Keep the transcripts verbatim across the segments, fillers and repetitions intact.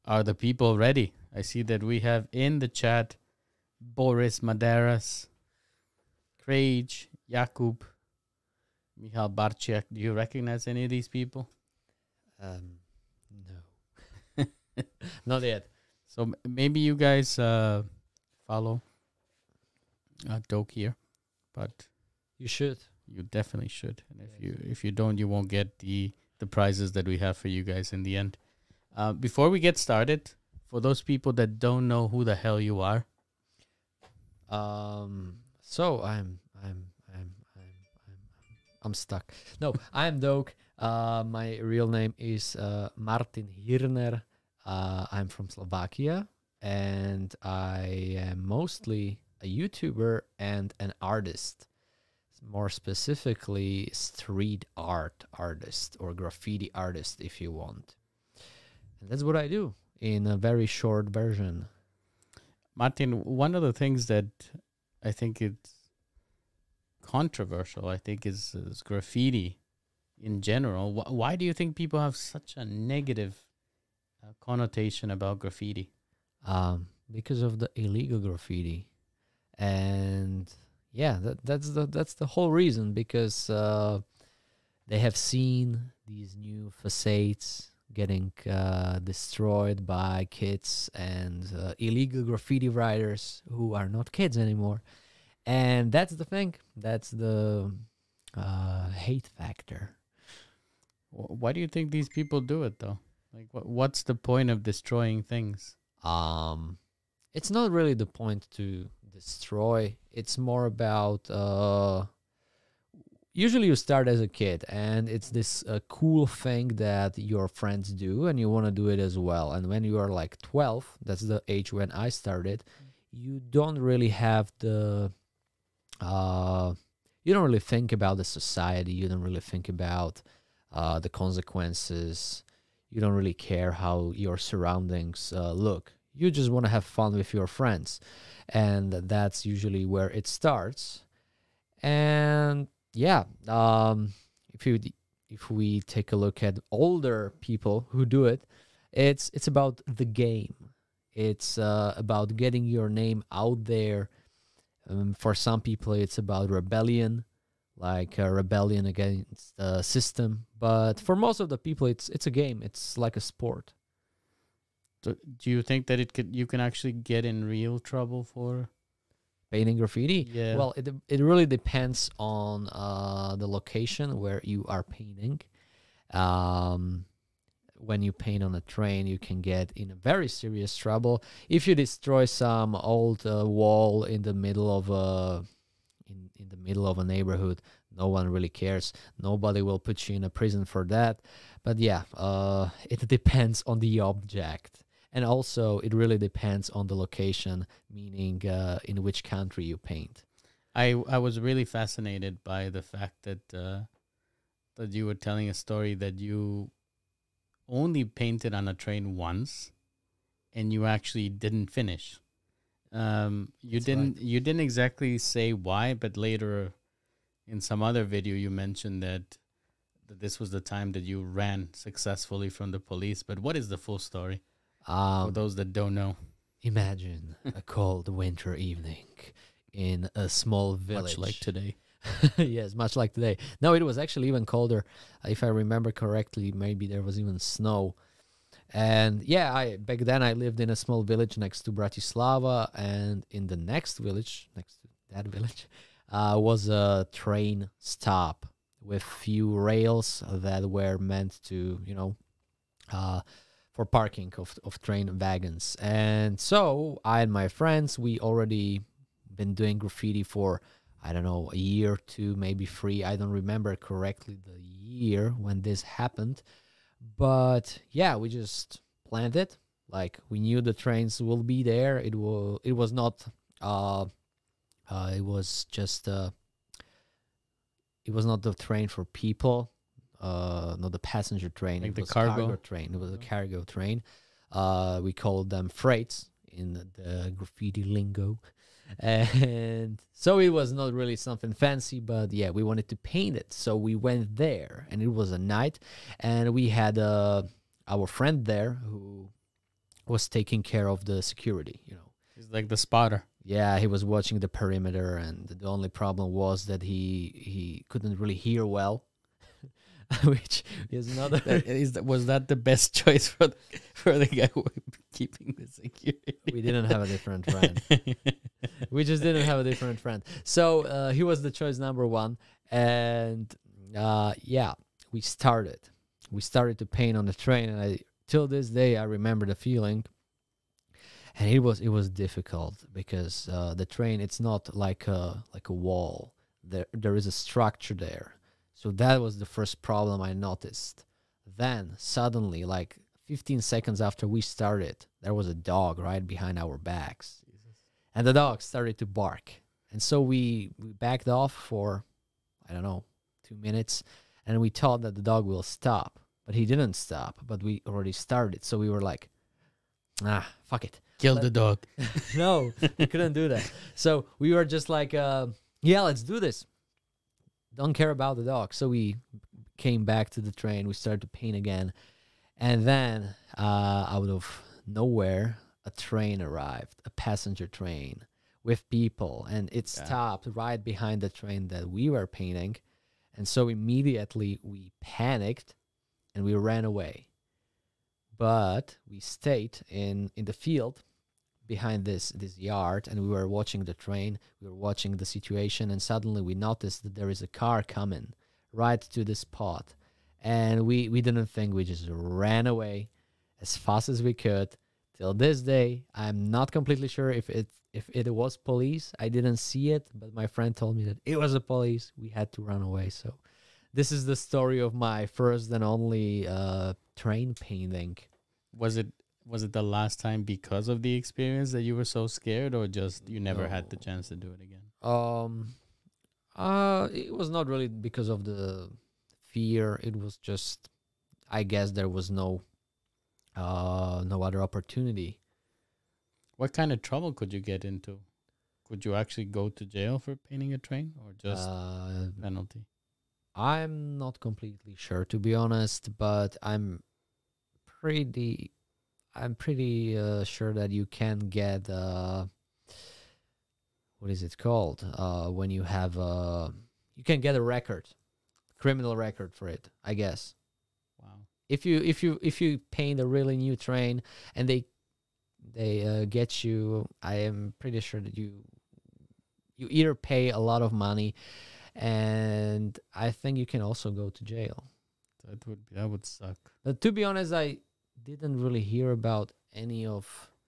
Are the people ready? I see that we have in the chat Boris Maderas, Craig, Jakub, Michal Barčiak. Do you recognize any of these people? Um, no, not yet. So m- maybe you guys uh, follow uh, Doke here, but You should. you definitely should. And if you if you don't, you won't get the the prizes that we have for you guys in the end. Uh, before we get started, for those people that don't know who the hell you are, Um, so I'm I'm I'm I'm I'm I'm stuck. No, I'm Doke. Uh, my real name is uh, Martin Hirner. Uh, I'm from Slovakia, and I am mostly a YouTuber and an artist. More specifically, street art artist or graffiti artist, if you want. And that's what I do in a very short version. Martin, one of the things that I think it's controversial, I think, is, is graffiti in general. Wh- why do you think people have such a negative uh, connotation about graffiti? Um, because of the illegal graffiti, and yeah, that, that's the that's the whole reason. Because uh, they have seen these new facades getting uh, destroyed by kids and uh, illegal graffiti writers who are not kids anymore, and that's the thing. That's the uh, hate factor. Wh- Why do you think these people do it, though? Like, what what's the point of destroying things? Um, it's not really the point to destroy. It's more about uh, usually you start as a kid, and it's this uh, cool thing that your friends do, and you want to do it as well. And when you are like twelve, that's the age when I started, you don't really have the uh, you don't really think about the society. You don't really think about uh, the consequences. You don't really care how your surroundings uh, look. You just want to have fun with your friends. And that's usually where it starts. And yeah, um, if you if we take a look at older people who do it, it's it's about the game. It's uh, about getting your name out there. Um, for some people, it's about rebellion, like a rebellion against the system. But for most of the people, it's it's a game. It's like a sport. Do, do you think that it could you can actually get in real trouble for? Painting graffiti. Yeah. Well, it it really depends on uh, the location where you are painting. Um, when you paint on a train, you can get in a very serious trouble if you destroy some old uh, wall in the middle of a in in the middle of a neighborhood. No one really cares. Nobody will put you in a prison for that. But yeah, uh, it depends on the object. And also, it really depends on the location, meaning uh, in which country you paint. I I was really fascinated by the fact that uh, that you were telling a story that you only painted on a train once, and you actually didn't finish. Um, you That's didn't you didn't exactly say why, but later in some other video you mentioned that that this was the time that you ran successfully from the police. But what is the full story for Um, those that don't know? imagine a cold winter evening in a small village. Much like today. Yes, much like today. No, it was actually even colder. If I remember correctly, maybe there was even snow. And yeah, I back then I lived in a small village next to Bratislava, and in the next village, next to that village, uh, was a train stop with few rails that were meant to, you know, uh, for parking of of train wagons. And so I and my friends, we already been doing graffiti for, I don't know, a year, two, maybe three. I don't remember correctly the year when this happened. But yeah, we just planned it. Like, we knew the trains will be there. It will. It was not. Uh, uh, it was just. Uh, it was not the train for people. Uh, not the passenger train. Like it the was cargo? cargo train. It was a cargo train. Uh, we called them freights in the graffiti lingo. And so it was not really something fancy, but yeah, we wanted to paint it. So we went there, and it was a night, and we had uh, our friend there who was taking care of the security, you know. He's like the spotter. Yeah, he was watching the perimeter, and the only problem was that he he couldn't really hear well, which is another. That, is that, was that the best choice for the, for the guy who was keeping the security? We didn't have a different friend. We just didn't have a different friend. So uh, he was the choice number one, and uh, yeah, we started. We started to paint on the train, and I till this day I remember the feeling. And it was it was difficult because uh, the train, it's not like a like a wall. There there is a structure there. So that was the first problem I noticed. Then suddenly, like fifteen seconds after we started, there was a dog right behind our backs. Jesus. And the dog started to bark. And so we, we backed off for, I don't know, two minutes. And we thought that the dog will stop. But he didn't stop. But we already started. So we were like, ah, fuck it. Kill Let- the dog. No, we couldn't do that. So we were just like, uh, yeah, let's do this. Don't care about the dog. So we came back to the train. We started to paint again. And then uh, out of nowhere, a train arrived, a passenger train with people. And it Yeah. stopped right behind the train that we were painting. And so immediately we panicked and we ran away. But we stayed in, in the field behind this this yard, and we were watching the train. We were watching the situation, and suddenly we noticed that there is a car coming right to the spot. And we, we didn't think, we just ran away as fast as we could. Till this day, I'm not completely sure if it if it was police. I didn't see it, but my friend told me that it was a police. We had to run away. So this is the story of my first and only uh, train painting. Was it was it the last time because of the experience that you were so scared, or just you never had the No. chance to do it again? Um, uh, it was not really because of the fear. It was just, I guess there was no, uh, no other opportunity. What kind of trouble could you get into? Could you actually go to jail for painting a train, or just Uh, penalty? I'm not completely sure, to be honest, but I'm pretty, I'm pretty uh, sure that you can get uh, what is it called? Uh, when you have uh, you can get a record, criminal record for it, I guess. Wow. If you if you if you paint a really new train and they they uh, get you, I am pretty sure that you you either pay a lot of money, and I think you can also go to jail. That would be, that would suck. But to be honest, I didn't really hear about any of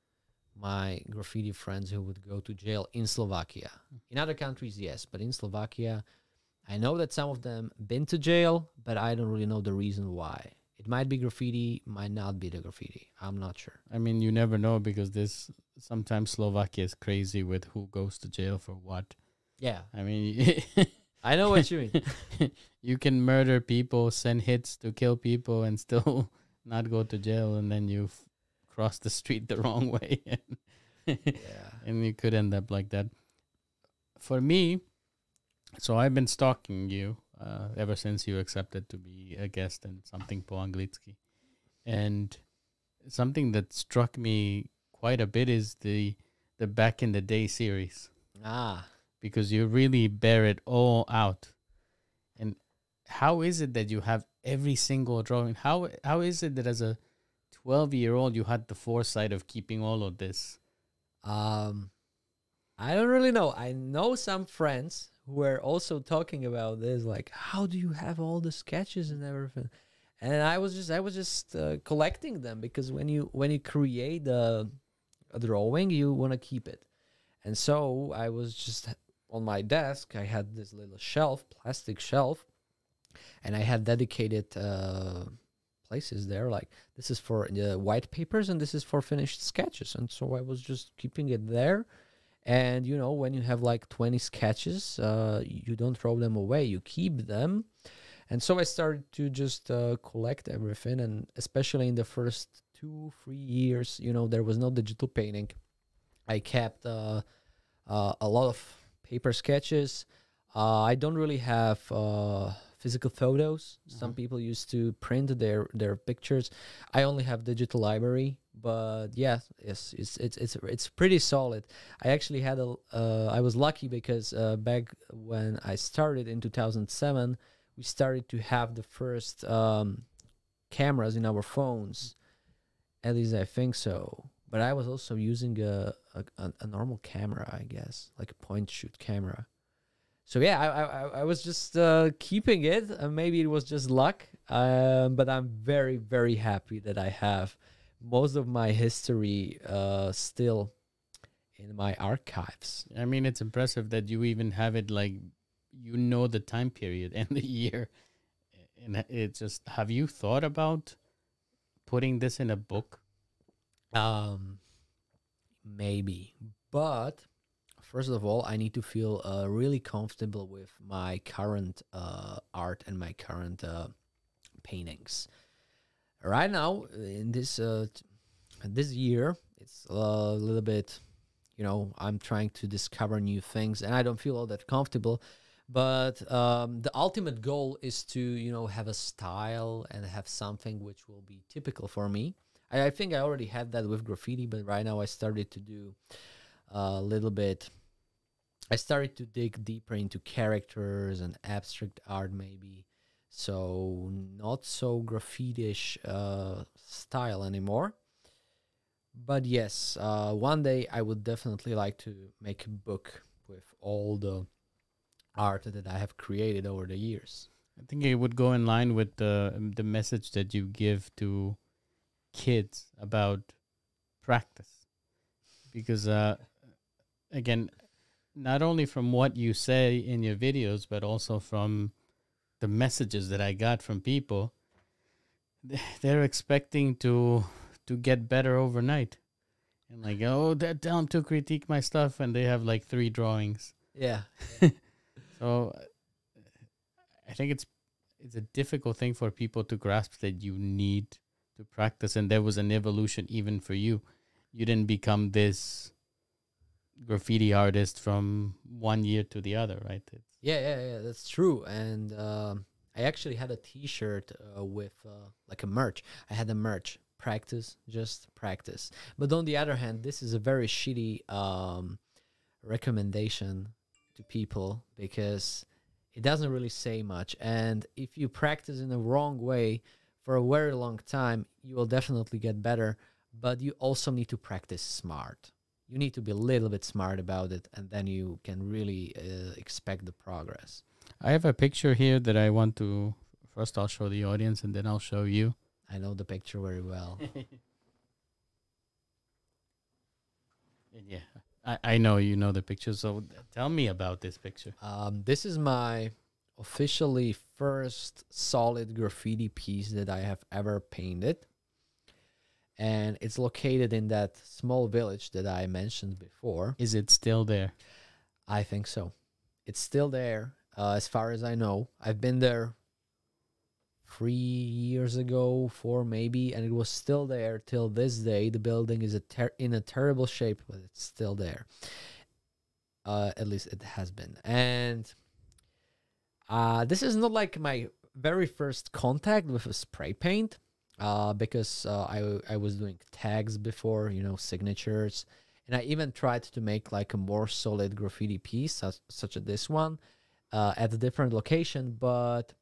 my graffiti friends who would go to jail in Slovakia. In other countries, yes, but in Slovakia, I know that some of them been to jail, but I don't really know the reason why. It might be graffiti, might not be the graffiti. I'm not sure. I mean, you never know, because this sometimes Slovakia is crazy with who goes to jail for what. Yeah, I mean, I know what you mean. you can murder people, send hits to kill people, and still not go to jail, and then you f- cross the street the wrong way, and, Yeah. and you could end up like that. For me, so I've been stalking you uh, ever since you accepted to be a guest in Something Po Anglicky, and something that struck me quite a bit is the the Back in the Day series, Ah, because you really bear it all out. And how is it that you have every single drawing? How how is it that as a twelve year old you had the foresight of keeping all of this? um, I don't really know. I know some friends who were also talking about this, like, how do you have all the sketches and everything? And I was just, I was just uh, collecting them, because when you when you create a, a drawing, you want to keep it. And so I was just on my desk. I had this little shelf, plastic shelf, and I had dedicated uh, places there. Like, this is for uh, white papers, and this is for finished sketches. And so I was just keeping it there. And, you know, when you have like twenty sketches, uh, you don't throw them away, you keep them. And so I started to just uh, collect everything. And especially in the first two, three years, you know, there was no digital painting. I kept uh, uh, a lot of paper sketches. Uh, I don't really have uh, physical photos. Some Uh-huh. people used to print their, their pictures. I only have digital library. but yeah, yes, it's it's it's it's pretty solid. I actually had a uh, I was lucky because uh, back when I started in two thousand seven, we started to have the first um, cameras in our phones. At least I think so. But I was also using a a, a a normal camera, I guess, like a point shoot camera. So yeah, I I, I I was just uh, keeping it. Uh, maybe it was just luck, um, but I'm very very happy that I have most of my history uh, still in my archives. I mean, it's impressive that you even have it like you know the time period and the year. And it's just, have you thought about putting this in a book? Um, maybe, but first of all, I need to feel uh, really comfortable with my current uh, art and my current uh, paintings. Right now, in this uh, t- this year, it's a little bit, you know, I'm trying to discover new things, and I don't feel all that comfortable. But um, the ultimate goal is to, you know, have a style and have something which will be typical for me. I, I think I already had that with graffiti, but right now I started to do a little bit. I started to dig deeper into characters and abstract art, maybe. So not so graffiti-ish uh, style anymore. But yes, uh, one day I would definitely like to make a book with all the art that I have created over the years. I think it would go in line with the the message that you give to kids about practice, because uh, again, not only from what you say in your videos, but also from the messages that I got from people, they're expecting to to get better overnight, and like, oh, that tell them to critique my stuff, and they have like three drawings. Yeah. So I think it's it's a difficult thing for people to grasp that you need to practice, and there was an evolution even for you. You didn't become this graffiti artist from one year to the other, right? It's, Yeah, yeah, yeah, that's true. And um, I actually had a T-shirt uh, with uh, like a merch. I had a merch practice, just practice. But on the other hand, this is a very shitty um, recommendation to people because it doesn't really say much. And if you practice in the wrong way for a very long time, you will definitely get better. But you also need to practice smart. You need to be a little bit smart about it, and then you can really uh, expect the progress. I have a picture here that I want to first. I'll show the audience, and then I'll show you. I know the picture very well. And yeah, I, I know you know the picture. So tell me about this picture. Um, this is my officially first solid graffiti piece that I have ever painted. And it's located in that small village that I mentioned before. Is it still there? I think so. It's still there, uh, as far as I know. I've been there three years ago, four maybe, and it was still there till this day. The building is a ter- in a terrible shape, but it's still there. Uh, at least it has been. And uh, this is not like my very first contact with a spray paint. Uh, because uh, I I was doing tags before, you know, signatures, and I even tried to make like a more solid graffiti piece, such, such as this one, uh, at a different location, but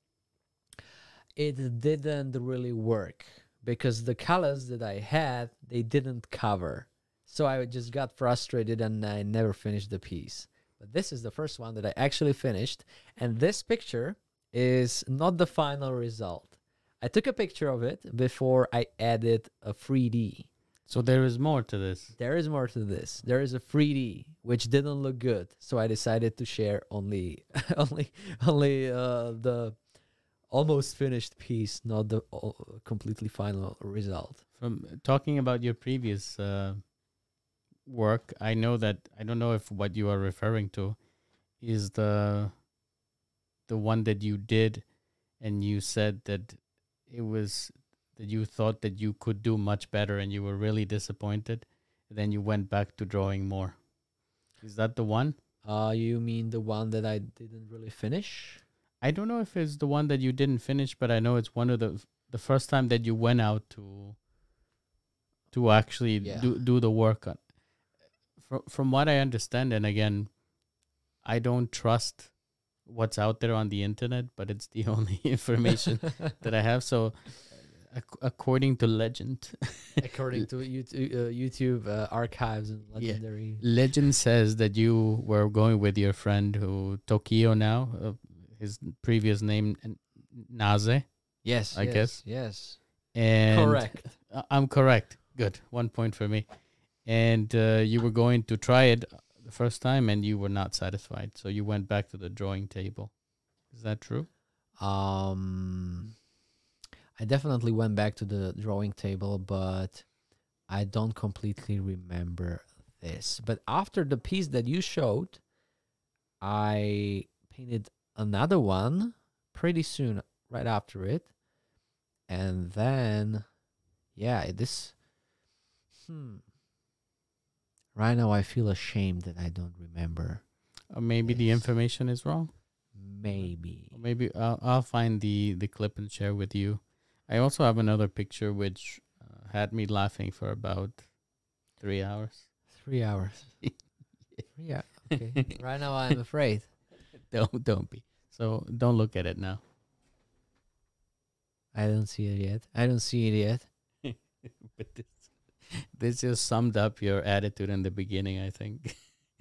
it didn't really work because the colors that I had, they didn't cover, so I just got frustrated and I never finished the piece. But this is the first one that I actually finished, and this picture is not the final result. I took a picture of it before I added a three D. So there is more to this. There is more to this. There is a three D which didn't look good, so I decided to share only, only, only uh, the almost finished piece, not the uh, completely final result. From talking about your previous uh, work, I know that I don't know if what you are referring to is the the one that you did, and you said that it was that you thought that you could do much better and you were really disappointed. Then you went back to drawing more. Is that the one? Uh, you mean the one that I didn't really finish? I don't know if it's the one that you didn't finish, but I know it's one of the the first time that you went out to to actually Yeah. do do the work on. From from what I understand, and again, I don't trust what's out there on the internet, but it's the only information that I have. So, ac- according to legend, According to YouTube, uh, YouTube uh, archives and Yeah. legendary. legend says that you were going with your friend who Tokyo now, uh, his previous name N- Naze, Yes, I yes, guess. yes. and Correct. I- I'm correct. Good, one point for me. And uh, you were going to try it the first time, and you were not satisfied, so you went back to the drawing table. Is that true? Um, I definitely went back to the drawing table, but I don't completely remember this. But after the piece that you showed, I painted another one pretty soon right after it. And then, yeah, it- this. Hmm. Right now, I feel ashamed that I don't remember. Or maybe the Yes. information is wrong. Maybe. Or maybe I'll, I'll find the, the clip and share with you. I also have another picture which uh, had me laughing for about three hours. Three hours. Three hours. Okay. Right now, I'm afraid. Don't don't be. So don't look at it now. I don't see it yet. I don't see it yet. But this this just summed up your attitude in the beginning, I think.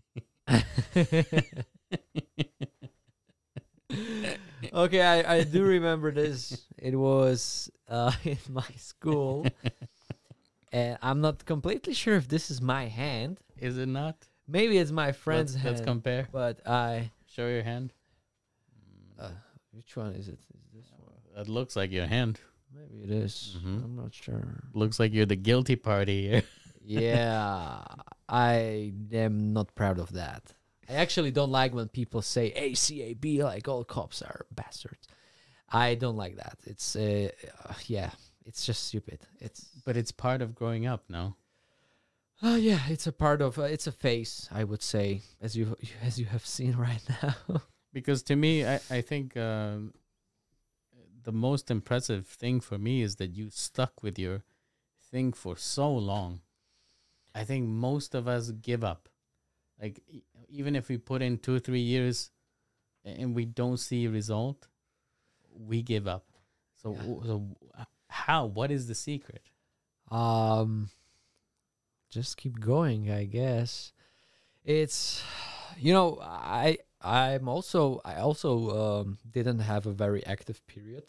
Okay, I, I do remember this. It was uh, in my school. And I'm not completely sure if this is my hand. Is it not? Maybe it's my friend's let's, hand. let's compare. But I. Show your hand. Uh, which one is it? Is this one? That looks like your hand. Maybe it is. Mhm. I'm not sure. Looks like you're the guilty party here. Yeah, I am not proud of that. I actually don't like when people say A C A B, like all cops are bastards. I don't like that. It's uh, uh, yeah, it's just stupid. It's But it's part of growing up, no? uh, yeah, it's a part of uh, it's a phase, I would say, as you as you have seen right now. Because to me, I, I think um, the most impressive thing for me is that you stuck with your thing for so long. I think most of us give up. Like, e- even if we put in two, three years and we don't see a result, we give up. So, Yeah. w- so uh, how? What is the secret? Um, just keep going, I guess. It's, you know, I I'm also I also um didn't have a very active period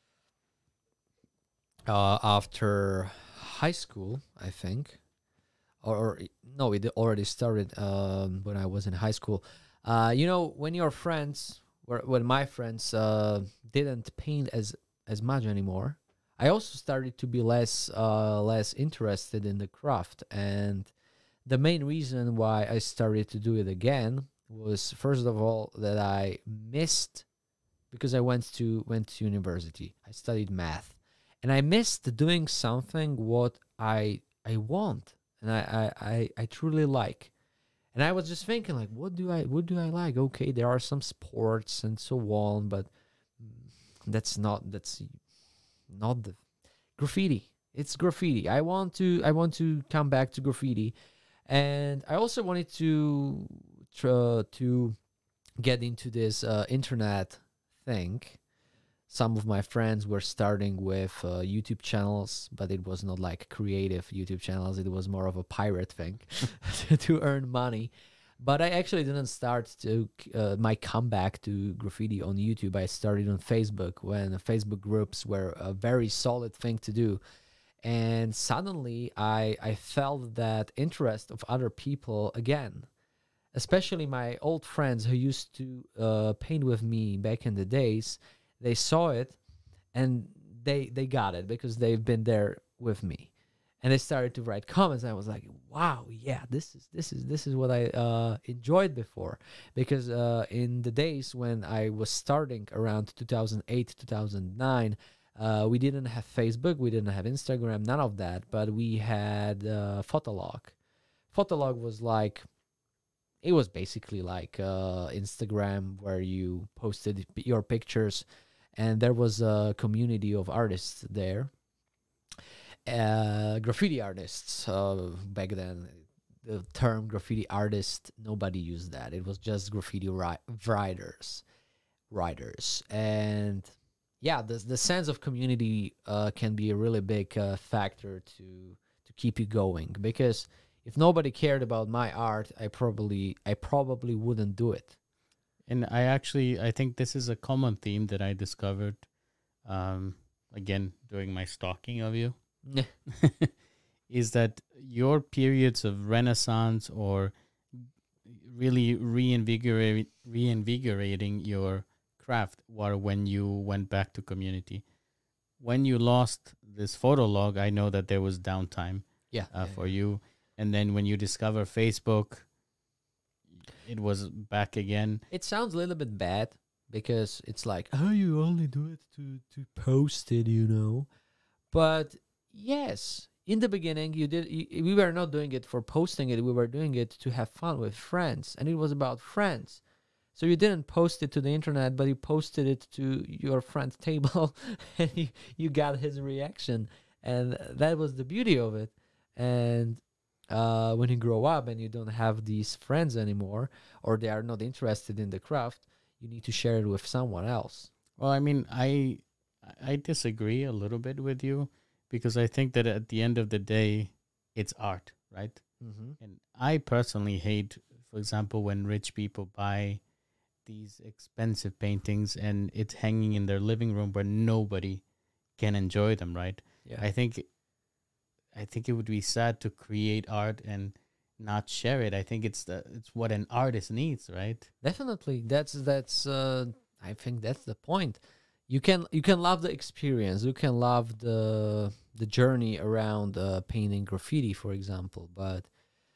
uh after high school, I think, or, or i- no, it already started um when I was in high school. Uh, you know, when your friends, were when my friends uh didn't paint as as much anymore, I also started to be less uh less interested in the craft. And the main reason why I started to do it again was, first of all, that I missed, because I went to went to university. I studied math, and I missed doing something what I I want and I I I, I truly like. And I was just thinking, like, what do I what do I like? Okay, there are some sports and so on, but mm, that's not that's not the graffiti. It's graffiti. I want to I want to come back to graffiti. And I also wanted to try to get into this uh, internet thing. Some of my friends were starting with uh, YouTube channels, but it was not like creative YouTube channels. It was more of a pirate thing to earn money. But I actually didn't start to uh, my comeback to graffiti on YouTube. I started on Facebook, when Facebook groups were a very solid thing to do. And suddenly I, I felt that interest of other people again, especially my old friends who used to uh, paint with me back in the days. They saw it and they they got it because they've been there with me, and they started to write comments. And I was like, wow, yeah, this is this is this is what I uh, enjoyed before. Because uh, in the days when I was starting around two thousand eight, two thousand nine, uh, we didn't have Facebook, we didn't have Instagram, none of that, but we had uh, Fotolog. Fotolog was like, it was basically like uh, Instagram, where you posted p- your pictures, and there was a community of artists there. uh, graffiti artists. Uh, back then, the term graffiti artist, nobody used that. It was just graffiti ri- writers, writers, and yeah, the the sense of community uh, can be a really big uh, factor to to keep you going. Because if nobody cared about my art, I probably I probably wouldn't do it. And I actually, I think this is a common theme that I discovered, um, again, during my stalking of you, is that your periods of renaissance or really reinvigorate, reinvigorating your craft were when you went back to community. When you lost this photo log, I know that there was downtime Yeah, uh, yeah, for yeah. you. And then when you discover Facebook, it was back again. It sounds a little bit bad because it's like, oh, you only do it to to post it, you know. But yes, in the beginning, you did. You, we were not doing it for posting it. We were doing it to have fun with friends, and it was about friends. So you didn't post it to the internet, but you posted it to your friend's table, and you, you got his reaction, and that was the beauty of it. And uh, when you grow up and you don't have these friends anymore, or they are not interested in the craft, you need to share it with someone else. Well, I mean, I I disagree a little bit with you because I think that at the end of the day, it's art, right? Mm-hmm. And I personally hate, for example, when rich people buy these expensive paintings and it's hanging in their living room where nobody can enjoy them, right? Yeah. I think I think it would be sad to create art and not share it. I think it's the it's what an artist needs, right? Definitely, that's that's. Uh, I think that's the point. You can you can love the experience. You can love the the journey around uh, painting graffiti, for example. But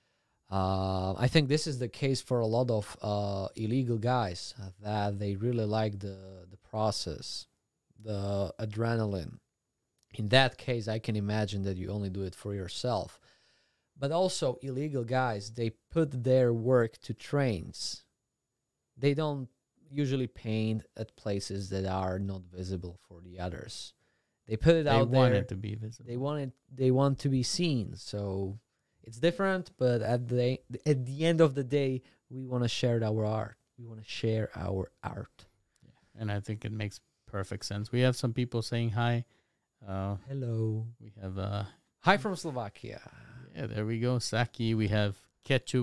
uh, I think this is the case for a lot of uh, illegal guys uh, that they really like the the process, the adrenaline. In that case, I can imagine that you only do it for yourself. But also, illegal guys, they put their work to trains. They don't usually paint at places that are not visible for the others. They put it They out want there. it to be visible. They want it. They want to be seen. So it's different. But at the at the end of the day, we want to share our art. We want to share our art. And I think it makes perfect sense. We have some people saying hi. Uh, Hello. we have uh, Hi from Slovakia. yeah, there we go, Saki. We have ketchup,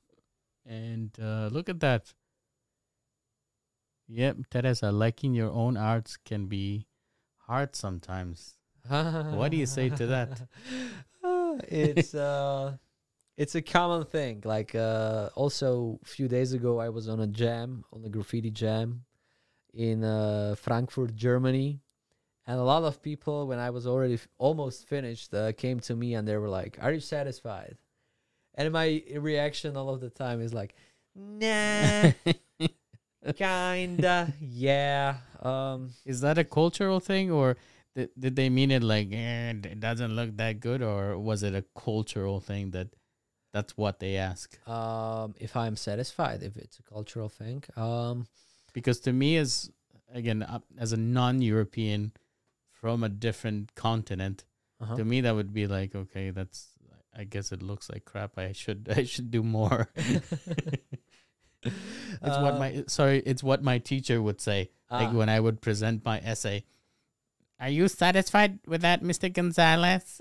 and uh, look at that. Yep, Teresa, liking your own arts can be hard sometimes. What do you say to that? it's uh it's a common thing. Like uh also a few days ago I was on a jam, on a graffiti jam in uh Frankfurt, Germany. And a lot of people, when I was already f- almost finished, uh, came to me and they were like, "Are you satisfied?" And my reaction all of the time is like, "Nah, kinda, yeah." Um, Is that a cultural thing, or did, did they mean it like eh, it doesn't look that good, or was it a cultural thing that that's what they ask? um, if I'm satisfied, if it's a cultural thing, um, Because to me, as again uh, as a non-European from a different continent, uh-huh. to me that would be like, okay, that's I guess it looks like crap. I should I should do more. It's what my sorry, it's what my teacher would say. Like Ah. when I would present my essay. Are you satisfied with that, Mister Gonzalez?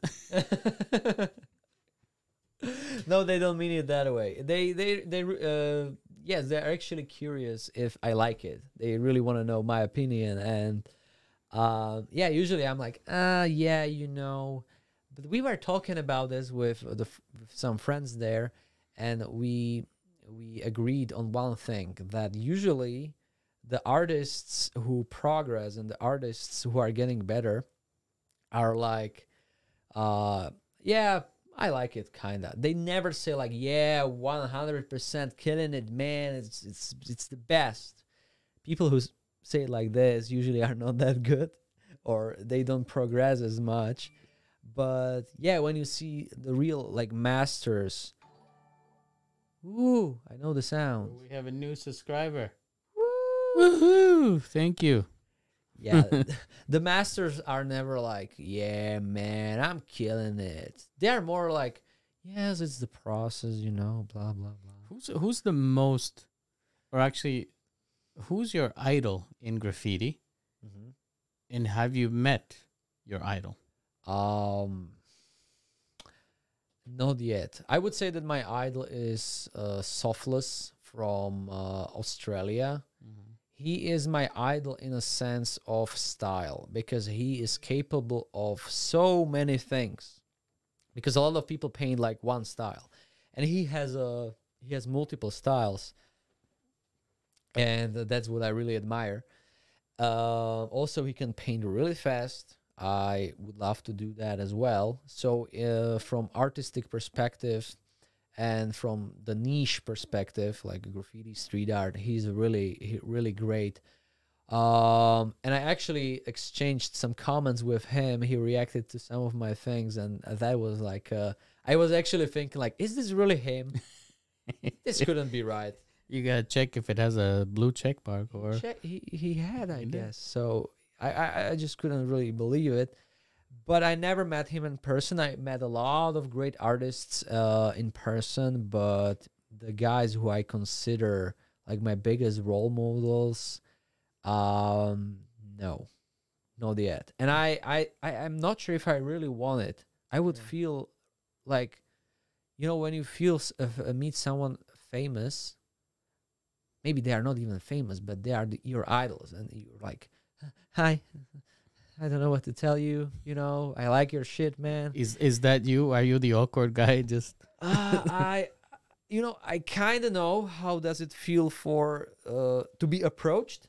No, they don't mean it that way. They they they uh yes, they're actually curious if I like it. They really want to know my opinion, and uh yeah, usually I'm like, uh yeah, you know. But we were talking about this with the f- with some friends there, and we we agreed on one thing, that usually the artists who progress and the artists who are getting better are like, uh yeah, I like it, kinda. They never say like, yeah, one hundred percent killing it, man. It's it's it's the best. People who s- say it like this usually are not that good, or they don't progress as much. But yeah, when you see the real like masters, ooh, I know the sound. We have a new subscriber. Woo! Woohoo! Thank you. Yeah, the masters are never like, yeah, man, I'm killing it. They're more like, yes, it's the process, you know, blah blah blah. Who's who's the most, or actually, who's your idol in graffiti? Hmm. And have you met your idol? Um, not yet. I would say that my idol is uh, Softless from uh, Australia. He is my idol in a sense of style because he is capable of so many things. Because a lot of people paint like one style, and he has a he has multiple styles, and that's what I really admire. Uh, also, he can paint really fast. I would love to do that as well. So, uh, from artistic perspective, and from the niche perspective, like graffiti, street art, he's really, he, really great. Um, and I actually exchanged some comments with him. He reacted to some of my things, and that was like, uh, I was actually thinking, like, is this really him? This couldn't be right. You gotta check if it has a blue check mark or. Check, he he had, I He did. guess. So I, I I just couldn't really believe it. But I never met him in person. I met a lot of great artists uh, in person, but the guys who I consider like my biggest role models, um, no, not yet. And I, I, I, I'm not sure if I really want it. I would Yeah. feel like, you know, when you feel s- uh, f- uh, meet someone famous, maybe they are not even famous, but they are the, your idols, and you're like, hi. I don't know what to tell you. You know, I like your shit, man. Is is that you? Are you the awkward guy? Just uh, I, you know, I kind of know how does it feel for uh, to be approached,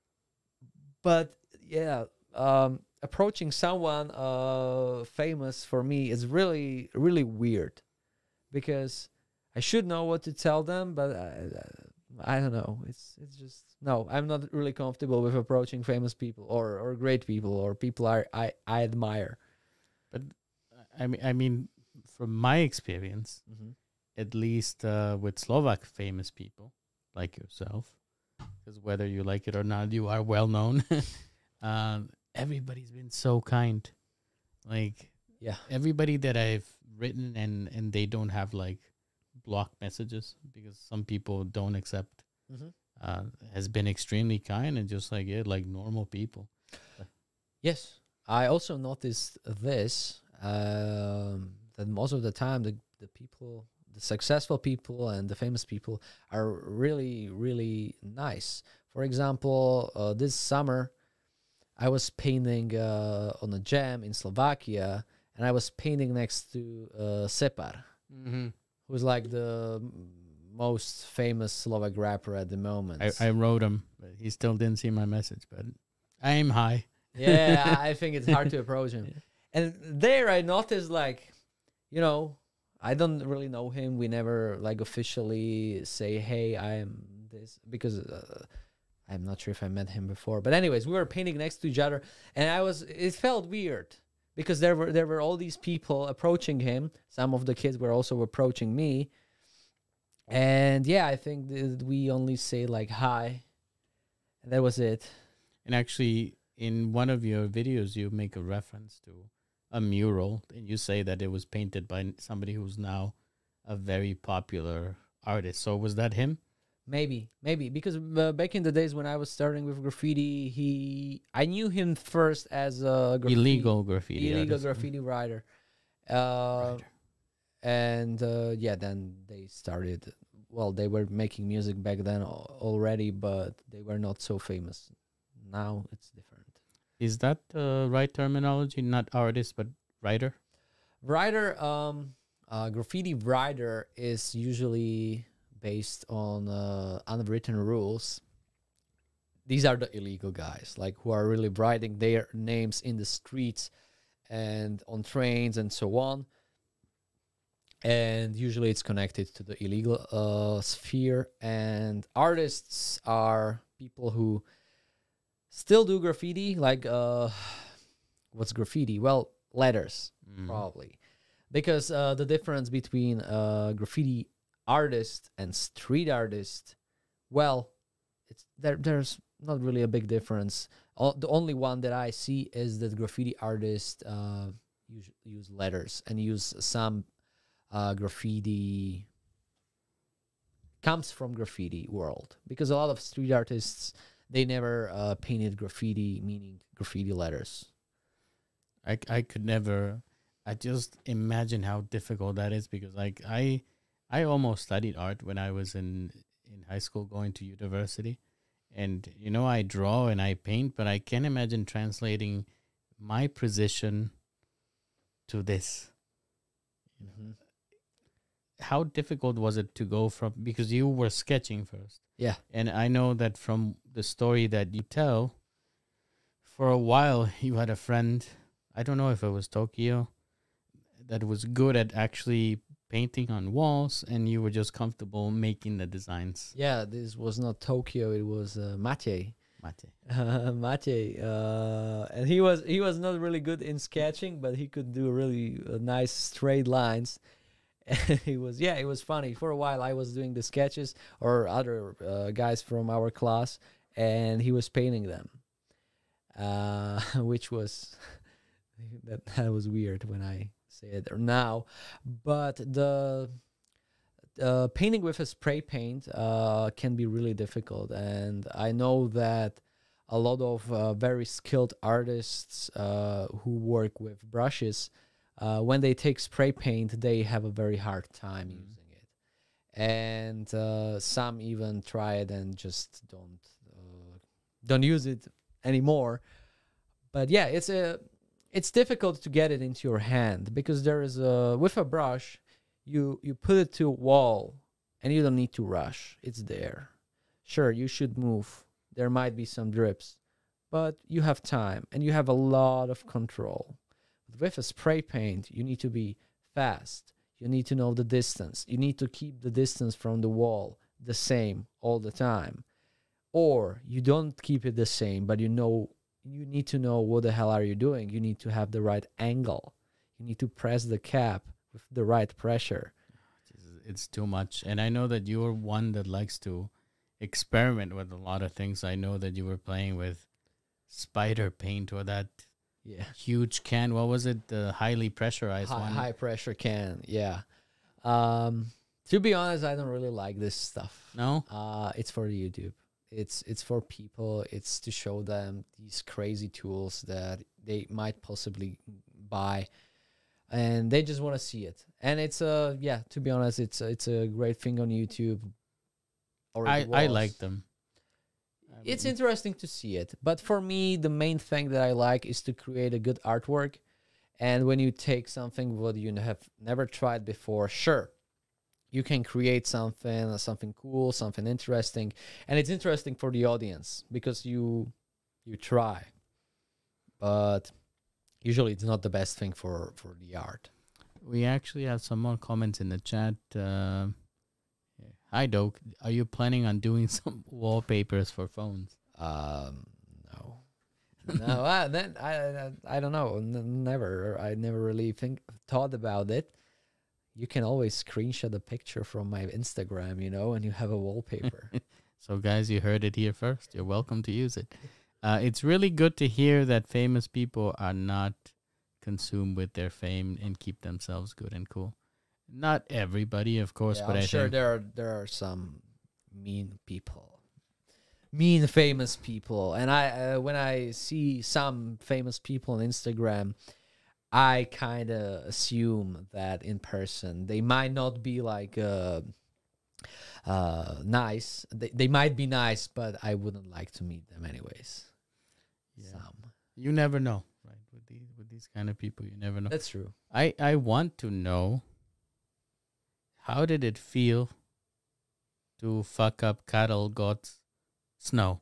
but yeah, um, approaching someone uh, famous for me is really, really weird because I should know what to tell them, but I, I don't know. It's it's just no. I'm not really comfortable with approaching famous people or or great people or people I I, I admire. but I mean I mean from my experience, Mm-hmm. at least uh, with Slovak famous people like yourself, because whether you like it or not, you are well known. um, everybody's been so kind. Like Yeah. everybody that I've written and and they don't have like block messages because some people don't accept Mm-hmm. uh, has been extremely kind and just like yeah, like normal people. Yes, I also noticed this um, that most of the time the the people, the successful people and the famous people are really really nice. For example, uh, this summer I was painting uh, on a jam in Slovakia, and I was painting next to uh, Separ, Mm-hmm. who's like the m- most famous Slovak rapper at the moment. I, I wrote him, but he still didn't see my message. But I'm high. Yeah, I I think it's hard to approach him. And there I noticed like, you know, I don't really know him. We never like officially say, "Hey, I am this," because uh, I'm not sure if I met him before. But anyways, we were painting next to each other, and I was. It felt weird because there were there were all these people approaching him. Some of the kids were also approaching me, and yeah, I think that we only say like hi, and that was it. And actually, in one of your videos, you make a reference to a mural, and you say that it was painted by n- somebody who's now a very popular artist. So was that him? Maybe, maybe because uh, back in the days when I was starting with graffiti, he I knew him first as a graffiti, Illegal graffiti illegal artist. graffiti writer, uh, Writer. and uh, yeah, then they started. Well, they were making music back then al- already, but they were not so famous. Now it's different. Is that the right terminology? Not artist, but writer. Writer, um, uh, graffiti writer is usually based on uh, unwritten rules. These are the illegal guys, like who are really writing their names in the streets and on trains and so on. And usually it's connected to the illegal uh, sphere. And artists are people who still do graffiti, like uh, what's graffiti? Well, letters, Mm. probably, because uh, the difference between uh, graffiti artist and street artist, well, it's there. There's not really a big difference. All, the only one that I see is that graffiti artists uh, use, use letters and use some uh, graffiti comes from graffiti world, because a lot of street artists, they never uh, painted graffiti, meaning graffiti letters. I, I could never. I just imagine how difficult that is, because like I I almost studied art when I was in in high school, going to university, and you know I draw and I paint, but I can't imagine translating my position to this. Mm-hmm. How difficult was it to go from, because you were sketching first? Yeah. And I know that from the story that you tell, for a while you had a friend, I don't know if it was Tokyo, that was good at actually painting on walls, and you were just comfortable making the designs. Yeah, this was not Tokyo, it was uh, Matej. Mate. Uh, Matej, uh, and he was he was not really good in sketching, but he could do really uh, nice straight lines. And he was, yeah, it was funny. For a while, I was doing the sketches, or other uh, guys from our class, and he was painting them, uh, which was that, that was weird when I say it now. But the uh, painting with a spray paint uh, can be really difficult, and I know that a lot of uh, very skilled artists uh, who work with brushes, Uh, when they take spray paint, they have a very hard time Mm. using it, and uh, some even try it and just don't uh, don't use it anymore. But yeah, it's a it's difficult to get it into your hand, because there is a with a brush, you you put it to a wall, and you don't need to rush. It's there. Sure, you should move. There might be some drips, but you have time and you have a lot of control. With a spray paint, you need to be fast. You need to know the distance. You need to keep the distance from the wall the same all the time. Or you don't keep it the same, but you know you need to know what the hell are you doing. You need to have the right angle. You need to press the cap with the right pressure. It's too much. And I know that you're one that likes to experiment with a lot of things. I know that you were playing with spider paint, or that Yeah. huge can. What was it? The highly pressurized High, one. high pressure can. Yeah. Um, to be honest, I don't really like this stuff. No? Uh, it's for YouTube. It's it's for people. It's to show them these crazy tools that they might possibly buy, and they just want to see it. And it's a yeah. To be honest, it's it's a great thing on YouTube. Or I, it I was. like them. It's interesting to see it, but for me, the main thing that I like is to create a good artwork. And when you take something what you have never tried before, sure, you can create something, something cool, something interesting, and it's interesting for the audience because you you try. But usually, it's not the best thing for for the art. We actually have some more comments in the chat. Uh, Hi, Doke. Are you planning on doing some wallpapers for phones? Um, no, no. I, then I, I, I don't know. N- never. I never really think thought about it. You can always screenshot a picture from my Instagram, you know, and you have a wallpaper. So, guys, you heard it here first. You're welcome to use it. Uh, it's really good to hear that famous people are not consumed with their fame and keep themselves good and cool. Not everybody, of course, Yeah, but I'm I sure think there are there are some mean people, mean famous people, and I uh, when I see some famous people on Instagram, I kind of assume that in person they might not be like uh, uh, nice. They they might be nice, but I wouldn't like to meet them anyways. Yeah. Some. you never know, right? With these with these kind of people, you never know. That's true. I I want to know, how did it feel to fuck up Carol Gott's snow?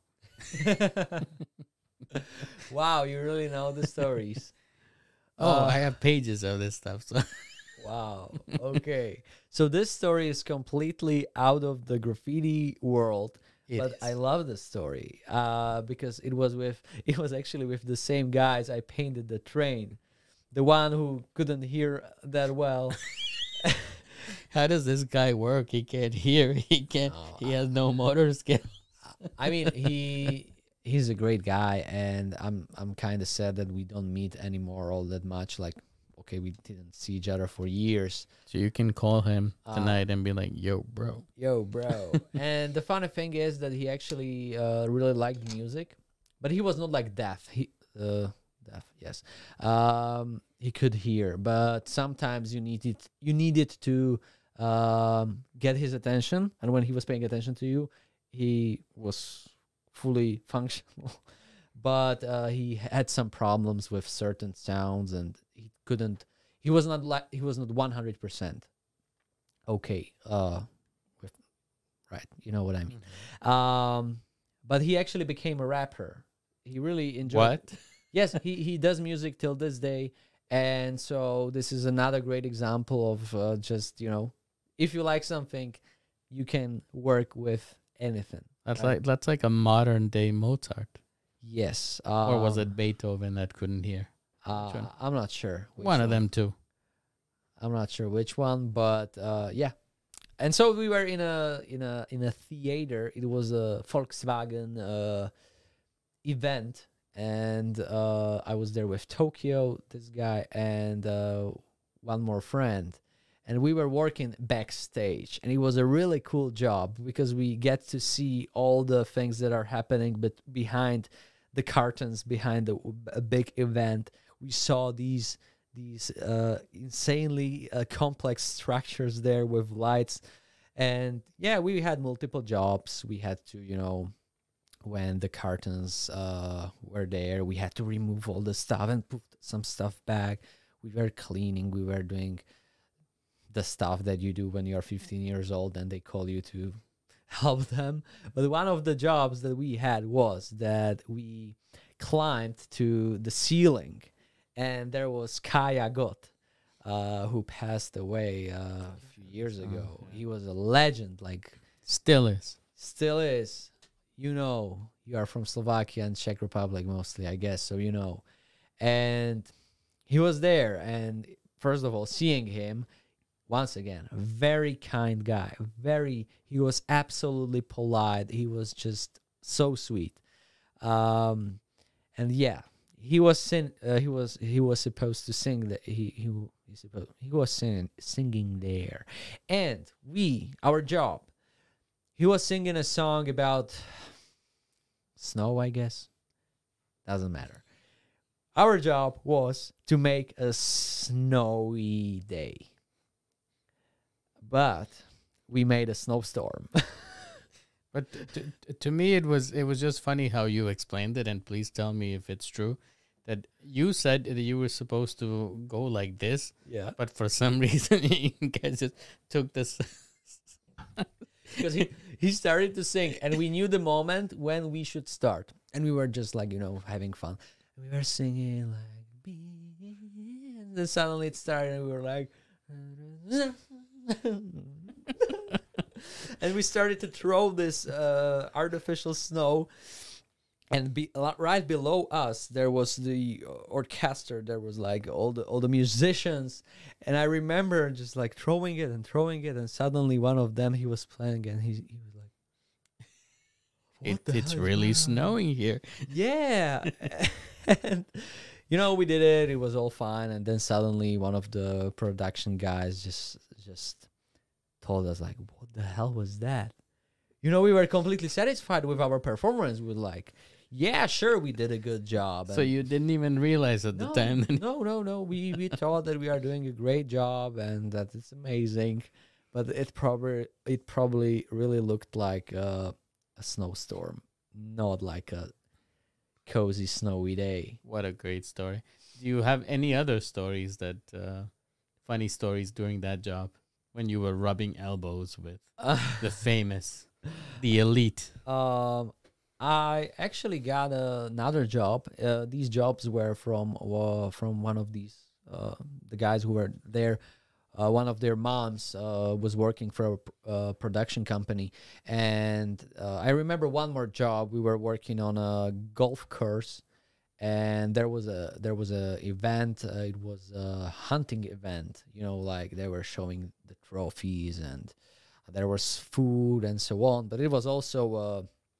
Wow, you really know the stories. Uh, Oh, I have pages of this stuff. So Wow. Okay. So this story is completely out of the graffiti world, It but is. I love the story uh, because it was with it was actually with the same guys I painted the train, the one who couldn't hear that well. How does this guy work? He can't hear. He can't. Oh, he has no motor skill. I mean, he he's a great guy, and I'm I'm kind of sad that we don't meet anymore all that much. Like, okay, we didn't see each other for years. So you can call him Uh, tonight and be like, "Yo, bro." Yo, bro. And the funny thing is that he actually uh, really liked music, but he was not like deaf. He uh, deaf, yes. Um, he could hear, but sometimes you needed you needed to um, get his attention, and when he was paying attention to you, he was fully functional. But uh, he had some problems with certain sounds, and he couldn't. He was not like he was not one hundred percent okay. Uh, with right, you know what I mean. Um, but he actually became a rapper. He really enjoyed. What? Yes, he he does music till this day, and so this is another great example of uh, just you know, if you like something, you can work with anything. That's right? like that's like a modern day Mozart, Yes, or was um, it Beethoven that couldn't hear? Uh, one? I'm not sure. which One of one. them too. I'm not sure which one, but uh, yeah. And so we were in a in a in a theater. It was a Volkswagen uh, event, and uh, I was there with Tokyo, this guy, and uh, one more friend, and we were working backstage, and it was a really cool job because we get to see all the things that are happening, but behind the curtains, behind the a big event, we saw these these uh, insanely uh, complex structures there with lights. And yeah, we had multiple jobs. We had to, you know, when the curtains uh, were there, we had to remove all the stuff and put some stuff back. We were cleaning. We were doing the stuff that you do when you're fifteen years old and they call you to help them. But one of the jobs that we had was that we climbed to the ceiling, and there was Kaya Gott, uh, who passed away uh, a few years ago. Oh, yeah. He was a legend, like Still is. still is. You know, you are from Slovakia and Czech Republic mostly, I guess, so you know. And he was there, and first of all, seeing him, once again, a very kind guy. Very, he was absolutely polite. He was just so sweet. Um, and yeah, he was sing, uh, he was he was supposed to sing that he he he supposed he was singing singing there, and we our job, he was singing a song about snow, I guess. Doesn't matter. Our job was to make a snowy day, but we made a snowstorm. But t- t- to me, it was it was just funny how you explained it, and please tell me if it's true. That you said that you were supposed to go like this, Yeah, but for some reason you guys just took this. because he he started to sing, and we knew the moment when we should start, and we were just like you know having fun. We were singing like, and then suddenly it started, and we were like, and we started to throw this uh, artificial snow. And be, right below us, there was the orchestra. There was like all the all the musicians, and I remember just like throwing it and throwing it, and suddenly one of them he was playing, and he he was like, It, "What the it's hell is really going on?" snowing here. Yeah, and you know we did it. It was all fine, and then suddenly one of the production guys just just told us like, "What the hell was that?" You know, we were completely satisfied with our performance. We were like, yeah, sure, we did a good job. So And you didn't even realize at no, the time. That no, no, no. We we thought that we are doing a great job and that it's amazing, but it probably it probably really looked like uh, a snowstorm, not like a cozy snowy day. What a great story. Do you have any other stories that uh, funny stories during that job when you were rubbing elbows with the famous, the elite? Um, I actually got another job. Uh, these jobs were from uh, from one of these uh, the guys who were there. Uh, one of their moms uh, was working for a pr- uh, production company, and uh, I remember one more job. We were working on a golf course, and there was a there was a event. Uh, it was a hunting event. You know, like they were showing the trophies, and there was food and so on. But it was also uh,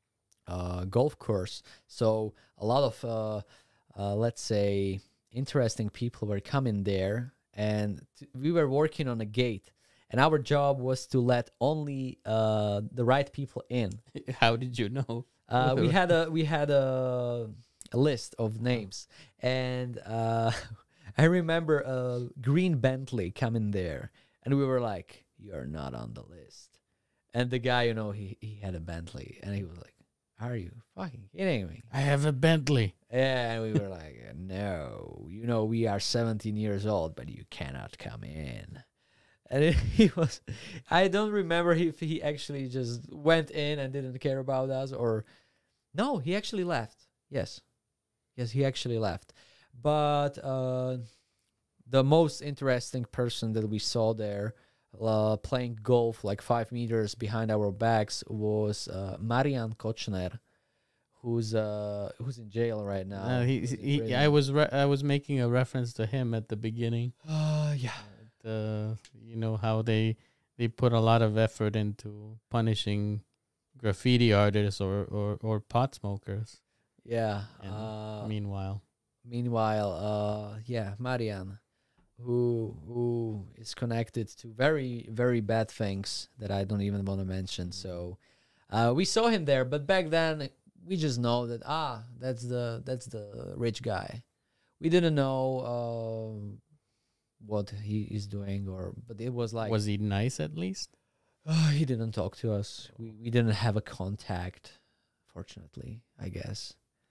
uh, golf course. So a lot of, uh, uh, let's say, interesting people were coming there, and t- we were working on a gate. And our job was to let only uh, the right people in. How did you know? Uh, we had a we had a, a list of names, and uh, I remember a green Bentley coming there, and we were like, "You're not on the list." And the guy, you know, he he had a Bentley, and he was like, "Are you fucking kidding me?" I have a Bentley. Yeah, and we were like, "No, you know, we are seventeen years old, but you cannot come in." And it, he was, I don't remember if he actually just went in and didn't care about us, or no, he actually left. Yes. Yes, he actually left. But uh, the most interesting person that we saw there uh, playing golf like five meters behind our backs was uh, Marian Kočner, who's uh, who's in jail right now. Uh, he, He's in he, prison. I was re- I was making a reference to him at the beginning. Uh, yeah. The you know how they they put a lot of effort into punishing graffiti artists or or, or pot smokers. Yeah. And Uh, meanwhile, meanwhile, uh, yeah, Marian, who who is connected to very very bad things that I don't even want to mention. So, uh, we saw him there, but back then we just know that ah, that's the that's the rich guy. We didn't know uh, what he is doing, or but it was like was he nice at least? uh, he didn't talk to us. We we didn't have a contact, fortunately, I guess.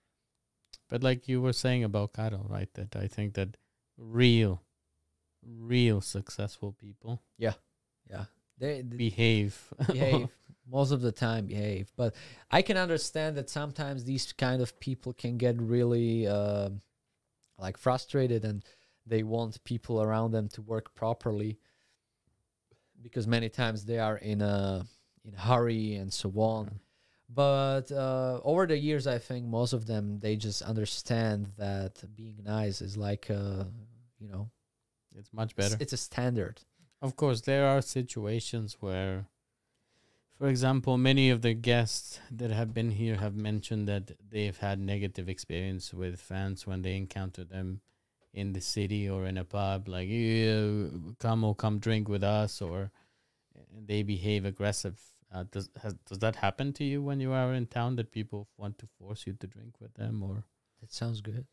But like you were saying about Caro, right? That I think that real, real successful people Yeah, they, they behave. behave most of the time behave, but I can understand that sometimes these kind of people can get really uh, like frustrated, and they want people around them to work properly, because many times they are in a in a hurry and so on. But uh, over the years, I think most of them, they just understand that being nice is like uh, you know, It's much it's, better. it's a standard. Of course, there are situations where, for example, many of the guests that have been here have mentioned that they've had negative experience with fans when they encounter them in the city or in a pub, like, yeah, come or come drink with us, or they behave aggressive. Uh, does has, does that happen to you when you are in town, that people want to force you to drink with them, or? That sounds good.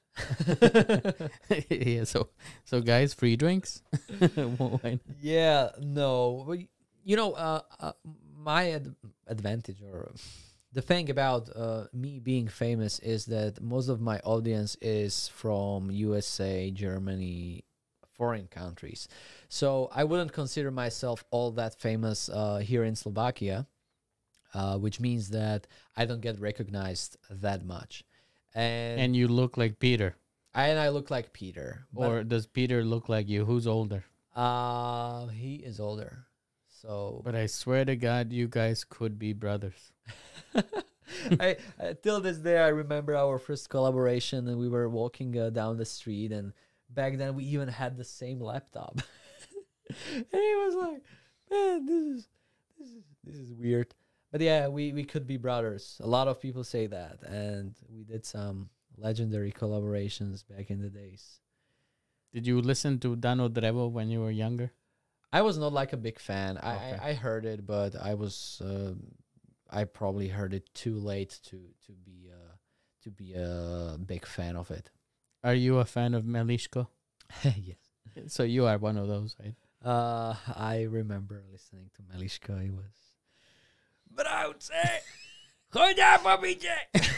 Yeah, so so guys, free drinks. Why not? Yeah, no, but y- you know, uh, uh, my ad- advantage, or the thing about uh, me being famous, is that most of my audience is from U S A, Germany, foreign countries. So I wouldn't consider myself all that famous uh, here in Slovakia, uh, which means that I don't get recognized that much. And And you look like Peter, and I look like Peter, but or does Peter look like you? Who's older? uh, he is older. So But I swear to God, you guys could be brothers. I, I till this day I remember our first collaboration, and we were walking uh, down the street, and back then we even had the same laptop. And he was like, "Man, this is this is this is weird." But yeah, we we could be brothers. A lot of people say that, and we did some legendary collaborations back in the days. Did you listen to Dano Drevo when you were younger? I was not like a big fan. I Okay. I, I heard it, but I was uh, I probably heard it too late to to be uh, to be a big fan of it. Are you a fan of Melishko? Yes. So you are one of those, right? Uh, I remember listening to Melishko. It was. Brouce! Chodź pobicie!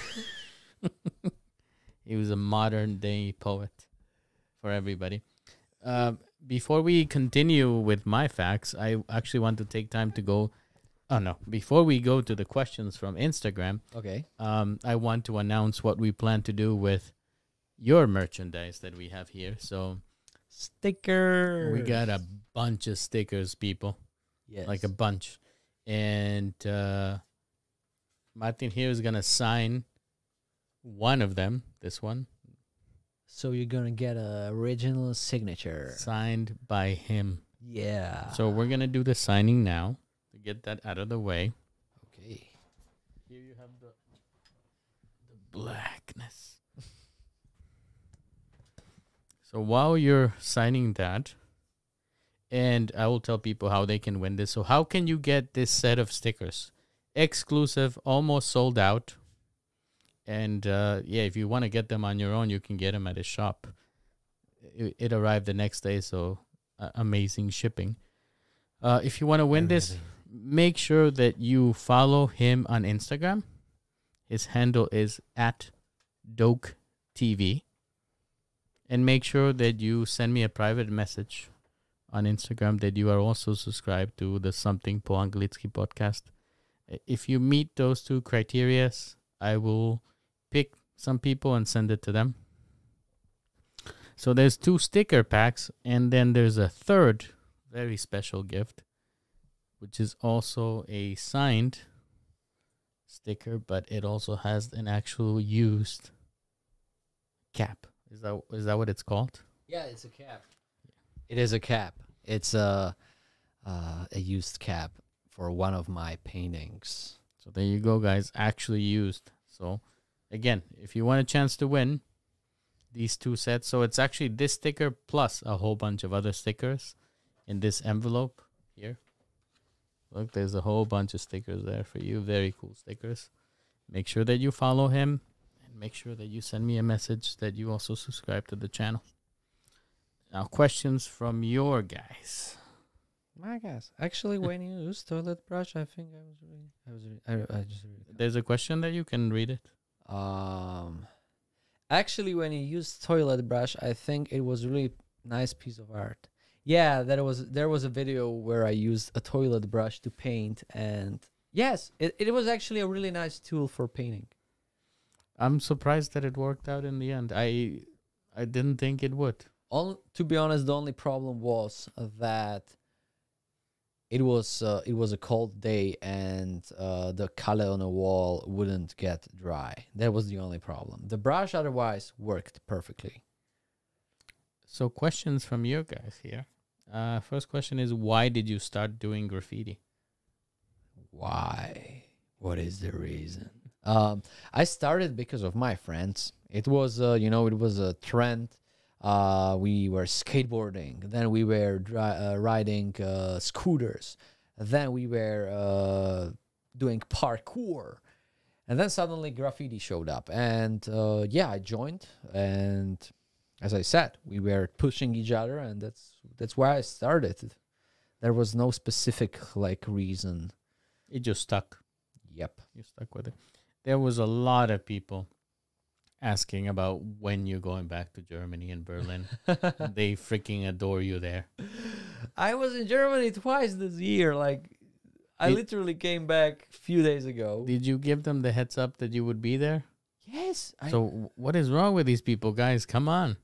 He was a modern day poet for everybody. Um, before we continue with my facts, I actually want to take time to go. Oh no! Before we go to the questions from Instagram, Okay. um, I want to announce what we plan to do with your merchandise that we have here. So Sticker. we got a bunch of stickers, people, yes. like a bunch, and uh, Martin here is gonna sign one of them. This one So you're gonna get a original signature. signed by him. Yeah. So we're gonna do the signing now to get that out of the way. Okay. Here you have the blackness. So while you're signing that, and I will tell people how they can win this. So how can you get this set of stickers? Exclusive, almost sold out. And uh, yeah, if you want to get them on your own, you can get them at his shop. It, it arrived the next day, so uh, amazing shipping. Uh, if you want to win this, make sure that you follow him on Instagram. His handle is at Doke T V. And make sure that you send me a private message on Instagram that you are also subscribed to the Something Po Anglicky podcast. If you meet those two criteria, I will pick some people and send it to them. So there's two sticker packs, and then there's a third very special gift, which is also a signed sticker, but it also has an actual used cap. Is that is that what it's called? Yeah, it's a cap. It is a cap. It's a uh, a used cap for one of my paintings. So there you go, guys. Actually used. So again, if you want a chance to win these two sets, so it's actually this sticker plus a whole bunch of other stickers in this envelope here. Look, there's a whole bunch of stickers there for you. Very cool stickers. Make sure that you follow him. Make sure that you send me a message that you also subscribe to the channel. Now, questions from your guys. My guys, actually, when you use toilet brush, I think I was really, I was, really, I, I just. Really There's a question that you can read it. Um, actually, when you use toilet brush, I think it was really nice piece of art. Yeah, that was there was a video where I used a toilet brush to paint, and yes, it it was actually a really nice tool for painting. I'm surprised that it worked out in the end. I I didn't think it would. All, to be honest, the only problem was that it was uh, it was a cold day and uh, the color on the wall wouldn't get dry. That was the only problem. The brush otherwise worked perfectly. So questions from you guys here. Uh, first question is, why did you start doing graffiti? Why? What is the reason? Um, I started because of my friends. It was, uh, you know, it was a trend. Uh, we were skateboarding. Then we were dri uh, riding uh, scooters. Then we were uh, doing parkour. And then suddenly graffiti showed up. And uh, yeah, I joined. And as I said, we were pushing each other. And that's that's why I started. There was no specific like reason. It just stuck. Yep. You stuck with it. There was a lot of people asking about when you're going back to Germany and Berlin. They freaking adore you there. I was in Germany twice this year. Like, I Did- literally came back a few days ago. Did you give them the heads up that you would be there? Yes. I, So w- what is wrong with these people, guys? Come on.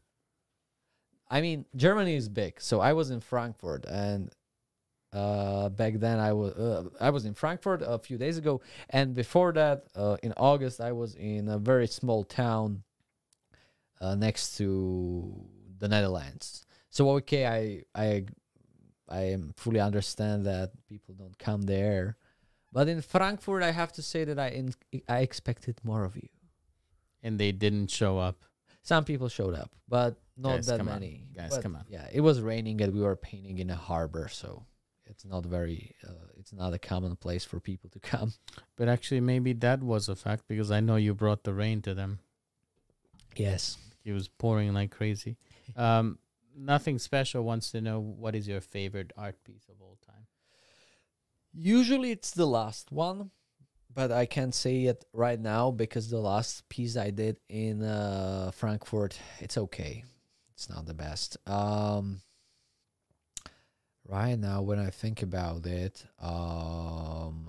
I mean, Germany is big. So I was in Frankfurt, and uh, back then I was uh, I was in Frankfurt a few days ago, and before that, uh, in August, I was in a very small town uh, next to the Netherlands. So okay, I I I am fully understand that people don't come there, but in Frankfurt, I have to say that I in, I expected more of you. And they didn't show up. Some people showed up, but not Guys, that come on. many. Guys, But come on. Yeah, it was raining and we were painting in a harbor, so it's not very. Uh, it's not a common place for people to come. But actually, maybe that was a fact, because I know you brought the rain to them. Yes. It was pouring like crazy. Um, Nothing Special wants to know, what is your favorite art piece of all time? Usually it's the last one, but I can't say it right now because the last piece I did in uh, Frankfurt, it's okay. It's not the best. Um, right now, when I think about it, um,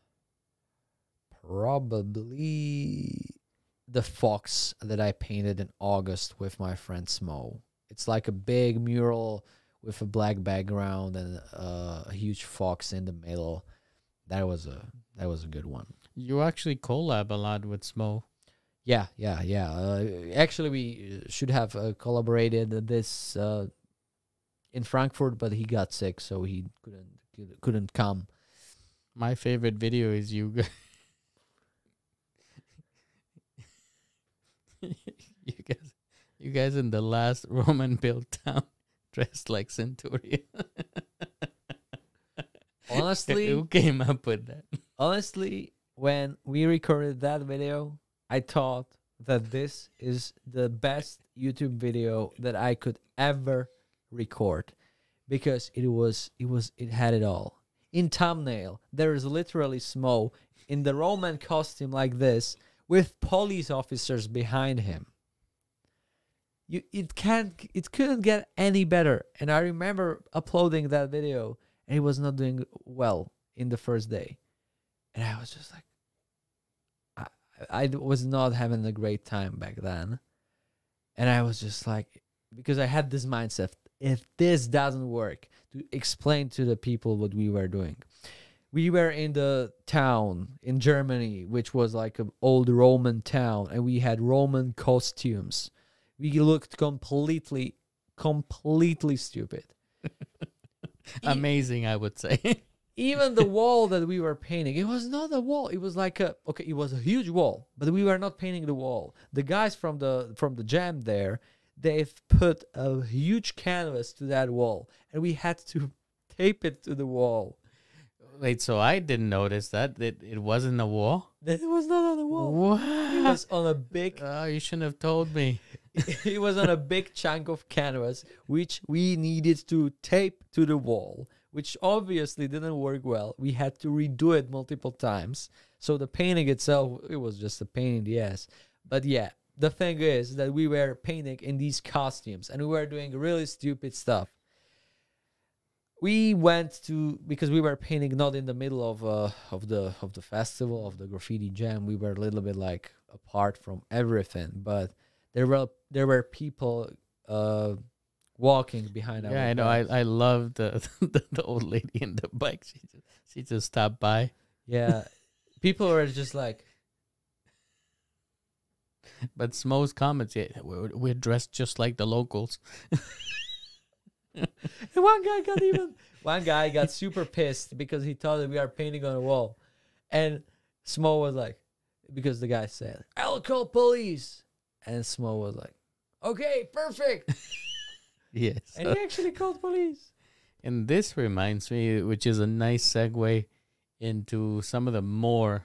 probably the fox that I painted in August with my friend Smo. It's like a big mural with a black background and uh, a huge fox in the middle. That was a that was a good one. You actually collab a lot with Smo. Yeah, yeah, yeah. Uh, actually, we should have uh, collaborated this uh, in Frankfurt, but he got sick, so he couldn't couldn't come. My favorite video is you. g- you guys, you guys in the last Roman built town dressed like centurion. Honestly, who came up with that? honestly, when we recorded that video, I thought that this is the best YouTube video that I could ever record, because it was it was it had it all. In thumbnail, there is literally Smo in the Roman costume like this with police officers behind him. You it can't it couldn't get any better. And I remember uploading that video and it was not doing well in the first day. And I was just like, I, I was not having a great time back then. And I was just like, because I had this mindset, if this doesn't work, to explain to the people what we were doing. We were in the town in Germany, which was like an old Roman town, and we had Roman costumes. We looked completely, completely stupid. Amazing, I would say. Even the wall that we were painting, it was not a wall. It was like a, okay, it was a huge wall, but we were not painting the wall. The guys from the from the jam there, they've put a huge canvas to that wall, and we had to tape it to the wall. Wait, so I didn't notice that it, it wasn't a wall? It was not on the wall. What? It was on a big. Oh, you shouldn't have told me. It was on a big chunk of canvas, which we needed to tape to the wall, which obviously didn't work well. We had to redo it multiple times. So the painting itself, it was just a pain in the ass. But yeah, the thing is that we were painting in these costumes and we were doing really stupid stuff. We went to, because we were painting not in the middle of uh, of the of the festival, of the graffiti jam. We were a little bit like apart from everything, but there were there were people uh, walking behind our Yeah, I know. backs. I, I love the, the the old lady in the bike. She just, she just stopped by. Yeah, people were just like, But Smo's comments, yeah, we're, we're dressed just like the locals. and one guy got even one guy got super pissed because he thought that we are painting on a wall, and Smo was like, because the guy said, "I'll call police," and Smo was like, "Okay, perfect," Yes. and he actually called police. And this reminds me, which is a nice segue into some of the more,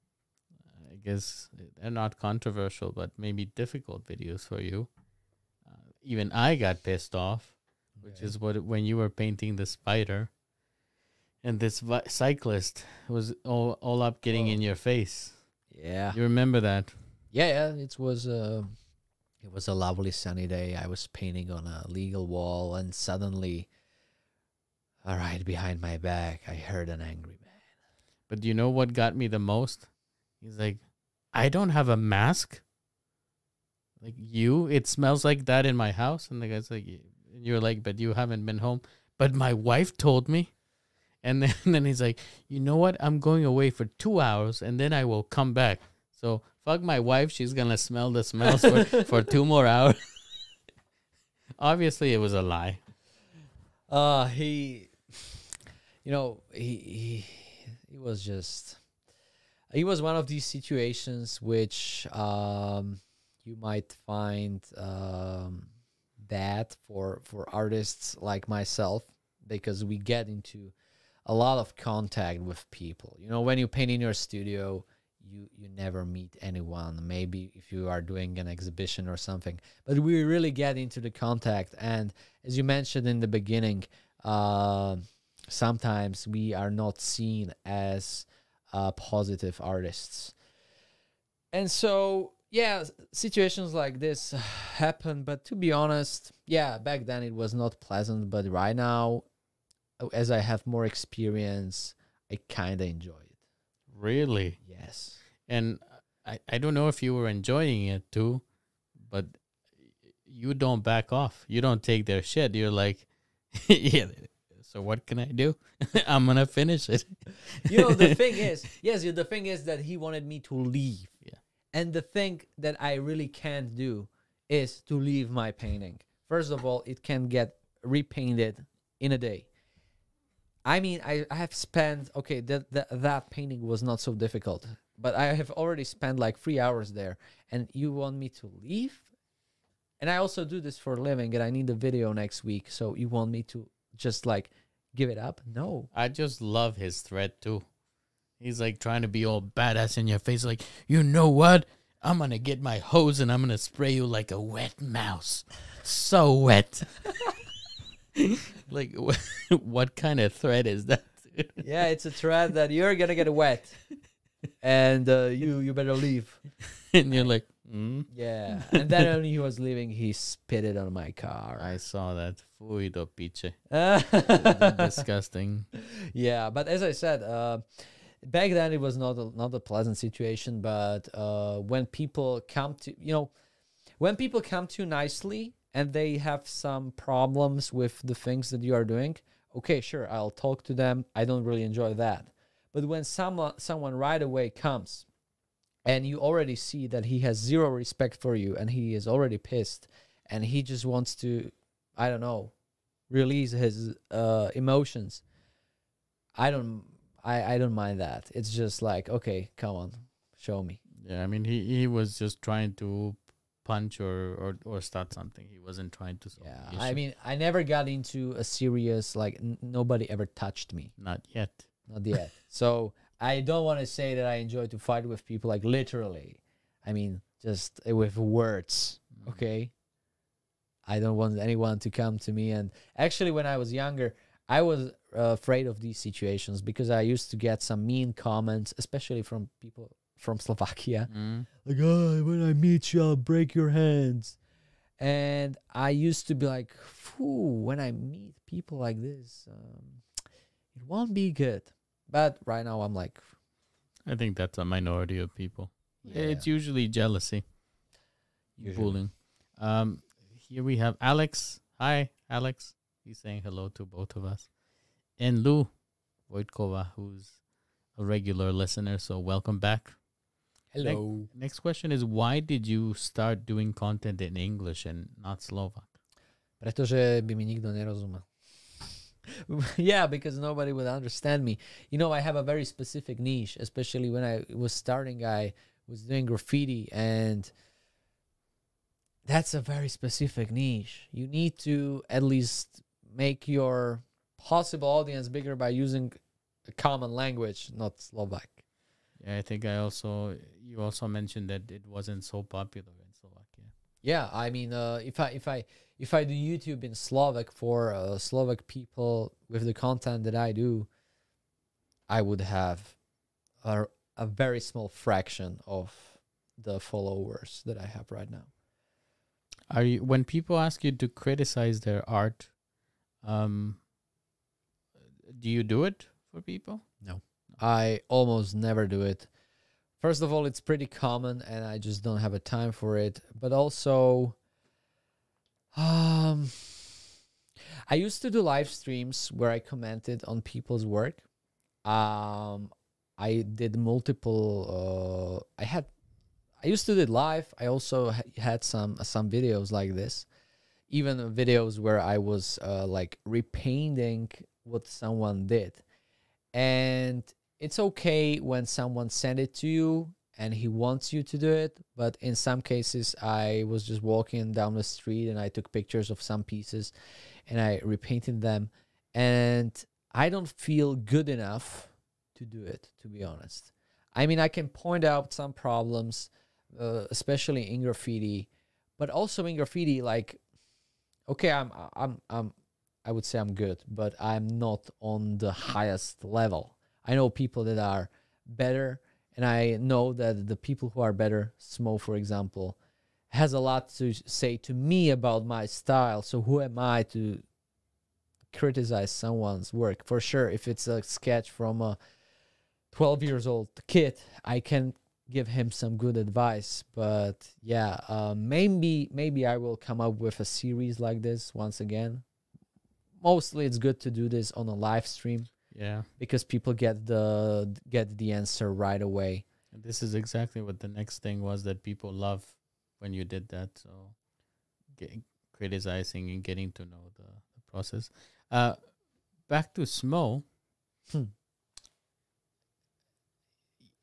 I guess, they're not controversial, but maybe difficult videos for you. Uh, even I got pissed off, which Okay. is what when you were painting the spider, and this vi- cyclist was all, all up getting Oh. in your face. Yeah, You remember that? yeah, yeah. It was uh, it was a lovely sunny day. I was painting on a legal wall, and suddenly, all right, behind my back, I heard an angry man. But do you know what got me the most? He's like, I don't have a mask. Like you, it smells like that in my house. And the guy's like, "Y- and you're like, but you haven't been home. But my wife told me. And then, then he's like, you know what? I'm going away for two hours and then I will come back. So fuck my wife. She's going to smell the smells for, for two more hours. Obviously, it was a lie. Uh he, you know, he he he was just, he was one of these situations which um you might find um bad for for artists like myself, because we get into a lot of contact with people. You know, when you paint in your studio, you you never meet anyone. Maybe if you are doing an exhibition or something, but we really get into the contact. And as you mentioned in the beginning, uh, sometimes we are not seen as uh, positive artists. And so, yeah, situations like this happen. But to be honest, yeah, back then it was not pleasant. But right now, as I have more experience, I kind of enjoy it. Really? Yes. And I, I don't know if you were enjoying it too, but you don't back off. You don't take their shit. You're like, yeah, so what can I do? I'm going to finish it. You know, the thing is, yes, the thing is that he wanted me to leave. Yeah. And the thing that I really can't do is to leave my painting. First of all, it can get repainted in a day. I mean, I, I have spent, okay, that, that that painting was not so difficult, but I have already spent like three hours there, and you want me to leave? And I also do this for a living, and I need the video next week. So you want me to just like give it up? No. I just love his threat too. He's like trying to be all badass in your face, like, you know what? I'm gonna get my hose and I'm gonna spray you like a wet mouse. So wet. Like, what kind of threat is that? Yeah, it's a threat that you're gonna get wet, and uh, you you better leave. And you're like, mm? Yeah. And then when he was leaving, he spit it on my car. I saw that. Fui do piche. Uh, Disgusting. yeah, but as I said, uh, back then it was not a, not a pleasant situation. But uh, when people come to, you know, when people come to you nicely and they have some problems with the things that you are doing, okay, sure, I'll talk to them. I don't really enjoy that. But when someone someone right away comes and you already see that he has zero respect for you and he is already pissed and he just wants to, I don't know, release his uh, emotions, I don't I, I don't mind that. It's just like, okay, come on, show me. Yeah, I mean, he, he was just trying to punch or, or, or start something. He wasn't trying to solve Yeah, the I issue. mean, I never got into a serious, like, n- nobody ever touched me. Not yet. Not yet. So I don't want to say that I enjoy to fight with people, like, literally. I mean, just uh, with words, okay? I don't want anyone to come to me. And actually, when I was younger, I was uh, afraid of these situations because I used to get some mean comments, especially from people from Slovakia. Mm. Like, oh, when I meet you, I'll break your hands. And I used to be like, Phew, when I meet people like this, um, it won't be good. But right now, I'm like, I think that's a minority of people. yeah, It's usually jealousy, usually. bullying. Um, here we have Alex. Hi, Alex. He's saying hello to both of us. And Lou Wojtkova, who's a regular listener, so welcome back. Hello. Next question is, why did you start doing content in English and not Slovak? Pretože by mi nikto nerozumel. Yeah, because nobody would understand me. You know, I have a very specific niche, especially when I was starting, I was doing graffiti, and that's a very specific niche. You need to at least make your possible audience bigger by using a common language, not Slovak. Yeah, I think I also, you also mentioned that it wasn't so popular in Slovakia. Yeah, I mean, uh, if I if I if I do YouTube in Slovak for uh, Slovak people with the content that I do, I would have a a very small fraction of the followers that I have right now. Are you, when people ask you to criticize their art, um, do you do it for people? I almost never do it. First of all, it's pretty common, and I just don't have a time for it. But also, um, I used to do live streams where I commented on people's work. Um, I did multiple. Uh, I had, I used to do it live. I also ha- had some some videos like this, even videos where I was uh, like repainting what someone did, and it's okay when someone sent it to you and he wants you to do it, but in some cases I was just walking down the street and I took pictures of some pieces and I repainted them, and I don't feel good enough to do it, to be honest. I mean, I can point out some problems, uh, especially in graffiti, but also in graffiti, like, okay, I'm I'm I'm I would say I'm good, but I'm not on the highest level. I know people that are better, and I know that the people who are better, Smo, for example, has a lot to say to me about my style. So who am I to criticize someone's work? For sure, if it's a sketch from a twelve years old kid, I can give him some good advice. But yeah, uh, maybe maybe I will come up with a series like this once again. Mostly, it's good to do this on a live stream. Yeah. Because people get the get the answer right away. And this is exactly what the next thing was that people love when you did that. So get, criticizing and getting to know the, the process. Uh, back to Smo. Hmm.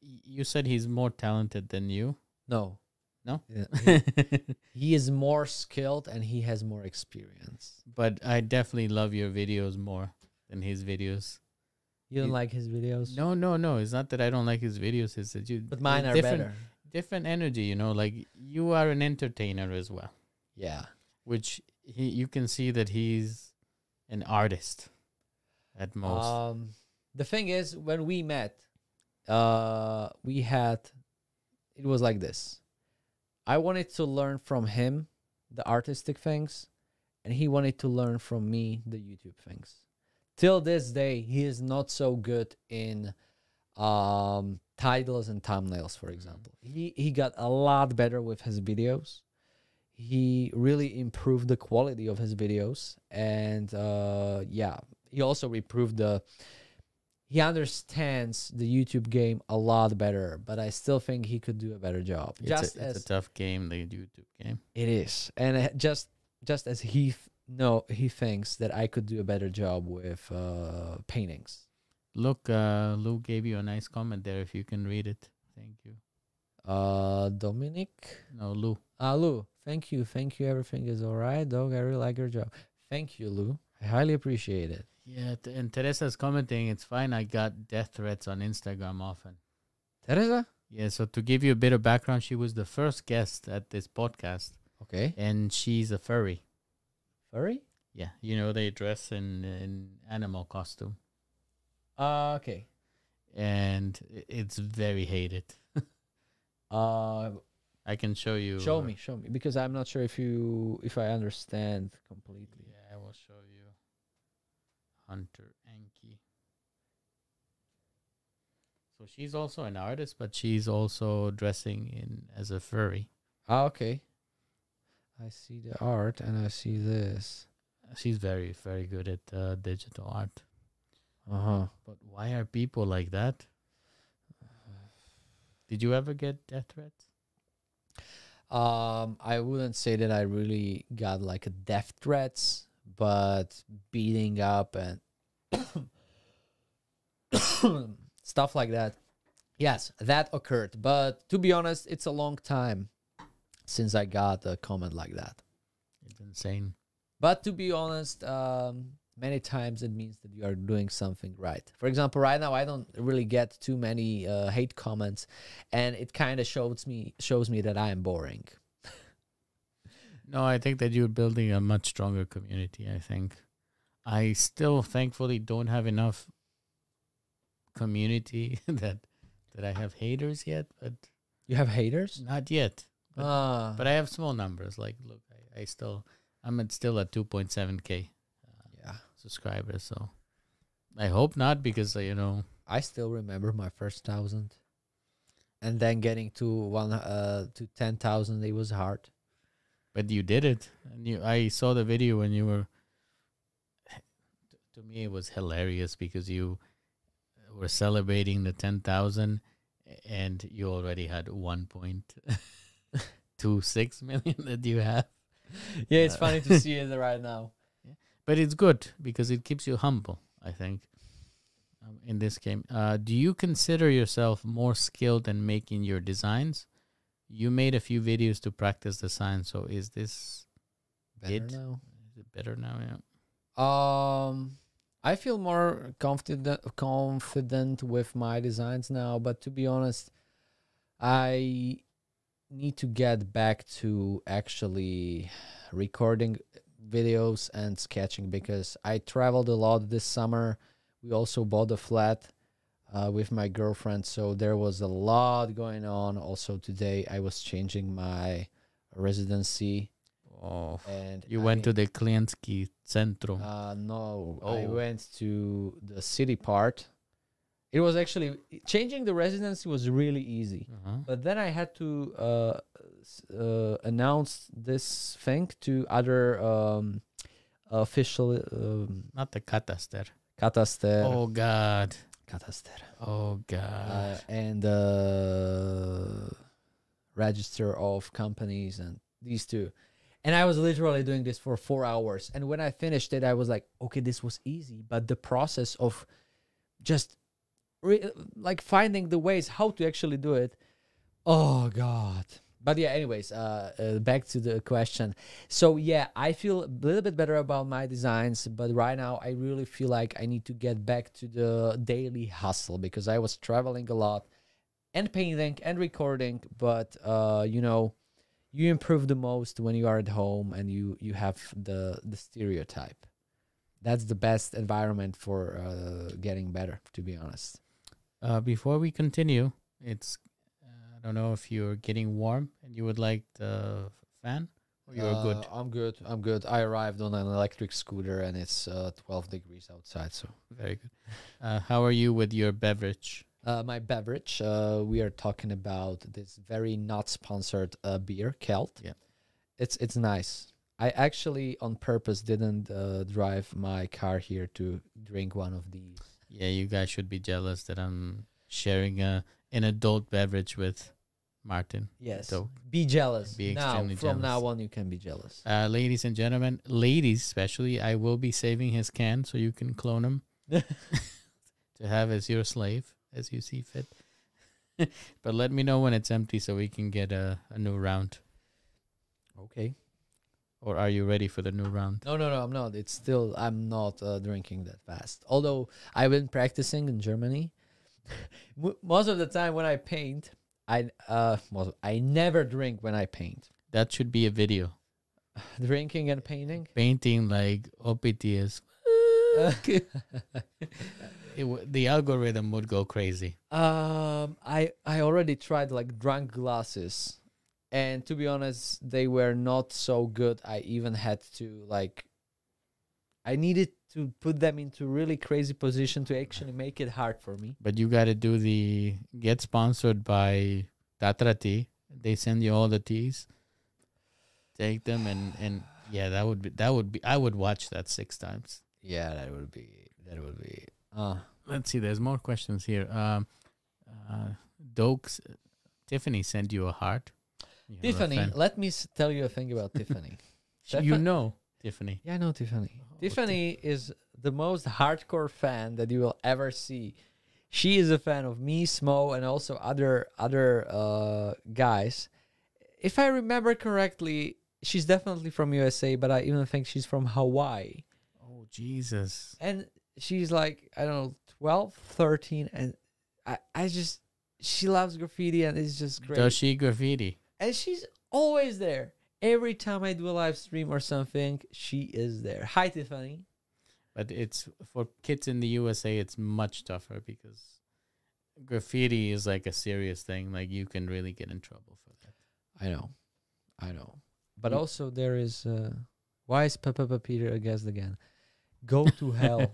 y- you said he's more talented than you. No. No? Yeah, he, he is more skilled and he has more experience. But I definitely love your videos more than his videos. You don't You- like his videos? No, no, no. It's not that I don't like his videos. It's that you. But mine are different, better. Different energy, you know. Like you are an entertainer as well, Yeah. which he you can see that he's an artist at most. Um, the thing is, when we met, uh, we had, it was like this. I wanted to learn from him the artistic things, and he wanted to learn from me the YouTube things. Till this day, he is not so good in um, titles and thumbnails, for example. He he got a lot better with his videos. He really improved the quality of his videos, and uh, yeah, he also improved the. He understands the YouTube game a lot better, but I still think he could do a better job. it's, just a, it's as a tough game, the YouTube game. it is, and uh, just just as he th- no he thinks that I could do a better job with uh, paintings. Look, uh, Lou gave you a nice comment there. If you can read it, thank you. Uh, Dominic, No, Lou. uh, Lou, thank you, thank you. Everything is all right, dog. I really like your job. Thank you, Lou. I highly appreciate it. Yeah, t- and Teresa's commenting. It's fine. I got death threats on Instagram often. Teresa, Yeah. So to give you a bit of background, she was the first guest at this podcast, okay, and she's a furry. furry. Yeah, you know they dress in in animal costume, Uh, okay. and i- it's very hated. Uh, I can show you. show uh, me, show me, because I'm not sure if you if I understand completely. Yeah, I will show you. Hunter Anki. So she's also an artist, but she's also dressing in as a furry. Ah, okay. I see the art and I see this. She's very, very good at uh, digital art. Uh huh. But why are people like that? Did you ever get death threats? Um, I wouldn't say that I really got like a death threats, but beating up and stuff like that. Yes, that occurred. But to be honest, it's a long time since I got a comment like that. It's insane. But to be honest, um, many times it means that you are doing something right. For example, right now I don't really get too many uh, hate comments, and it kind of shows me shows me that I am boring. No, I think that you're building a much stronger community, I think. I still thankfully don't have enough community that that I have haters yet, but You have haters? not yet. But, Ah, but I have small numbers. Like, look, I, I still, I'm at still at two point seven K uh, yeah. subscribers. So I hope not, because, uh, you know, I still remember my first thousand, and then getting to one uh to ten thousand. It was hard. but you did it. And you, I saw the video when you were, to me, it was hilarious because you were celebrating the ten thousand and you already had one point two six million that you have. Yeah, it's Uh, funny to see it right now. But it's good because it keeps you humble, I think, um, in this game. Uh, do you consider yourself more skilled in making your designs? You made a few videos to practice the sign, so is this Better It- now. is it better now? Yeah. Um, I feel more confident confident with my designs now, but to be honest, I need to get back to actually recording videos and sketching, because I traveled a lot this summer. We also bought a flat uh, with my girlfriend, so there was a lot going on. Also today I was changing my residency, Oh, and you I went to mean- the Klientski Centrum. uh, no, I Oh. went to the city part. It was actually changing the residency was really easy, uh-huh. but then I had to uh, s- uh, announce this thing to other um, official um, Not the Kataster. kataster, Oh God. kataster, Oh uh, God. and uh, register of companies, and these two. And I was literally doing this for four hours. And when I finished it, I was like, okay, this was easy. But the process of just re- like finding the ways how to actually do it. Oh God. But yeah, anyways, uh, uh, back to the question. So yeah, I feel a little bit better about my designs, but right now I really feel like I need to get back to the daily hustle because I was traveling a lot and painting and recording. But uh, you know, you improve the most when you are at home and you you have the the stereotype. That's the best environment for uh, getting better, to be honest. Uh, before we continue, it's uh, I don't know if you're getting warm and you would like the fan or you're Uh, good. I'm good. I'm good. I arrived on an electric scooter and it's uh, twelve degrees outside. So Very good. Uh, how are you with your beverage? uh, my beverage, uh, we are talking about this very not sponsored uh, beer, Kelt. Yeah. It's it's nice. I actually on purpose didn't uh, drive my car here to drink one of these. Yeah, you guys should be jealous that I'm sharing a an adult beverage with Martin. Yes. So, Be jealous. Be now, extremely from now jealous. on, you can be jealous. uh, ladies and gentlemen, ladies especially, I will be saving his can so you can clone him to have as your slave as you see fit. But let me know when it's empty so we can get a, a new round. Okay. Or are you ready for the new round? No, no, no, I'm not. It's still, I'm not uh, drinking that fast. Although I've been practicing in Germany. Mo- Most of the time when I paint, I uh, most, I never drink when I paint. That should be a video. Drinking and painting. Painting like O P T is. It w- the algorithm would go crazy. Um, I I already tried like drunk glasses, and to be honest, they were not so good. I even had to like, I needed to put them into really crazy position to actually make it hard for me. But you got to do the get sponsored by Tatra Tea. They send you all the teas. Take them and and yeah, that would be that would be I would watch that six times. Yeah, that would be that would be. Uh Let's see. There's more questions here. Um, uh, Dokes, Tiffany sent you a heart. You have a Tiffany, fan. let me s- tell you a thing about Tiffany. You Tiffany- know Tiffany. Yeah, I know Tiffany. Oh, Tiffany is the most hardcore fan that you will ever see. She is a fan of me, Smo, and also other other uh, guys. If I remember correctly, she's definitely from U S A, but I even think she's from Hawaii. Oh Jesus! And she's like, I don't know, twelve, thirteen, and I, I just, she loves graffiti and it's just great. Does she graffiti? And she's always there. Every time I do a live stream or something, she is there. Hi, Tiffany. But it's for kids in the U S A. It's much tougher because graffiti is like a serious thing. Like you can really get in trouble for that. I know. I know. But You- also there is, uh, why is Papa Peter a guest again? Go to hell.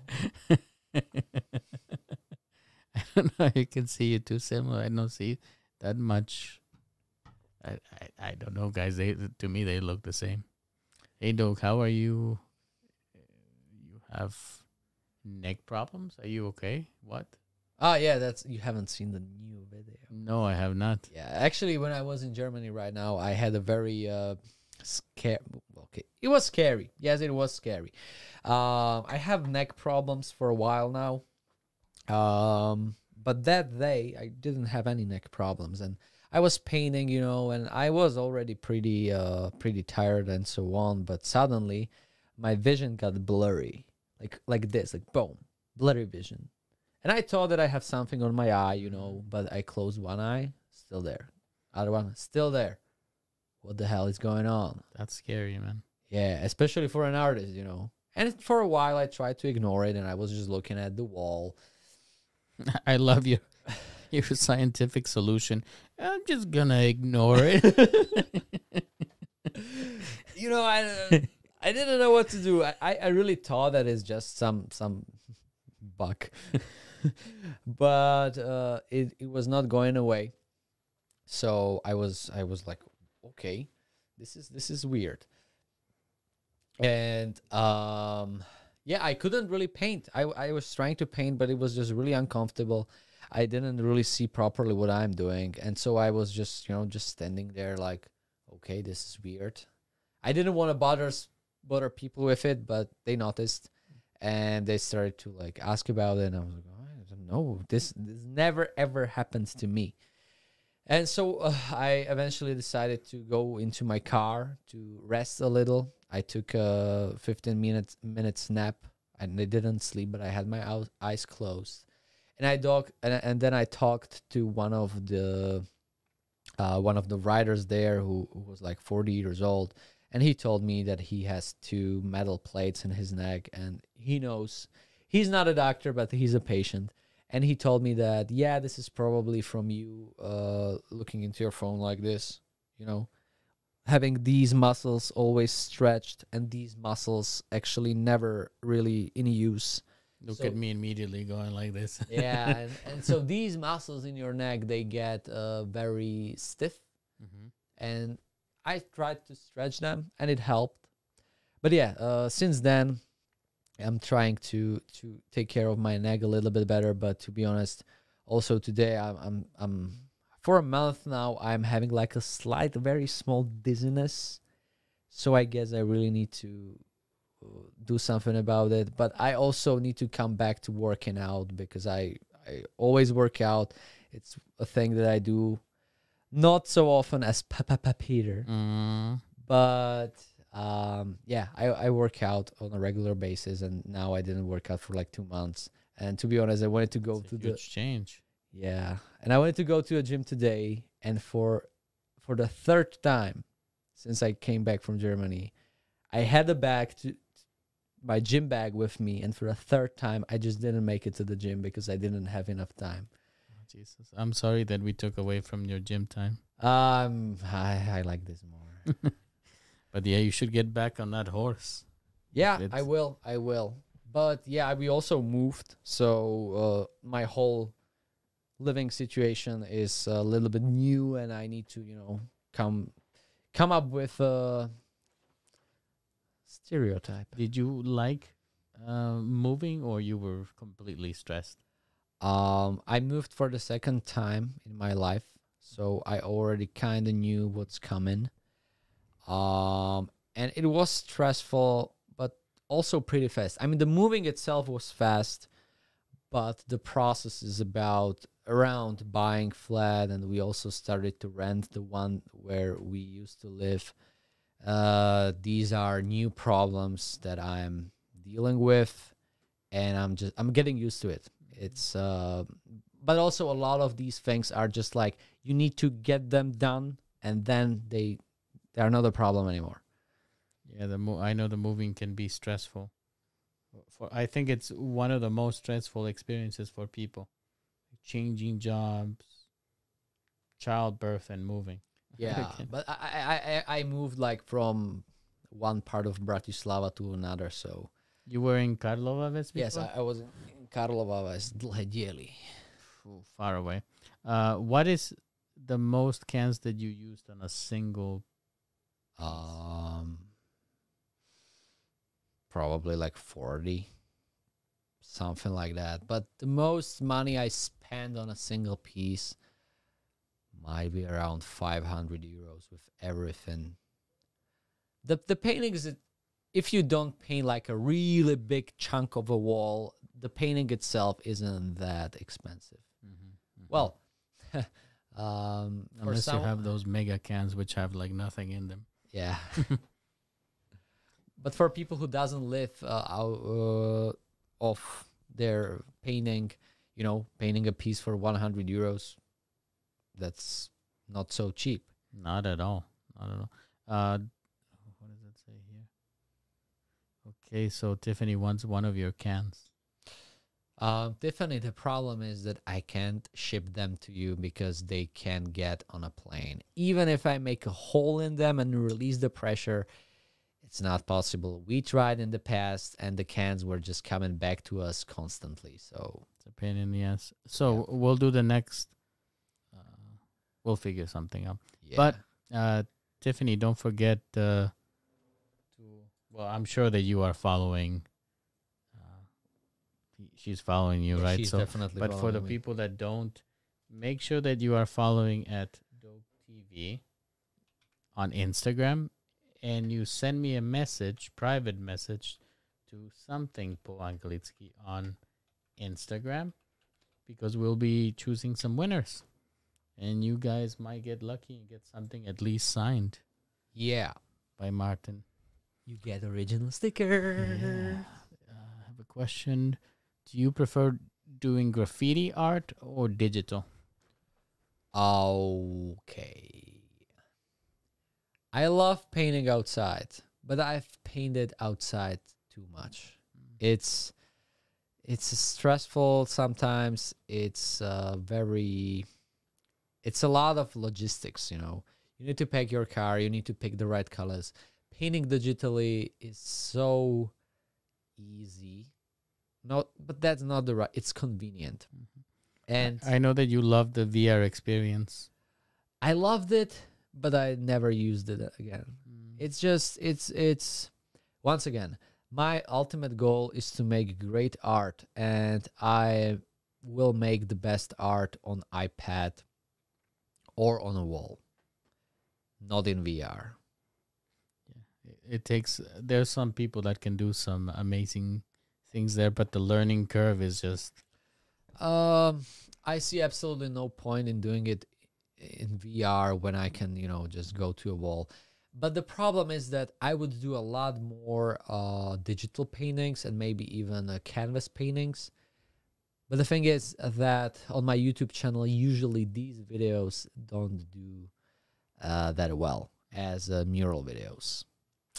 I don't know. You can see you too similar. I don't see that much. I, I, I don't know, guys. They to me they look the same. Hey, Doug, how are you? You have neck problems? Are you okay? What? Ah, yeah, that's, you haven't seen the new video. No, I have not. Yeah, actually, when I was in Germany right now, I had a very uh, scare. Okay, it was scary. Yes, it was scary. Um, I have neck problems for a while now. Um, but that day, I didn't have any neck problems, and I was painting, you know, and I was already pretty, uh, pretty tired and so on. But suddenly, my vision got blurry, like like this, like boom, blurry vision. And I thought that I have something on my eye, you know, but I closed one eye, still there. Other one, still there. What the hell is going on? That's scary, man. Yeah, especially for an artist, you know. And for a while, I tried to ignore it, and I was just looking at the wall. I love your your scientific solution. I'm just gonna ignore it. You know, I I didn't know what to do. I, I I really thought that it's just some some bug, but uh, it it was not going away. So I was I was like, okay, this is this is weird. And um, yeah, I couldn't really paint. I I was trying to paint, but it was just really uncomfortable. I didn't really see properly what I'm doing, and so I was just you know just standing there like, okay, this is weird. I didn't want to bother s- bother people with it, but they noticed, and they started to like ask about it, and I was like, oh, no, this this never ever happens to me. And so uh, I eventually decided to go into my car to rest a little. I took a fifteen minutes minutes nap, and I didn't sleep, but I had my ou- eyes closed. And I talk, and, and then I talked to one of the uh, one of the riders there who, who was like forty years old, and he told me that he has two metal plates in his neck, and he knows he's not a doctor, but he's a patient. And he told me that, yeah, this is probably from you uh, looking into your phone like this, you know, having these muscles always stretched and these muscles actually never really in use. Look So- at me immediately going like this. Yeah. and, and so these muscles in your neck, they get uh, very stiff. Mhm. And I tried to stretch them and it helped. But yeah, uh, since then, I'm trying to to take care of my neck a little bit better. But to be honest, also today I'm I'm I'm for a month now I'm having like a slight, very small dizziness. So I guess I really need to uh, do something about it. But I also need to come back to working out because I I always work out. It's a thing that I do not so often as Papa Peter, Mm. but um yeah, I, I work out on a regular basis, and now I didn't work out for like two months. And to be honest, I wanted to go It's to a the huge change. yeah, and I wanted to go to a gym today, and for for the third time since I came back from Germany, I had a bag to my gym bag with me, and for a third time I just didn't make it to the gym because I didn't have enough time. Oh, Jesus, I'm sorry that we took away from your gym time. Um I I like this more. But yeah, you should get back on that horse. Yeah, It's- I will. I will. But yeah, we also moved, so uh, my whole living situation is a little bit new, and I need to, you know, come come up with a stereotype. Did you like uh, moving, or you were completely stressed? Um, I moved for the second time in my life, so I already kind of knew what's coming. Um, and it was stressful, but also pretty fast. I mean, the moving itself was fast, but the process is about around buying flat, and we also started to rent the one where we used to live. Uh, these are new problems that I'm dealing with, and I'm just I'm getting used to it. It's uh, but also a lot of these things are just like you need to get them done, and then they they're not a problem anymore. Yeah, the mo- I know the moving can be stressful. For I think it's one of the most stressful experiences for people. Changing jobs, childbirth, and moving. Yeah, Okay. but I, I I I moved like from one part of Bratislava to another. So You were in Karlovac before? yes, I, I was in in Karlovac, Dlhé Diely. Ooh, far away. Uh, what is the most cans that you used on a single? Um, probably like forty, something like that. But the most money I spend on a single piece might be around five hundred euros with everything. The the painting is, if you don't paint like a really big chunk of a wall, the painting itself isn't that expensive. Well, um, for Unless some, you have those mega cans which have like nothing in them. yeah. But for people who doesn't live uh, out uh, of their painting, you know, painting a piece for one hundred euros, that's not so cheap. Not at all. Not at all. Uh, what does it say here? Okay, so Tiffany wants one of your cans. Uh, Tiffany, the problem is that I can't ship them to you because they can't get on a plane. Even if I make a hole in them and release the pressure, it's not possible. We tried in the past, and the cans were just coming back to us constantly. So It's a pain in the ass. So we'll do the next. Uh, we'll figure something out. yeah. But uh, Tiffany, don't forget uh, to. Well, I'm sure that you are following. Uh, he- she's following you, Yeah, right? she's So, definitely but for the following me. people that don't, make sure that you are following at Dope T V on Instagram, and you send me a message, private message, to something po Angelitsky on Instagram, because we'll be choosing some winners, and you guys might get lucky and get something at least signed Yeah. by Martin. You get original sticker. Yeah. Uh, I have a question. Do you prefer doing graffiti art or digital? Okay. I love painting outside, but I've painted outside too much. It's it's stressful sometimes. It's uh, very it's a lot of logistics, you know. You need to pick your car, you need to pick the right colors. Painting digitally is so easy. Not but that's not the right it's convenient. And I know that you love the V R experience. I loved it, but I never used it again. Mm. It's just it's it's once again, my ultimate goal is to make great art, and I will make the best art on iPad or on a wall, not in V R. It takes, there's some people that can do some amazing things there, but the learning curve is just, Um, I see absolutely no point in doing it in V R when I can, you know, just go to a wall. But the problem is that I would do a lot more uh, digital paintings and maybe even uh, canvas paintings. But the thing is that on my YouTube channel, usually these videos don't do uh, that well as uh, mural videos.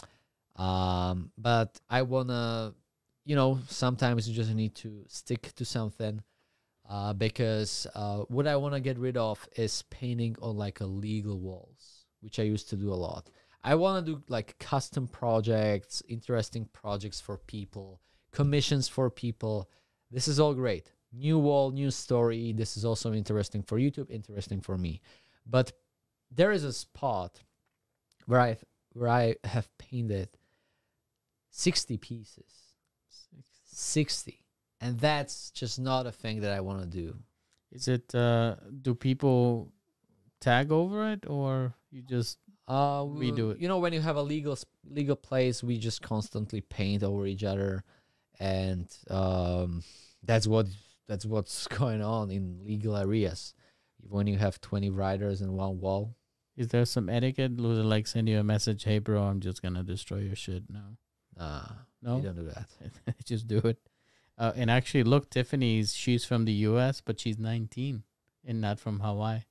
Um, but I wanna, you know, sometimes you just need to stick to something. Uh, because uh, what I want to get rid of is painting on like illegal walls, which I used to do a lot. I want to do like custom projects, interesting projects for people, commissions for people. This is all great. New wall, new story. This is also interesting for YouTube, interesting for me. But there is a spot where I where I have painted sixty pieces. sixty. And that's just not a thing that I want to do. is it, uh, do people tag over it, or you just, Uh, We do it. You know, when you have a legal s- legal place, we just constantly paint over each other, and um, that's what that's what's going on in legal areas. When you have twenty writers in one wall, is there some etiquette? Loser like send you a message, hey bro, I'm just gonna destroy your shit. No, nah, no, you don't do that. just do it. Uh, and actually, look, Tiffany's, she's from the U S, but she's nineteen and not from Hawaii.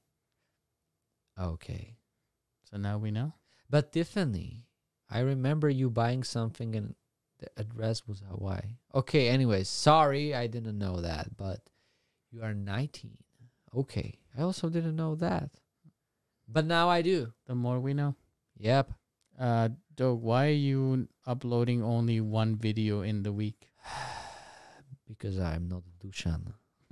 Okay, So now we know. but Tiffany, I remember you buying something and the address was Hawaii. Okay, anyways, sorry, I didn't know that, but you are nineteen. Okay, I also didn't know that, but now I do. The more we know. Yep. Uh, Doug, why are you uploading only one video in the week? Because I'm not Dushan.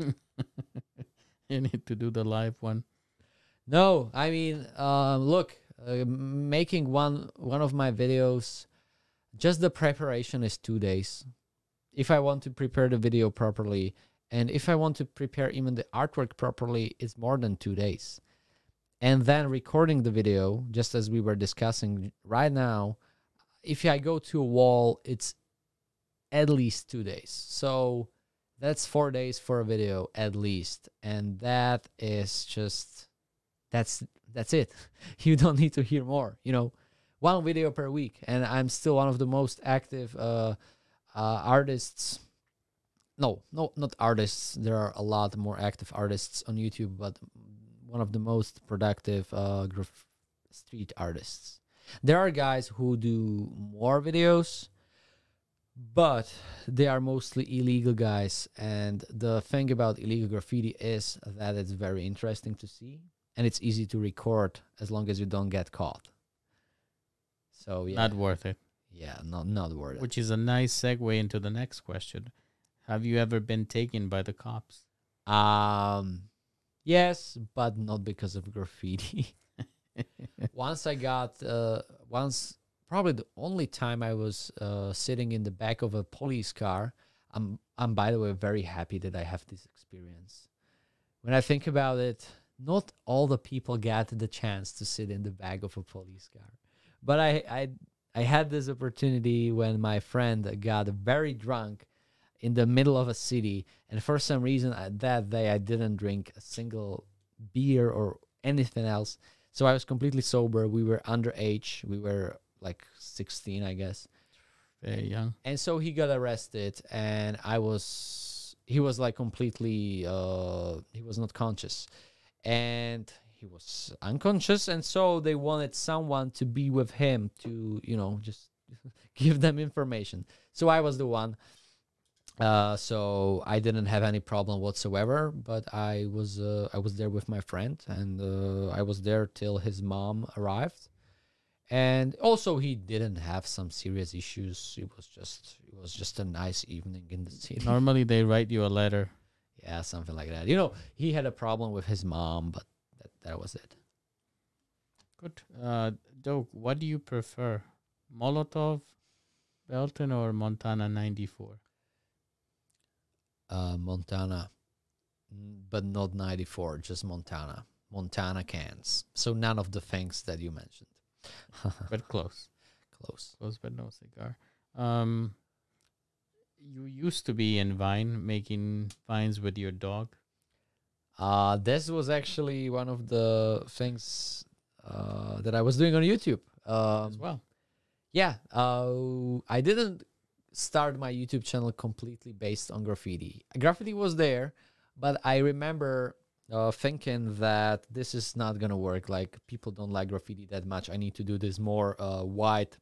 You need to do the live one. No, I mean, uh, look, uh, making one one of my videos, just the preparation is two days. If I want to prepare the video properly, and if I want to prepare even the artwork properly, it's more than two days. And then recording the video, just as we were discussing right now, if I go to a wall, it's at least two days. So that's four days for a video at least. And that is just, that's, that's it. You don't need to hear more, you know, one video per week. And I'm still one of the most active uh, uh, artists. No, no, not artists. There are a lot more active artists on YouTube, but one of the most productive uh, graf- street artists. There are guys who do more videos, but they are mostly illegal guys. And the thing about illegal graffiti is that it's very interesting to see, and it's easy to record as long as you don't get caught. So yeah, Not worth it. yeah, not not worth it. Which is a nice segue into the next question. Have you ever been taken by the cops? Um, yes, but not because of graffiti. Once I got, uh, once probably the only time I was uh, sitting in the back of a police car. I'm, I'm by the way very happy that I have this experience. When I think about it, not all the people got the chance to sit in the back of a police car, but I, I, I had this opportunity when my friend got very drunk in the middle of a city. And for some reason, uh, that day I didn't drink a single beer or anything else. So I was completely sober. We were underage. We were like sixteen, I guess. Very young. And so he got arrested, and I was, he was like completely, uh, he was not conscious. And he was unconscious. And so they wanted someone to be with him to, you know, just give them information. So I was the one. Uh, so I didn't have any problem whatsoever, but I was, uh, I was there with my friend, and uh, I was there till his mom arrived. And also he didn't have some serious issues. It was just, it was just a nice evening in the city. Normally they write you a letter. Yeah, something like that. You know, he had a problem with his mom, but that, that was it. Good. Uh, Doug, what do you prefer? Molotov, Belton, or Montana ninety-four? Uh, Montana, mm, but not ninety-four, just Montana. Montana cans. So none of the things that you mentioned. But close. Close. Close, but no cigar. Um, you used to be in Vine, making vines with your dog. Uh, this was actually one of the things uh, that I was doing on YouTube. Um, As well. Yeah, uh, I didn't start my YouTube channel completely based on graffiti. Graffiti was there, but I remember uh, thinking that this is not gonna work. Like, people don't like graffiti that much. I need to do this more uh, wide,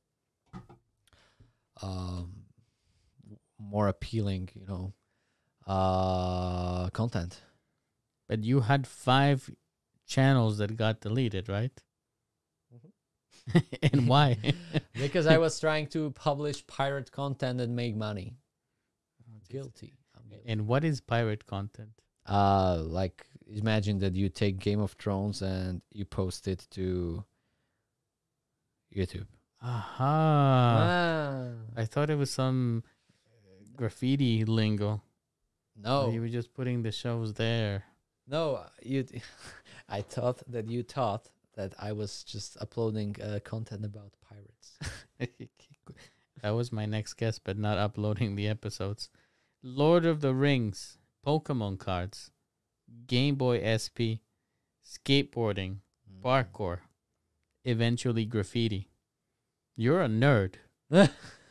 um, more appealing, you know, uh, content. But you had five channels that got deleted, right? And why? Because I was trying to publish pirate content and make money. Guilty. I'm guilty. And what is pirate content? Uh, like, imagine that you take Game of Thrones and you post it to YouTube. Aha. Ah. I thought it was some graffiti lingo. No, You were just putting the shows there. no, you. I thought that you thought that I was just uploading uh, content about pirates. That was my next guess, but not uploading the episodes. Lord of the Rings, Pokemon cards, Game Boy S P, skateboarding, parkour, eventually graffiti. You're a nerd. I'm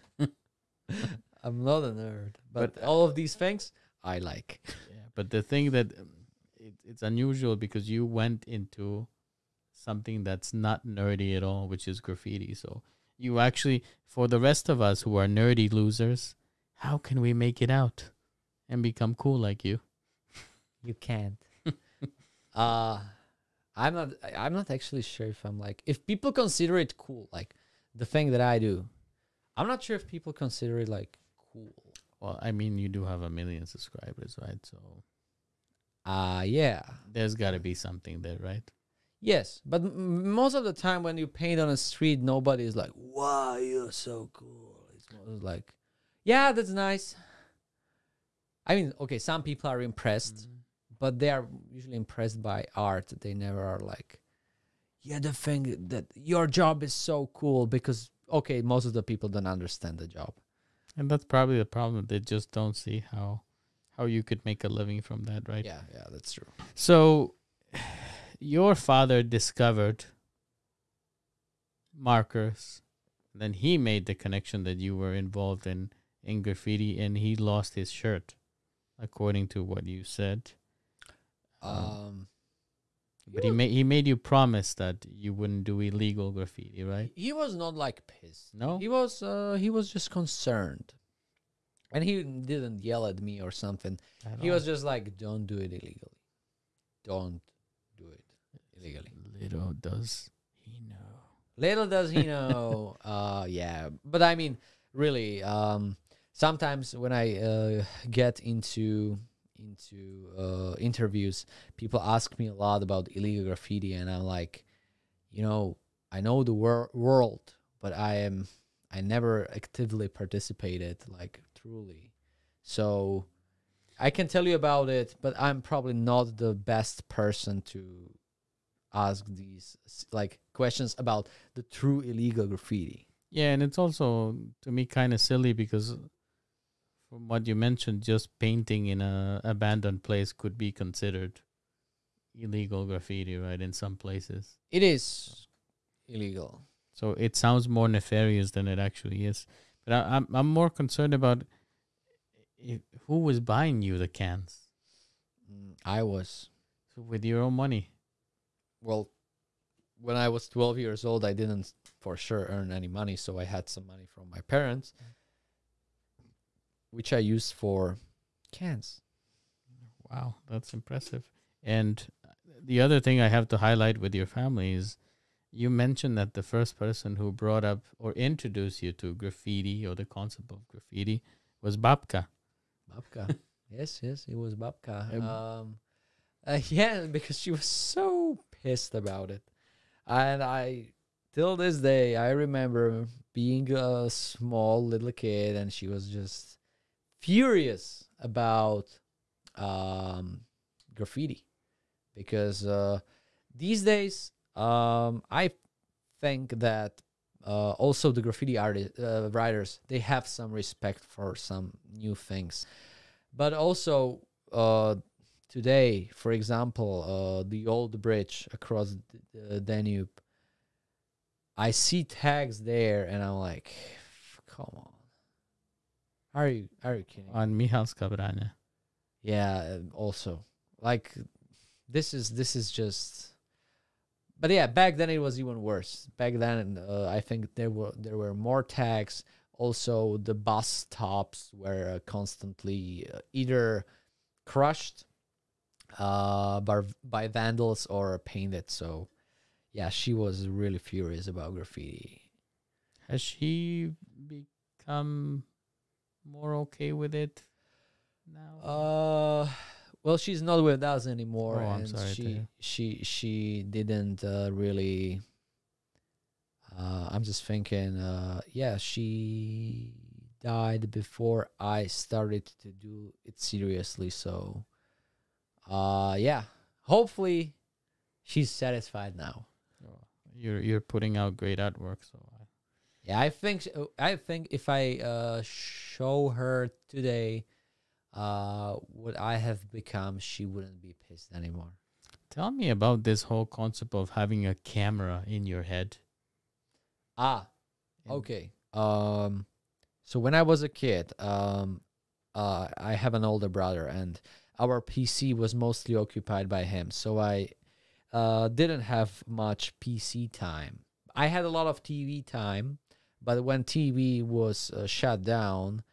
not a nerd, but, But, uh, all of these things I like. Yeah, but the thing that um, it, it's unusual because you went into something that's not nerdy at all, which is graffiti. So you actually, for the rest of us who are nerdy losers, how can we make it out and become cool like you? You can't. uh I'm not I- I'm not actually sure if I'm like, if people consider it cool, like the thing that I do. I'm not sure if people consider it like cool. Well, I mean, you do have a million subscribers, right? So Uh yeah. there's got to be something there, right? Yes, but m- most of the time when you paint on a street, nobody is like, "Wow, you're so cool." It's more like, "Yeah, that's nice." I mean, okay, some people are impressed, but they are usually impressed by art. They never are like, "Yeah, the thing that your job is so cool," because okay, most of the people don't understand the job. And that's probably the problem. They just don't see how how you could make a living from that, right? Yeah, yeah, that's true. So your father discovered markers. Then he made the connection that you were involved in, in graffiti, and he lost his shirt, according to what you said. Um, But he made he made you promise that you wouldn't do illegal graffiti, right? he was not like pissed. No? He was uh he was just concerned. And he didn't yell at me or something. At He all. was just like, "Don't do it illegally. Don't do it illegally." Little does he know. Little does he know. uh yeah. But I mean, really, um sometimes when I uh get into into uh interviews, people ask me a lot about illegal graffiti, and I'm like, you know, I know the wor- world, but I am I never actively participated, like, truly. So I can tell you about it, but I'm probably not the best person to ask these s- like questions about the true illegal graffiti. Yeah, and it's also to me kind of silly because from what you mentioned, just painting in a abandoned place could be considered illegal graffiti, right? In some places, It is illegal. so it sounds more nefarious than it actually is. But I, I'm I'm more concerned about if, who was buying you the cans. Mm, I was. So with your own money. Well, when I was twelve years old, I didn't for sure earn any money, so I had some money from my parents, which I used for cans. Wow, that's impressive. And the other thing I have to highlight with your family is you mentioned that the first person who brought up or introduced you to graffiti or the concept of graffiti was Babka. Babka. Yes, yes, it was Babka. Um, Um, uh, yeah, because she was so pissed about it. And I, till this day, I remember being a small little kid and she was just furious about um, graffiti. Because uh, these days, um, I think that uh, also the graffiti artist, uh, writers, they have some respect for some new things. But also uh, today, for example, uh, the old bridge across the Danube, I see tags there, and I'm like, come on, are you are you kidding? On Mihalska Branja. Yeah, uh, also like this is this is just. But yeah, back then it was even worse. Back then, uh, I think there were there were more tags. Also, the bus stops were uh, constantly uh, either crushed uh, by by vandals or painted. So, yeah, she was really furious about graffiti. Has she become more okay with it now? Uh, well, she's not with us anymore, Oh, I'm and sorry to she hear. she she didn't uh, really. Uh, I'm just thinking, uh, yeah, she died before I started to do it seriously. So, uh, yeah, hopefully she's satisfied now. Oh, You're you're putting out great artwork, so I, Yeah, I think sh- I think if I uh, show her today uh, what I have become, she wouldn't be pissed anymore. tell me about this whole concept of having a camera in your head. Ah, And okay. Um, so when I was a kid, um, uh, I have an older brother, and our P C was mostly occupied by him. So I uh, didn't have much P C time. I had a lot of T V time, but when T V was uh, shut down,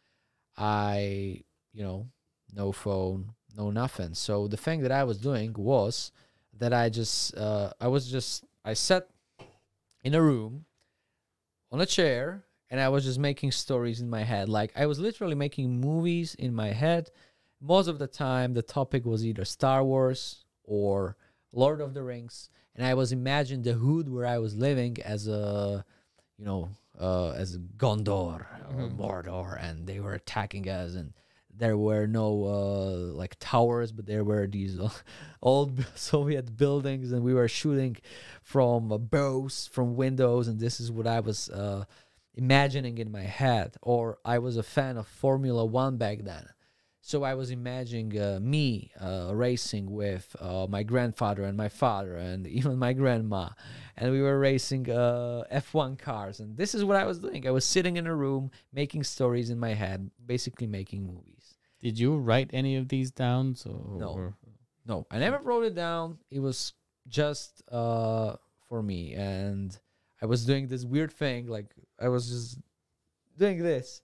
I, you know, no phone, no nothing. So the thing that I was doing was that I just, uh, I was just, I sat in a room on a chair and I was just making stories in my head. Like I was literally making movies in my head. Most of the time, the topic was either Star Wars or Lord of the Rings, and I was imagining the hood where I was living as a, you know, uh, as Gondor or Mhm. Mordor, and they were attacking us, and there were no uh, like towers, but there were these uh, old Soviet buildings, and we were shooting from uh, bows from windows, and this is what I was uh, imagining in my head. Or I was a fan of Formula One back then, so I was imagining uh, me uh, racing with uh, my grandfather and my father and even my grandma, and we were racing uh, F one cars. And this is what I was doing. I was sitting in a room making stories in my head, basically making movies. Did you write any of these down? So No. or- No, I never wrote it down. It was just uh, for me, and I was doing this weird thing. Like I was just doing this,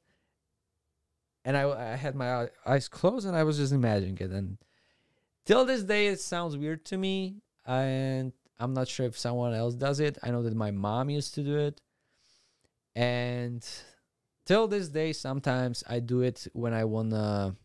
and I, I had my eye- eyes closed, and I was just imagining it. And till this day, it sounds weird to me, and I'm not sure if someone else does it. I know that my mom used to do it, and till this day, sometimes I do it when I wanna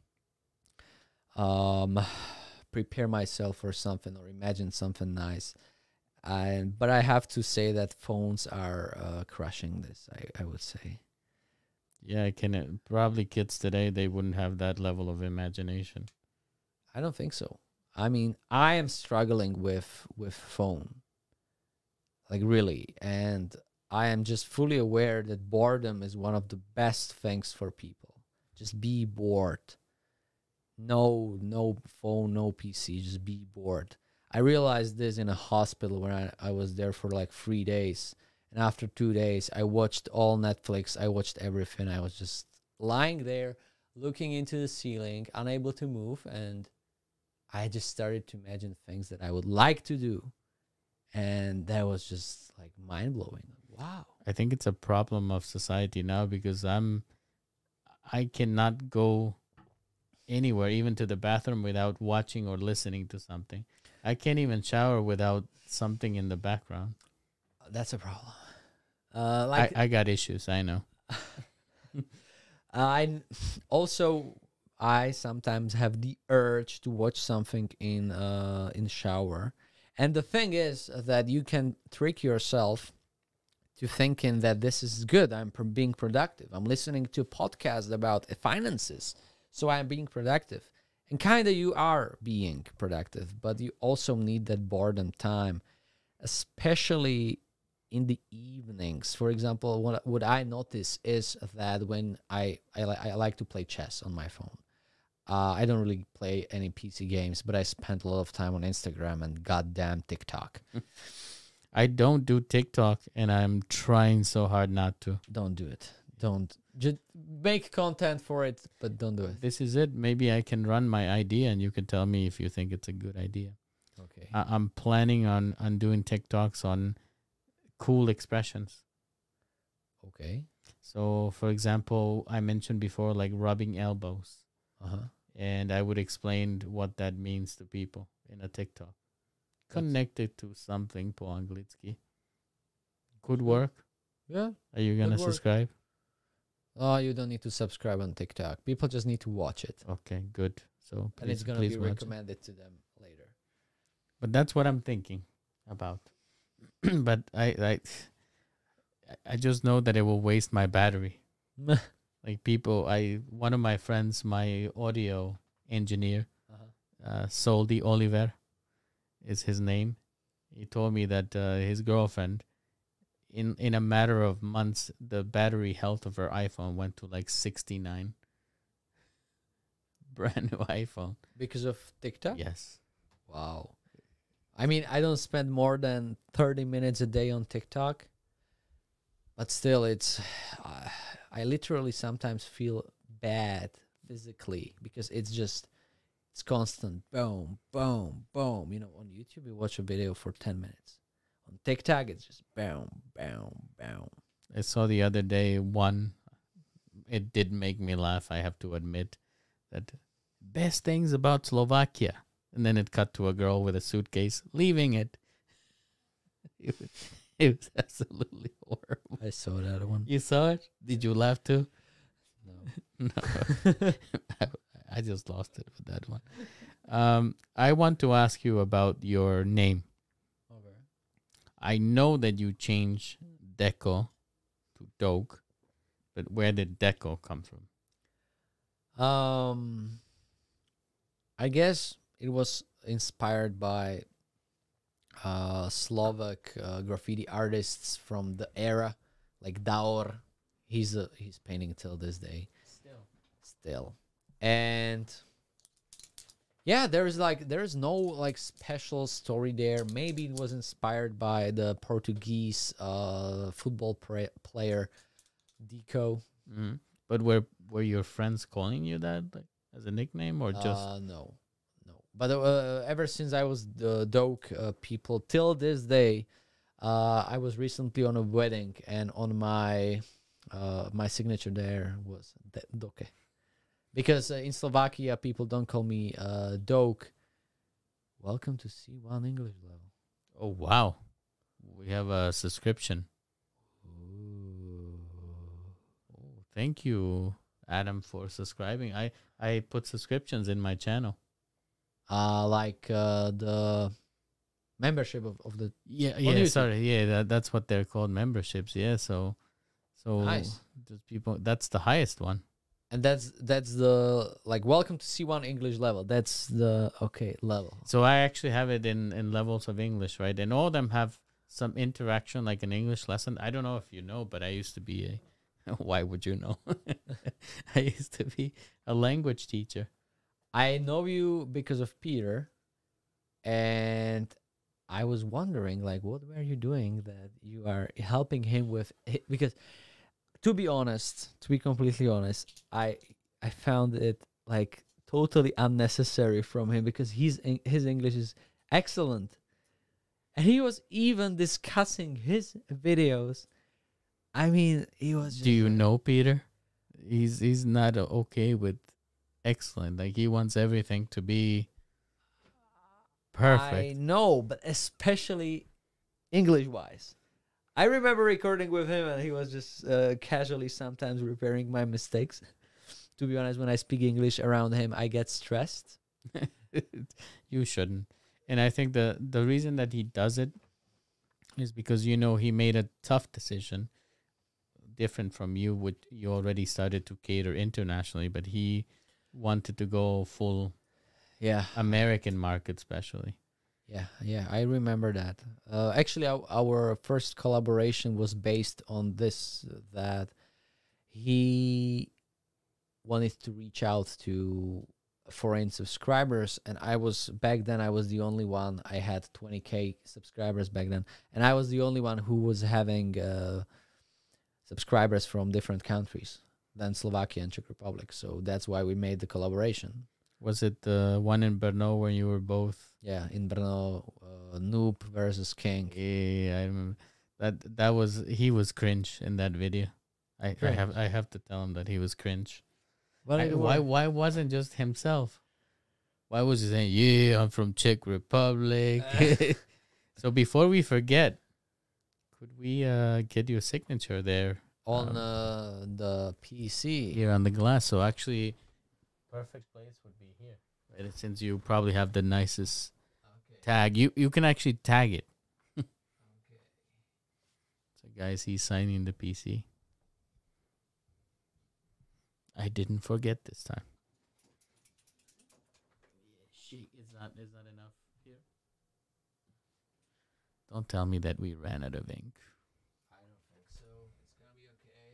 um prepare myself for something or imagine something nice. And but I have to say that phones are uh, crushing this. I, I would say. yeah, I can uh, probably kids today they wouldn't have that level of imagination. I don't think so. I mean, I am struggling with with phone, like really, and I am just fully aware that boredom is one of the best things for people. Just be bored. No, no phone, no P C. Just be bored. I realized this in a hospital when I, I was there for like three days. And after two days, I watched all Netflix. I watched everything. I was just lying there, looking into the ceiling, unable to move. And I just started to imagine things that I would like to do. And that was just like mind blowing. Wow. I think it's a problem of society now because I'm, I cannot go anywhere, even to the bathroom, without watching or listening to something. I can't even shower without something in the background. That's a problem. Uh, like I, I got issues, I know. I also I sometimes have the urge to watch something in uh in the shower, and the thing is that you can trick yourself to thinking that this is good. I'm pro- being productive. I'm listening to a podcast about finances, so I'm being productive. And kind of you are being productive, but you also need that boredom time, especially in the evenings. For example, what what I notice is that when I I, li- I like to play chess on my phone. Uh, I don't really play any P C games, but I spend a lot of time on Instagram and goddamn TikTok. I don't do TikTok, and I'm trying so hard not to. Don't do it. Don't. Just make content for it, but don't do it. This is it. Maybe I can run my idea, and you can tell me if you think it's a good idea. Okay. I- I'm planning on, on doing TikToks on cool expressions. Okay. So, for example, I mentioned before, like rubbing elbows. Uh-huh. And I would explain what that means to people in a TikTok. Connected to something po anglicky. Could work. Yeah. Are you going to Could work. subscribe? Oh, you don't need to subscribe on TikTok. People just need to watch it. Okay, good. So And it's please, going to please be watch it. recommended to them later. But that's what I'm thinking about. But I, I, I just know that it will waste my battery. Like people, I one of my friends, my audio engineer, Uh-huh. uh, Soldi Oliver, is his name. He told me that uh, his girlfriend, in in a matter of months, the battery health of her iPhone went to like sixty-nine. Brand new iPhone. Because of TikTok? Yes. Wow. I mean, I don't spend more than thirty minutes a day on TikTok. But still, it's... Uh, I literally sometimes feel bad physically because it's just... It's constant. Boom, boom, boom. You know, on YouTube, you watch a video for ten minutes. On TikTok, it's just boom, boom, boom. I saw the other day one. It did make me laugh, I have to admit. That best things about Slovakia. And then it cut to a girl with a suitcase leaving it. It was, it was absolutely horrible. I saw that one. You saw it? Did you laugh too? No. No. I, I just lost it with that one. Um, I want to ask you about your name. Okay. I know that you changed Deco to Doke, but where did Deco come from? Um, I guess it was inspired by uh, Slovak uh, graffiti artists from the era, like Daur. He's a, he's painting till this day. Still. Still, and yeah, there's like there's no like special story there. Maybe it was inspired by the Portuguese uh, football pra- player Deco. Mm-hmm. But were were your friends calling you that, like, as a nickname, or just? Uh, no, no. But uh, ever since I was the Doke uh, people till this day, uh, I was recently on a wedding, and on my uh, my signature there was De- Doke, because uh, in Slovakia people don't call me uh, Doke. Welcome to C one English level. Oh wow, we have a subscription. Oh, thank you, Adam, for subscribing. I I put subscriptions in my channel. Uh, like uh, the membership of, of the Yeah, On yeah. YouTube. Sorry, yeah. That, that's what they're called, memberships. Yeah. So, so Nice. just people. That's the highest one. and that's that's the like welcome to C one English level. That's the okay level. So I actually have it in in levels of English, right? And all of them have some interaction, like an English lesson. I don't know if you know, but I used to be a Why would you know? I used to be a language teacher. I know you because of Peter, and I was wondering, like, what were you doing that you are helping him with? hi- Because, to be honest, to be completely honest, I I found it like totally unnecessary from him because he's Eng- his English is excellent, and he was even discussing his videos. I mean, he was. Just Do you like- know Peter? He's he's not uh, okay with excellent. Like he wants everything to be perfect. I know, but especially English wise. I remember recording with him, and he was just uh, casually sometimes repairing my mistakes. To be honest, when I speak English around him, I get stressed. You shouldn't. And I think the the reason that he does it is because you know he made a tough decision, different from you, which you already started to cater internationally, but he wanted to go full Yeah, American market, especially. yeah, yeah. I remember that. Uh, actually, our, our first collaboration was based on this: uh, that he wanted to reach out to foreign subscribers, and I was back then. I was the only one. I had twenty k subscribers back then, and I was the only one who was having uh, subscribers from different countries than Slovakia and Czech Republic. So that's why we made the collaboration. Was it the one in Brno where you were both? Yeah, in Brno, uh, Noob versus King. Yeah, I remember that. That was he was cringe in that video. I, I have I have to tell him that he was cringe. Well, I- it why were- why wasn't just himself? Why was he saying, "Yeah, I'm from Czech Republic"? So before we forget, could we uh get your signature there on um, uh, the P C? here on the glass? So actually, perfect place would be here, right? Since you probably have the nicest tag, you you can actually tag it. So guys, he's signing the P C. I didn't forget this time. Shit, is not is not enough here. Don't tell me that we ran out of ink. I don't think so. It's gonna be okay.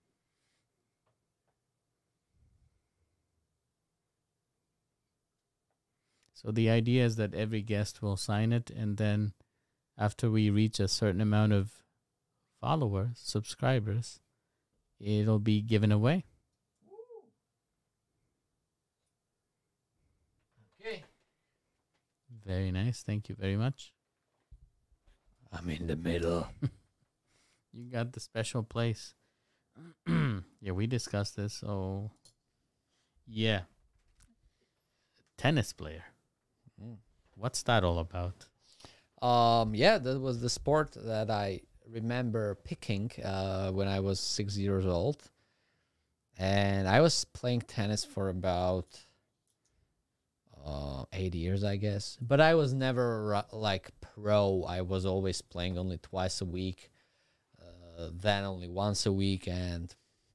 So the idea is that every guest will sign it, and then after we reach a certain amount of followers, subscribers, it'll be given away. Okay. Very nice. Thank you very much. I'm in the middle. You got the special place. Yeah, we discussed this. So, yeah. Tennis player. What's that all about? Um, yeah, that was the sport that I remember picking uh, when I was six years old, and I was playing tennis for about uh, eight years, I guess. But I was never ru- like pro. I was always playing only twice a week, uh, then only once a week, and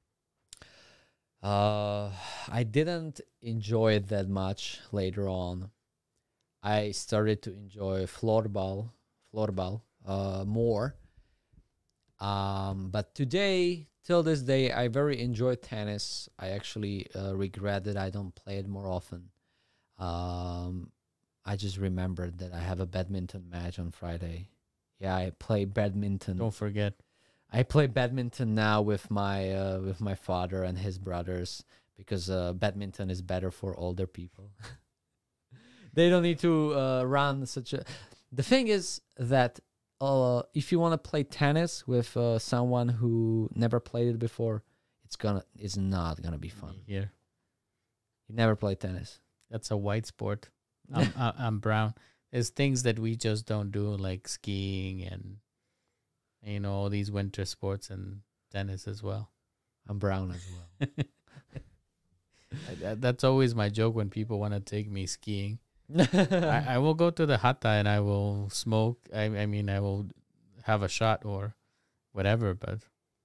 uh, I didn't enjoy it that much later on. I started to enjoy floorball, floorball uh, more. Um, but today, till this day, I very enjoy tennis. I actually uh, regret that I don't play it more often. Um, I just remembered that I have a badminton match on Friday. Yeah, I play badminton. Don't forget. I play badminton now with my uh, with my father and his brothers because uh, badminton is better for older people. They don't need to uh, run such a. The thing is that uh, if you want to play tennis with uh, someone who never played it before, it's gonna it's not gonna be fun. Here. You never played tennis. That's a white sport. I'm, I- I'm brown. There's things that we just don't do, like skiing and, you know, all these winter sports and tennis as well. I'm brown as well. I- that- That's always my joke when people want to take me skiing. I, I will go to the hata and I will smoke. I, I mean, I will have a shot or whatever, but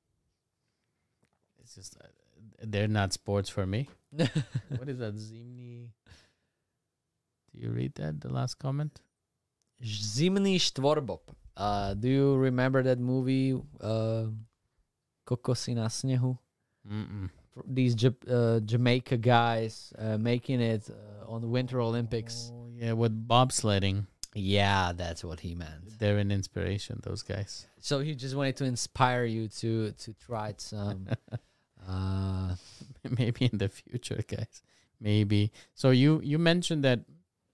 it's just, uh, they're not sports for me. What is that? Zimni. Do you read that? The last comment? Zimný štvorbob. Uh, do you remember that movie uh, Kokosy na snehu. Mm-mm. These Ja- uh, Jamaica guys uh, making it uh, on the Winter Olympics. Oh, yeah, with bobsledding. Yeah, that's what he meant. They're an inspiration, those guys. So he just wanted to inspire you to to try some. uh, Maybe in the future, guys. Maybe. So you you mentioned that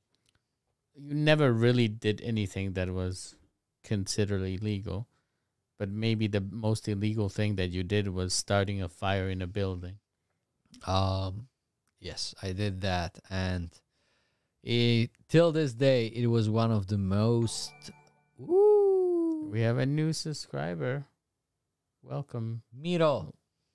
you never really did anything that was considered illegal, but maybe the most illegal thing that you did was starting a fire in a building. um, yes, I did that, and it, till this day, it was one of the most. Woo, We have a new subscriber. Welcome. Miro.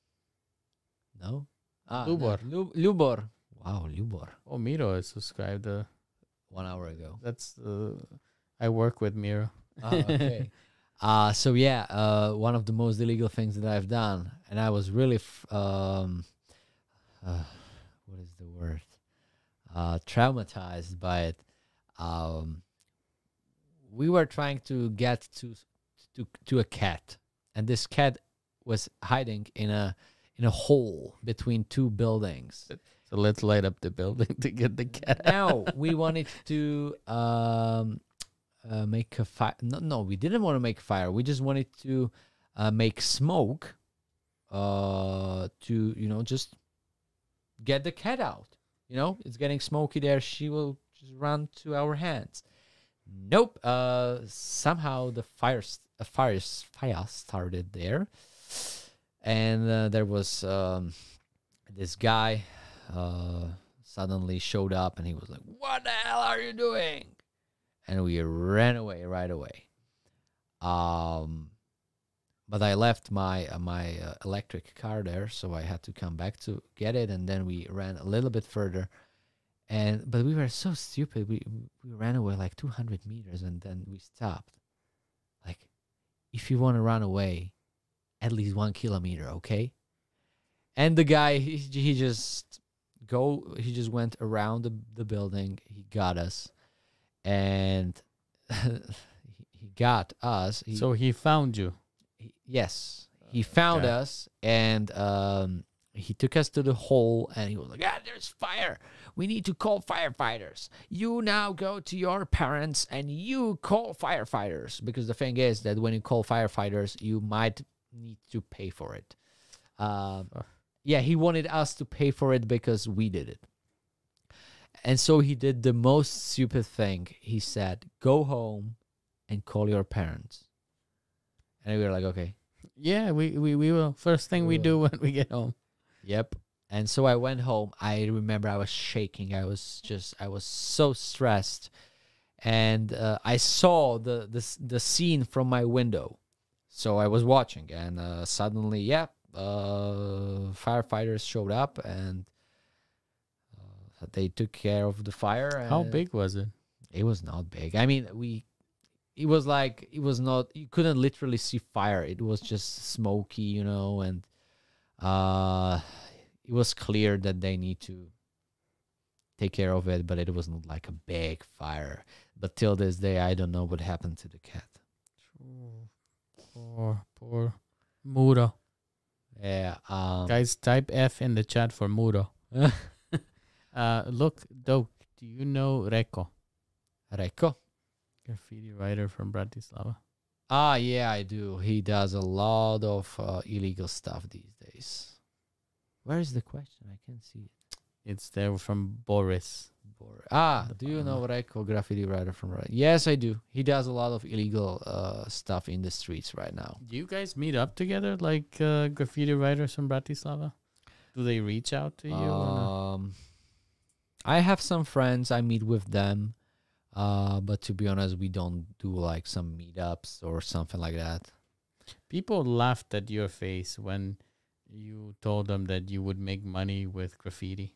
No. Ah, no, Lubor. Lu- Lubor. Wow, Lubor. Oh, Miro is subscribed. Uh, One hour ago. that's uh, I work with Miro. Ah, okay. Uh, so yeah, uh, one of the most illegal things that I've done, and I was really, f- um, uh, what is the word? Uh, traumatized by it. Um, we were trying to get to to to a cat, and this cat was hiding in a in a hole between two buildings. So let's light up the building to get the cat out. Now we wanted to um, uh, make a fire. No, no, we didn't want to make a fire. We just wanted to uh, make smoke. Uh, to you know, just get the cat out. You know, it's getting smoky there. She will just run to our hands. Nope. Uh, somehow the fire, st- a fire, s- fire started there, and uh, there was um, this guy. Uh, suddenly showed up and he was like, "What the hell are you doing?" And we ran away right away. Um, but I left my uh, my uh, electric car there, so I had to come back to get it. And then we ran a little bit further, and but we were so stupid. We we ran away like two hundred meters, and then we stopped. Like, if you want to run away, at least one kilometer, okay? And the guy, he, he just go. He just went around the the building. He got us, and he, he got us. He, So he found you. he- yes, he found Okay. us, and um, he took us to the hole, and he was like, "Ah, there's fire. We need to call firefighters. You now go to your parents and you call firefighters, because the thing is that when you call firefighters, you might need to pay for it." Um, Ugh. yeah, he wanted us to pay for it because we did it. And so he did the most stupid thing. He said, "Go home and call your parents." And we were like, "Okay." Yeah, we, we, we will. First thing we We do will. when we get home. Yep. And so I went home. I remember I was shaking. I was just, I was so stressed. And uh, I saw the, the s- the scene from my window. So I was watching, and uh, suddenly, yeah, uh, firefighters showed up, and uh, they took care of the fire. How and big was it? It was not big. I mean, we, it was like, it was not, you couldn't literally see fire. It was just smoky, you know, and uh, it was clear that they need to take care of it, but it was not like a big fire. But till this day, I don't know what happened to the cat. Poor, poor Muro. Yeah. Um, Guys, type F in the chat for Muro. Uh, look, Doke, do you know Reko? Reko. Graffiti writer from Bratislava. Ah, yeah, I do. He does a lot of uh, illegal stuff these days. Where is the question? I can't see it. It's there from Boris. Bor- Ah, The do you bottom know Reko, graffiti writer from Ra- Yes, I do. He does a lot of illegal uh, stuff in the streets right now. Do you guys meet up together like uh, graffiti writers from Bratislava? Do they reach out to you? or not? Um, I have some friends. I meet with them. Uh, but to be honest, we don't do like some meetups or something like that. People laughed at your face when you told them that you would make money with graffiti.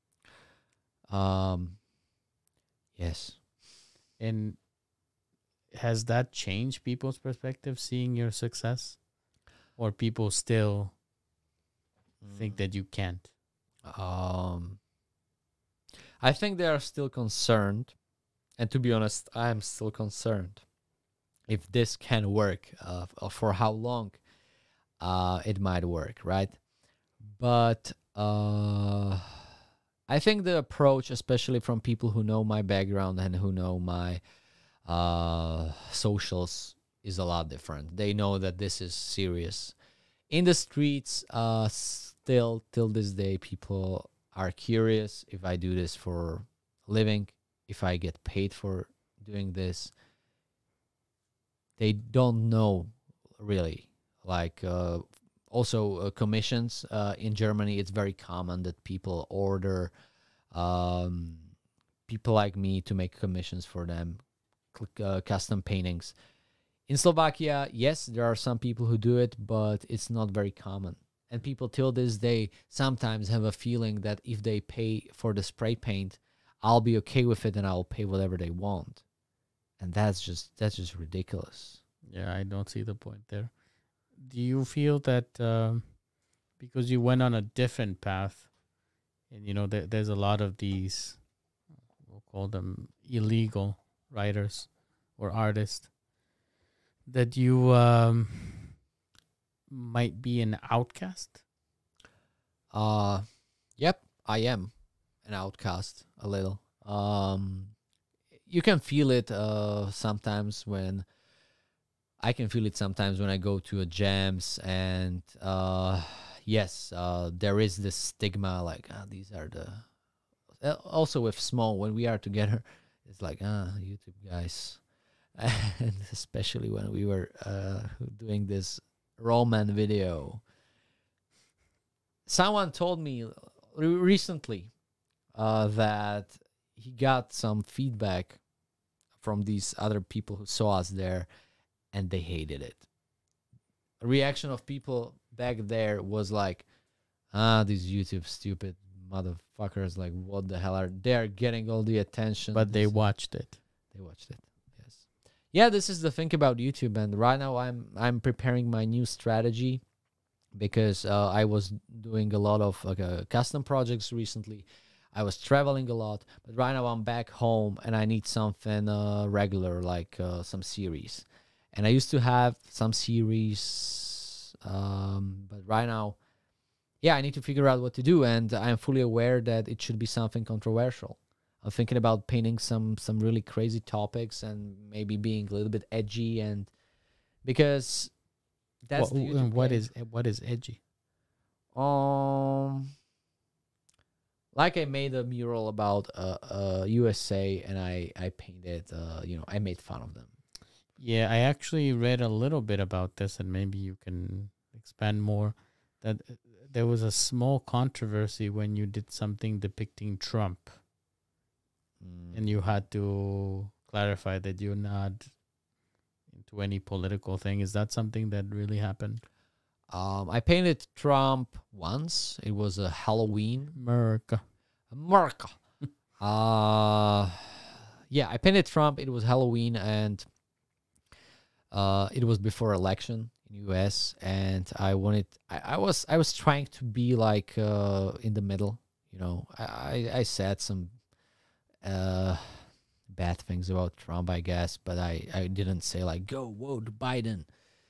Um, yes. And has that changed people's perspective seeing your success? Or people still think that you can't? Um, I think they are still concerned, and to be honest, I am still concerned if this can work. Uh, f- uh, for how long? uh, it might work, right? But uh, I think the approach, especially from people who know my background and who know my uh, socials, is a lot different. They know that this is serious. In the streets, uh, still till this day, people are curious if I do this for a living, if I get paid for doing this. They don't know really. Like uh, also uh, commissions uh, in Germany, it's very common that people order um, people like me to make commissions for them, uh, custom paintings. In Slovakia, yes, there are some people who do it, but it's not very common. And people till this day sometimes have a feeling that if they pay for the spray paint, I'll be okay with it and I'll pay whatever they want. And that's just that's just ridiculous. Yeah, I don't see the point there. Do you feel that um, because you went on a different path, and you know there, there's a lot of these, we'll call them illegal writers or artists, that you um, might be an outcast? Uh, yep, I am an outcast a little. Um, you can feel it uh, sometimes when I can feel it sometimes when I go to a jams and uh, yes, uh, there is this stigma like ah, these are the. Uh, also with small when we are together, it's like ah YouTube guys, and especially when we were uh, doing this Roman video. Someone told me re- recently uh, that he got some feedback from these other people who saw us there, and they hated it. A reaction of people back there was like, ah, these YouTube stupid motherfuckers, like, what the hell are they're getting all the attention? But they This- watched it. They watched it. Yes. Yeah, this is the thing about YouTube, and right now I'm I'm preparing my new strategy because uh, I was doing a lot of like uh, custom projects recently. I was traveling a lot, but right now I'm back home and I need something uh, regular, like uh, some series. And I used to have some series, um, but right now, yeah, I need to figure out what to do, and I'm fully aware that it should be something controversial. I'm thinking about painting some some really crazy topics and maybe being a little bit edgy, and because that's What, the YouTube what game. is what is edgy? Um, like I made a mural about uh, uh U S A, and I I painted uh you know I made fun of them. Yeah, I actually read a little bit about this, and maybe you can expand more. That uh, there was a small controversy when you did something depicting Trump, Mm. and you had to clarify that you're not into any political thing. Is that something that really happened? Um, I painted Trump once. It was a Halloween. America. America. uh yeah, I painted Trump. It was Halloween, and uh it was before election in U S, and I wanted I, I was I was trying to be like uh in the middle, you know. I I, I said some uh bad things about Trump, I guess, but I I didn't say like go vote Biden.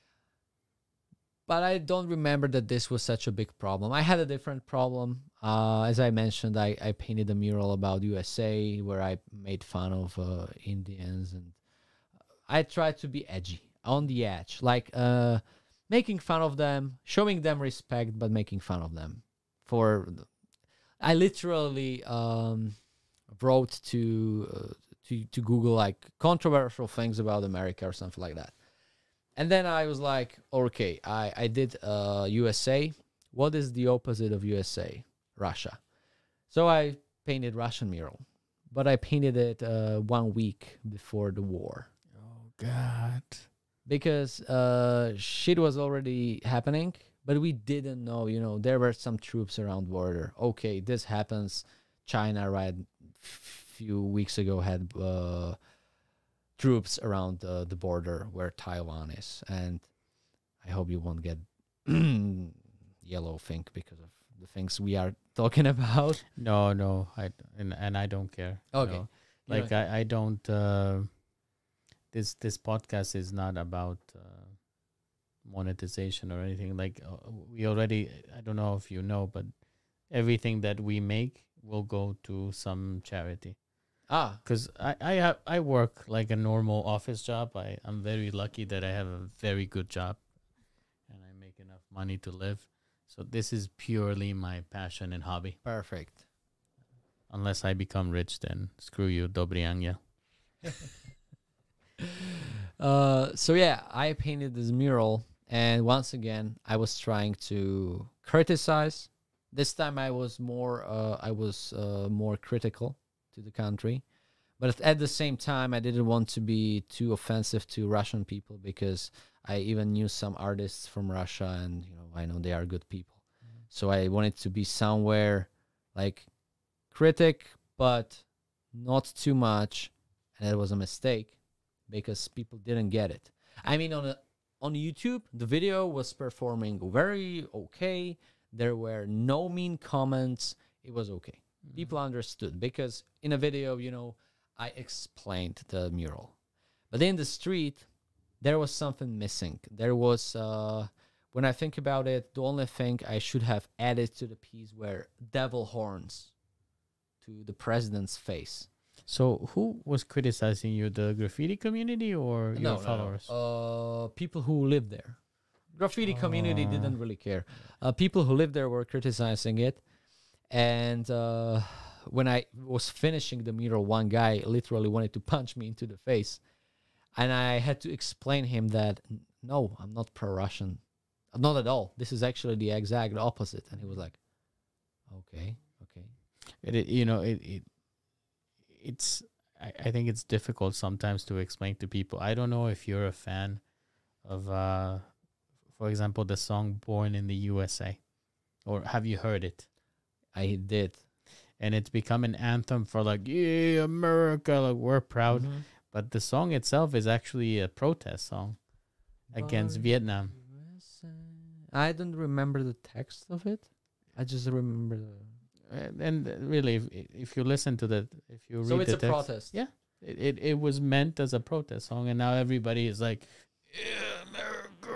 But I don't remember that this was such a big problem. I had a different problem. Uh, as I mentioned, I, I painted a mural about U S A where I made fun of uh, Indians, and I tried to be edgy, on the edge, like uh, making fun of them, showing them respect, but making fun of them. For I literally um, wrote to uh, to to Google like controversial things about America or something like that. And then I was like, okay, I, I did uh, U S A. What is the opposite of U S A? Russia. So I painted Russian mural. But I painted it uh, one week before the war. Oh God. Because uh, shit was already happening, but we didn't know, you know, there were some troops around border. Okay, this happens. China, right, few weeks ago had... Uh, troops around uh, the border where Taiwan is, and I hope you won't get yellow think because of the things we are talking about. No, no, I and and I don't care. you Okay. know. Like I I don't. Uh, this this podcast is not about uh, monetization or anything. Like uh, we already, I don't know if you know, but everything that we make will go to some charity. Ah, Because I I have I work like a normal office job. I I'm very lucky that I have a very good job, and I make enough money to live. So this is purely my passion and hobby. perfect. Unless I become rich, then screw you, dobry angel. Uh, so yeah, I painted this mural, and once again, I was trying to criticize. This time, I was more, uh, I was uh, more critical to the country, but at- at the same time, I didn't want to be too offensive to Russian people because I even knew some artists from Russia, and you know, I know they are good people. So I wanted to be somewhere like critic, but not too much, and that was a mistake because people didn't get it. I mean, on a, on YouTube, the video was performing very okay. There were no mean comments. It was okay. People understood because in a video, you know, I explained the mural, but in the street, there was something missing. There was, uh, when I think about it, the only thing I should have added to the piece were devil horns to the president's face. So who was criticizing you? The graffiti community or your No, no, followers? no. Uh, people who live there. Graffiti community Oh. didn't really care. Uh, people who lived there were criticizing it, and uh, when I was finishing the mural, one guy literally wanted to punch me into the face, and I had to explain him that "N- no, I'm not pro-Russian, not at all. This is actually the exact opposite. And he was like, okay, okay. It, it you know it, it it's I, I think it's difficult sometimes to explain to people. I don't know if you're a fan of uh for example the song Born in the U S A, or have you heard it? I did. And it's become an anthem for like, yeah, America, like we're proud. Mhm. But the song itself is actually a protest song against Born Vietnam. U S A. I don't remember the text of it. I just remember the. And, and really, if, if you listen to the, if you read So it's the a text, protest. Yeah. it, it, it was meant as a protest song, and now everybody is like, yeah, America,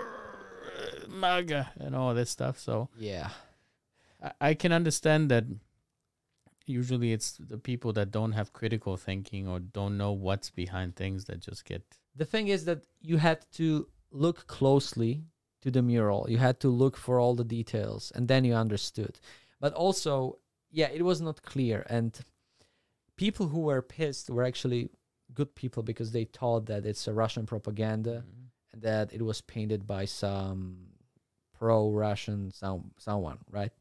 MAGA, and all this stuff. So Yeah. I, I can understand that. Usually, it's the people that don't have critical thinking or don't know what's behind things that just get. The thing is that you had to look closely to the mural. You had to look for all the details, and then you understood. But also, yeah, it was not clear. And people who were pissed were actually good people because they thought that it's a Russian propaganda and that it was painted by some pro-Russian some, someone, right?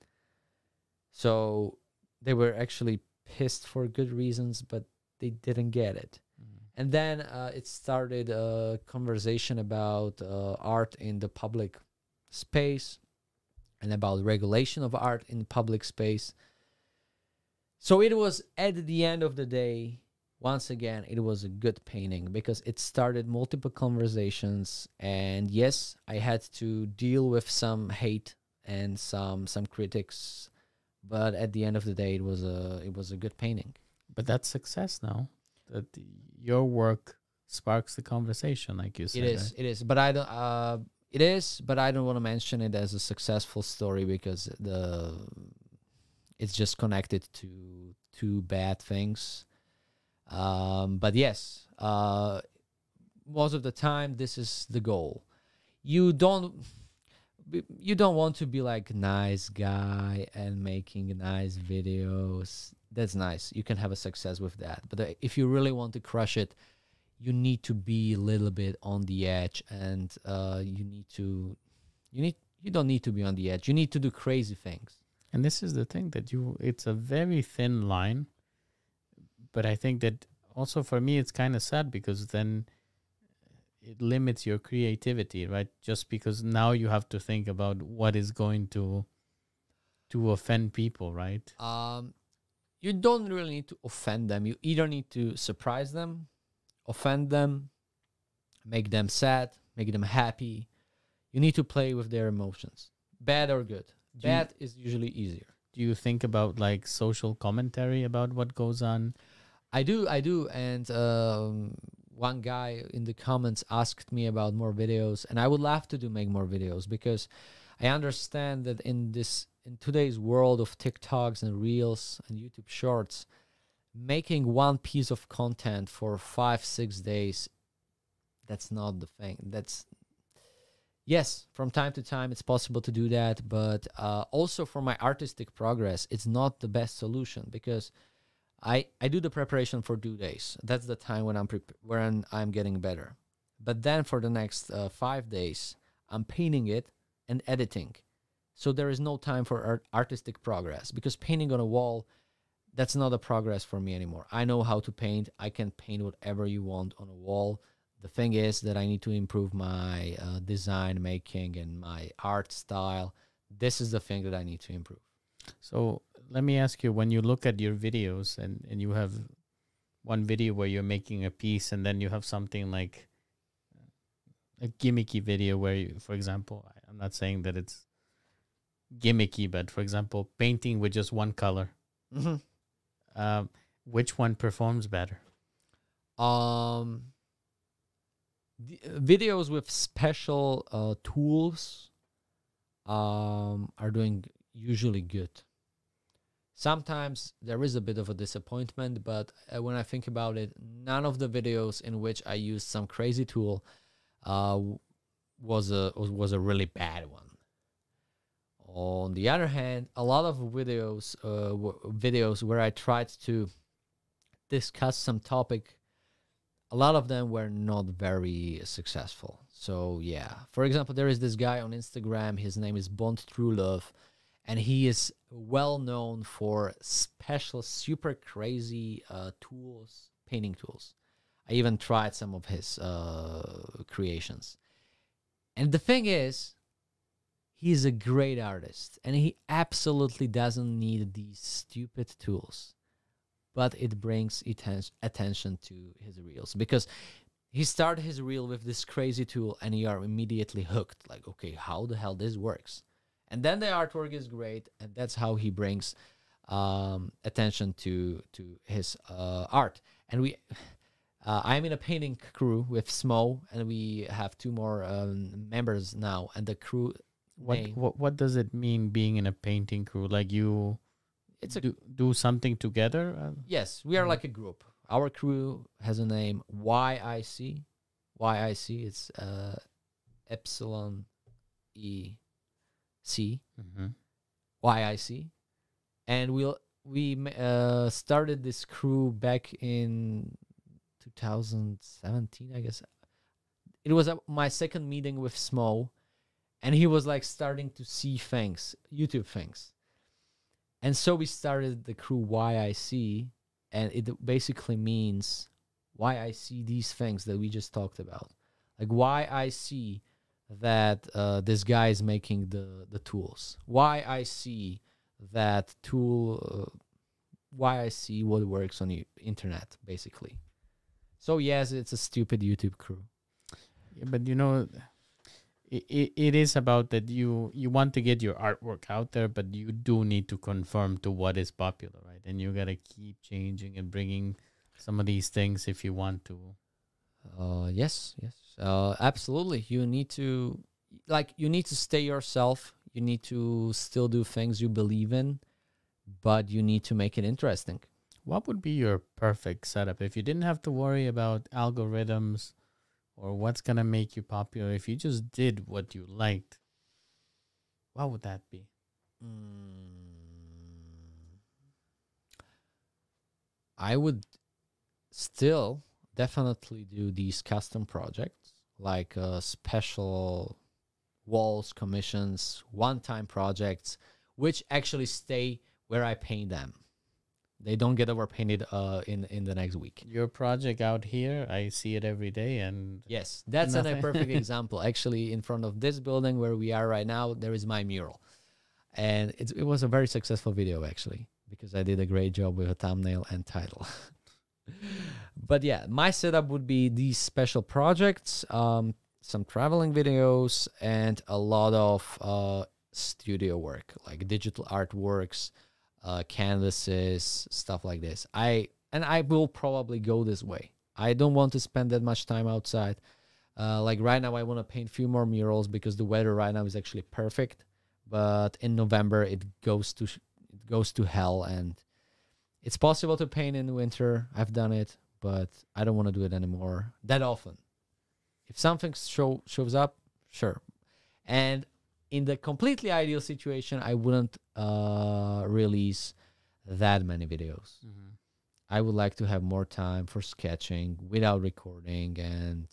So they were actually pissed for good reasons, but they didn't get it. And then uh, it started a conversation about uh, art in the public space and about regulation of art in public space. So it was, at the end of the day, once again, it was a good painting because it started multiple conversations. And yes, I had to deal with some hate and some some critics, but at the end of the day, it was a it was a good painting. But that's success now. That your work sparks the conversation, like you said. It is, right? it is, but I don't. Uh, it is, but I don't want to mention it as a successful story because the it's just connected to two bad things. Um, but yes, uh, most of the time, this is the goal. You don't. You don't want to be like nice guy and making nice videos. That's nice. You can have a success with that. But uh, if you really want to crush it, you need to be a little bit on the edge, and uh, you need to, you need, you don't need to be on the edge. You need to do crazy things. And this is the thing that you, it's a very thin line. But I think that also for me, it's kind of sad because then it limits your creativity, right? Just because now you have to think about what is going to, to offend people, right? Um, you don't really need to offend them. You either need to surprise them, offend them, make them sad, make them happy. You need to play with their emotions, bad or good. Do you- Bad is usually easier. Do you think about like social commentary about what goes on? I do, I do, and um, one guy in the comments asked me about more videos, and I would love to do make more videos because I understand that in this in today's world of TikToks and Reels and YouTube Shorts, making one piece of content for five, six days, that's not the thing. That's yes, from time to time it's possible to do that, but uh, also for my artistic progress, it's not the best solution because I I do the preparation for two days. That's the time when I'm prep- when I'm getting better. But then for the next uh, five days, I'm painting it and editing. So there is no time for art- artistic progress because painting on a wall, that's not a progress for me anymore. I know how to paint. I can paint whatever you want on a wall. The thing is that I need to improve my uh, design making and my art style. This is the thing that I need to improve. So let me ask you, when you look at your videos and, and you have one video where you're making a piece and then you have something like a gimmicky video where you, for example, I- I'm not saying that it's gimmicky, but for example, painting with just one color, Mm-hmm. um, which one performs better? Um, the, uh, videos with special uh, tools um, are doing usually good. Sometimes there is a bit of a disappointment, but uh, when I think about it, none of the videos in which I used some crazy tool uh, w- was a was was a really bad one. On the other hand, a lot of videos uh, w- videos where I tried to discuss some topic, a lot of them were not very successful. So yeah, for example, there is this guy on Instagram. His name is Bond True Love, and he is well known for special, super crazy uh, tools, painting tools. I even tried some of his uh, creations, and the thing is, he's a great artist, and he absolutely doesn't need these stupid tools, but it brings atten- attention to his reels because he started his reel with this crazy tool and you are immediately hooked. Like, okay, how the hell this works? And then the artwork is great, and that's how he brings um, attention to to his uh, art. And we, uh, I'm in a painting crew with Smo, and we have two more um, members now. And the crew What name, what what does it mean being in a painting crew? Like you it's a do do something together? Uh, yes, we are Mhm. like a group. Our crew has a name Y I C. Y I C. It's uh, Epsilon E C. Mhm. Y I C. And we'll we ma- uh, started this crew back in two thousand seventeen, I guess. It was uh, my second meeting with Smo, and he was like starting to see things, YouTube things. And so we started the crew Y I C, and it basically means why I see these things that we just talked about. Like why I see that uh, this guy is making the, the tools. Why I see that tool, uh, why I see what works on the internet, basically. So yes, it's a stupid YouTube crew. Yeah, but you know, it, it, it is about that you you want to get your artwork out there, but you do need to conform to what is popular, right? And you gotta keep changing and bringing some of these things if you want to. Uh, yes, yes, uh, absolutely. You need to, like, you need to stay yourself. You need to still do things you believe in, but you need to make it interesting. What would be your perfect setup if you didn't have to worry about algorithms or what's gonna make you popular? If you just did what you liked, what would that be? Mm, I would still definitely do these custom projects, like uh, special walls, commissions, one-time projects, which actually stay where I paint them. They don't get overpainted uh, in in the next week. Your project out here, I see it every day, and Yes, that's an, a Nothing. perfect example. Actually, in front of this building where we are right now, there is my mural, and it's, it was a very successful video actually because I did a great job with a thumbnail and title. But yeah, my setup would be these special projects, um, some traveling videos, and a lot of uh, studio work, like digital artworks, uh, canvases, stuff like this. I and I will probably go this way. I don't want to spend that much time outside. Uh, like right now, I want to paint a few more murals because the weather right now is actually perfect. But in November, it goes to sh- it goes to hell, and it's possible to paint in winter. I've done it, but I don't want to do it anymore that often. If something show, shows up, sure. And in the completely ideal situation, I wouldn't uh, release that many videos. Mm-hmm. I would like to have more time for sketching without recording and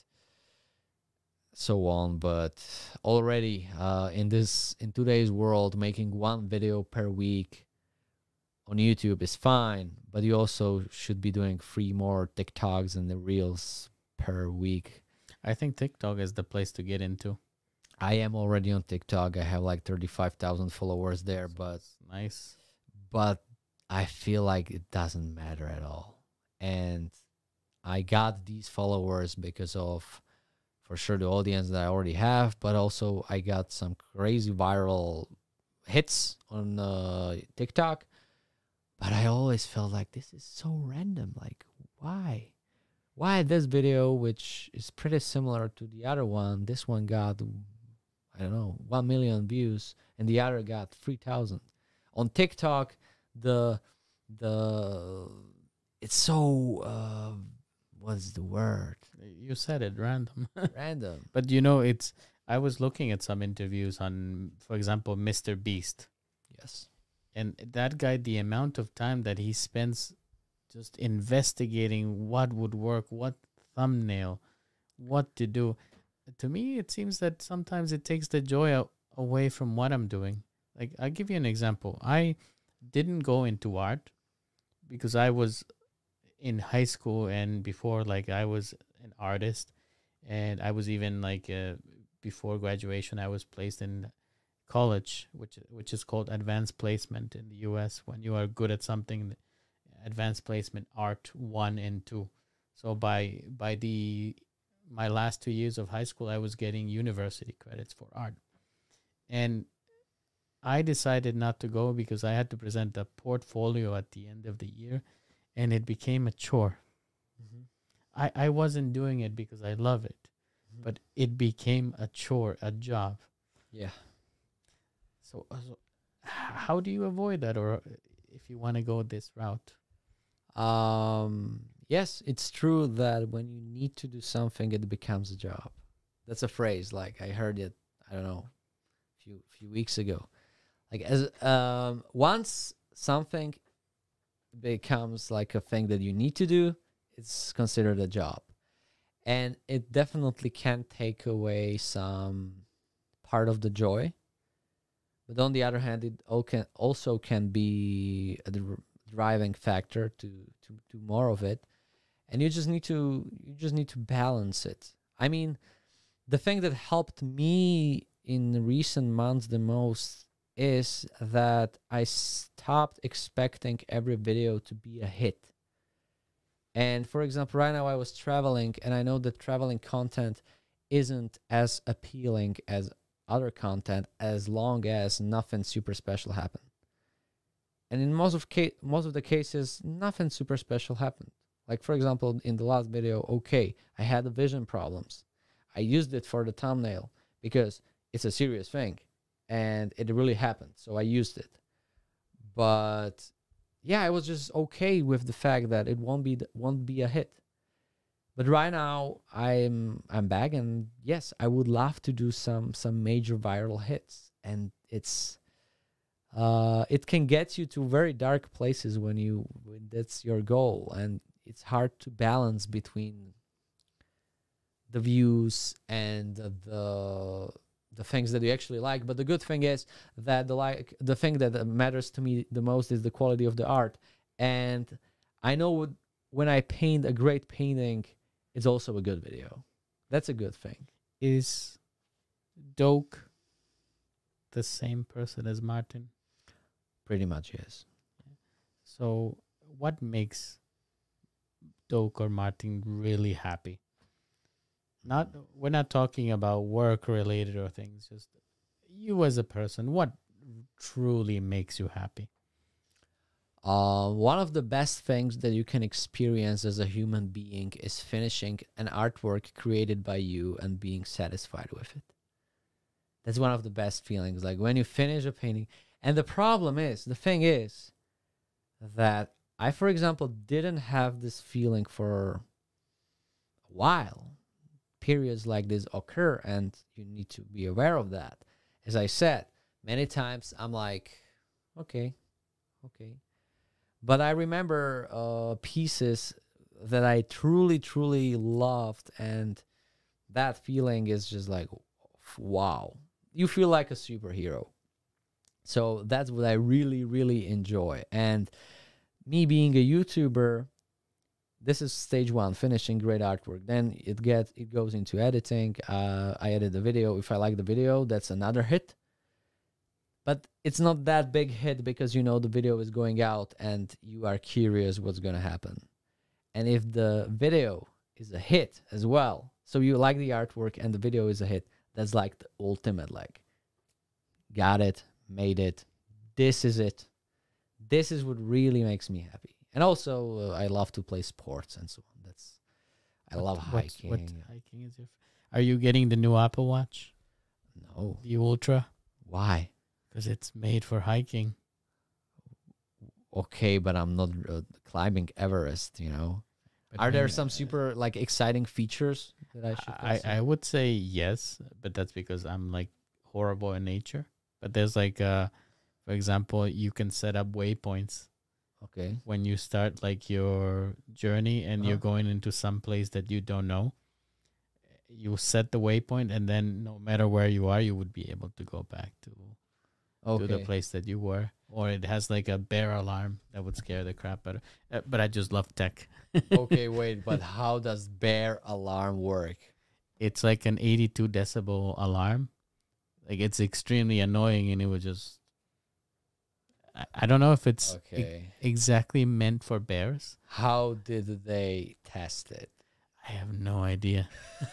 so on. But already uh, in this in today's world, making one video per week on YouTube is fine, but you also should be doing three more TikToks and the reels per week. I think TikTok is the place to get into. I am already on TikTok. I have like thirty-five thousand followers there, but Nice. but I feel like it doesn't matter at all. And I got these followers because of, for sure, the audience that I already have, but also I got some crazy viral hits on uh, TikTok. But I always felt like this is so random. Like, why? Why this video, which is pretty similar to the other one, this one got, I don't know, one million views, and the other got three thousand. On TikTok, the, the, it's so, uh, what's the word? You said it, random. Random. But you know, it's, I was looking at some interviews on, for example, Mister Beast. Yes. And that guy, the amount of time that he spends just investigating what would work, what thumbnail, what to do. To me, it seems that sometimes it takes the joy out, away from what I'm doing. Like, I'll give you an example. I didn't go into art because I was in high school and before, like, I was an artist. And I was even, like, uh, before graduation, I was placed in college, which which is called advanced placement in the U S. When you are good at something, advanced placement art one and two. So by by the my last two years of high school, I was getting university credits for art, and I decided not to go because I had to present a portfolio at the end of the year, and it became a chore. Mm-hmm. I I wasn't doing it because I love it, Mm-hmm. but it became a chore, a job. Yeah. So, uh, so h- how do you avoid that, or if you want to go this route? Um, yes, it's true that when you need to do something, it becomes a job. That's a phrase. Like I heard it, I don't know, a few few weeks ago. Like as um, once something becomes like a thing that you need to do, it's considered a job, and it definitely can take away some part of the joy. But on the other hand, it all can also can be a dr- driving factor to to do more of it, and you just need to you just need to balance it. I mean, the thing that helped me in recent months the most is that I stopped expecting every video to be a hit. And for example, right now I was traveling, and I know that traveling content isn't as appealing as other content as long as nothing super special happened. And in most of ca- most of the cases, nothing super special happened. Like for example, in the last video, okay, I had the vision problems. I used it for the thumbnail because it's a serious thing, and it really happened. So I used it. But yeah, I was just okay with the fact that it won't be th- won't be a hit. But right now I'm I'm back, and yes, I would love to do some some major viral hits, and it's uh it can get you to very dark places when you when that's your goal, and it's hard to balance between the views and the the things that you actually like. But the good thing is that the like the thing that matters to me the most is the quality of the art, and I know when I paint a great painting, it's also a good video. That's a good thing. Is Doke the same person as Martin? Pretty much, yes. So, what makes Doke or Martin really happy? Not we're not talking about work related or things. Just you as a person. What truly makes you happy? Uh, one of the best things that you can experience as a human being is finishing an artwork created by you and being satisfied with it. That's one of the best feelings. Like when you finish a painting. And the problem is, the thing is that I, for example, didn't have this feeling for a while. Periods like this occur, and you need to be aware of that. As I said, many times I'm like, okay, okay. But I remember uh, pieces that I truly, truly loved, and that feeling is just like, wow. You feel like a superhero. So that's what I really, really enjoy. And me being a YouTuber, this is stage one, finishing great artwork. Then it gets it goes into editing. Uh, I edit the video. If I like the video, that's another hit. But it's not that big hit because you know the video is going out and you are curious what's going to happen. And if the video is a hit as well, so you like the artwork and the video is a hit, that's like the ultimate, like, got it, made it, this is it. This is what really makes me happy. And also, uh, I love to play sports and so on. That's, I What- love what's- hiking. What hiking is your? f- Are you getting the new Apple Watch, No. the Ultra? Why? Because it's made for hiking. Okay, but I'm not uh, climbing Everest, you know. But Are there maybe- some super, like, exciting features that I should I, consider? I would say yes, but that's because I'm like horrible in nature. But there's like, uh, for example, you can set up waypoints Okay. when you start like your journey and you're Uh-huh. going into some place that you don't know. You set the waypoint, and then no matter where you are, you would be able to go back to to the Okay. place that you were. Or it has like a bear alarm that would scare the crap out of. Uh, but I just love tech. Okay, wait, but how does bear alarm work? It's like an eighty-two decibel alarm. Like it's extremely annoying, and it would just. I, I don't know if it's e- Okay. exactly meant for bears. How did they test it? I have no idea.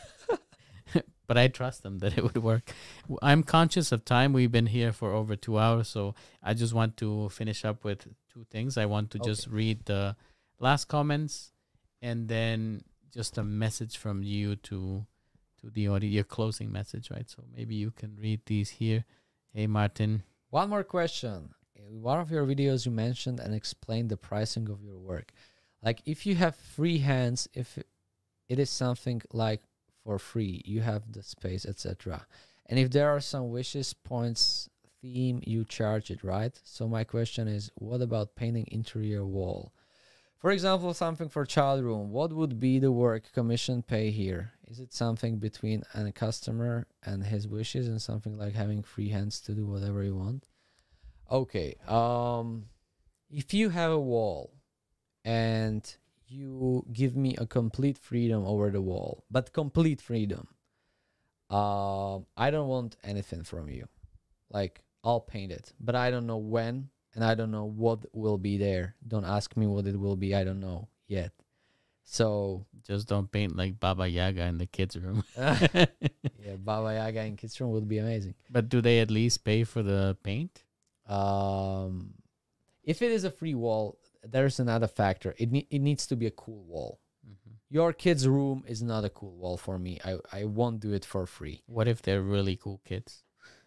But I trust them that it would work. W- I'm conscious of time. We've been here for over two hours, so I just want to finish up with two things. I want to just read the last comments, and then just a message from you to to the audience, your closing message, right? So maybe you can read these here. Hey, Martin. One more question. In one of your videos, you mentioned and explained the pricing of your work. Like, if you have free hands, if it is something like for free, you have the space, et cetera. And if there are some wishes, points, theme, you charge it, right? So my question is, what about painting interior wall? For example, something for child room. What would be the work commission pay here? Is it something between a customer and his wishes, and something like having free hands to do whatever you want? Okay. Um, if you have a wall and you give me a complete freedom over the wall, but complete freedom, um, I don't want anything from you. Like, I'll paint it, but I don't know when, and I don't know what will be there. Don't ask me what it will be. I don't know yet. So Just don't paint like Baba Yaga in the kids' room. yeah, Baba Yaga in kids room would be amazing. But do they at least pay for the paint? Um, if it is a free wall, there's another factor. It ne- it needs to be a cool wall. Mm-hmm. Your kid's room is not a cool wall for me. I, I won't do it for free. What if they're really cool kids?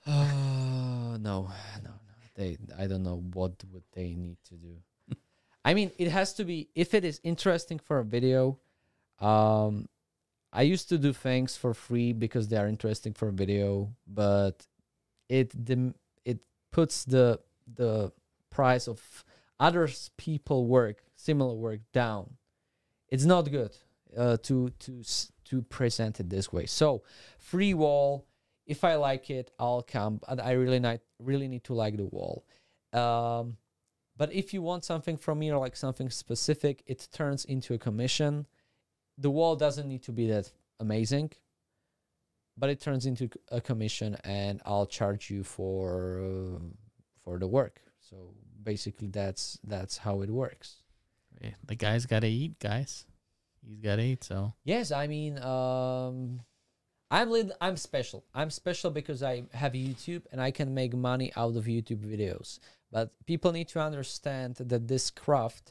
Uh, no, no, no. They, I don't know what would they need to do. I mean, it has to be, if it is interesting for a video. Um, I used to do things for free because they are interesting for a video, but it the it puts the the price of others people work, similar work, down. It's not good uh, to to s- to present it this way. So free wall. If I like it, I'll come. But I really not really need to like the wall. Um, but if you want something from me or like something specific, it turns into a commission. The wall doesn't need to be that amazing, but it turns into a commission, and I'll charge you for uh, for the work. So basically, that's that's how it works. Yeah, the guy's got to eat, guys. He's got to eat, so. Yes, I mean, um, I'm lit- I'm special. I'm special because I have YouTube and I can make money out of YouTube videos. But people need to understand that this craft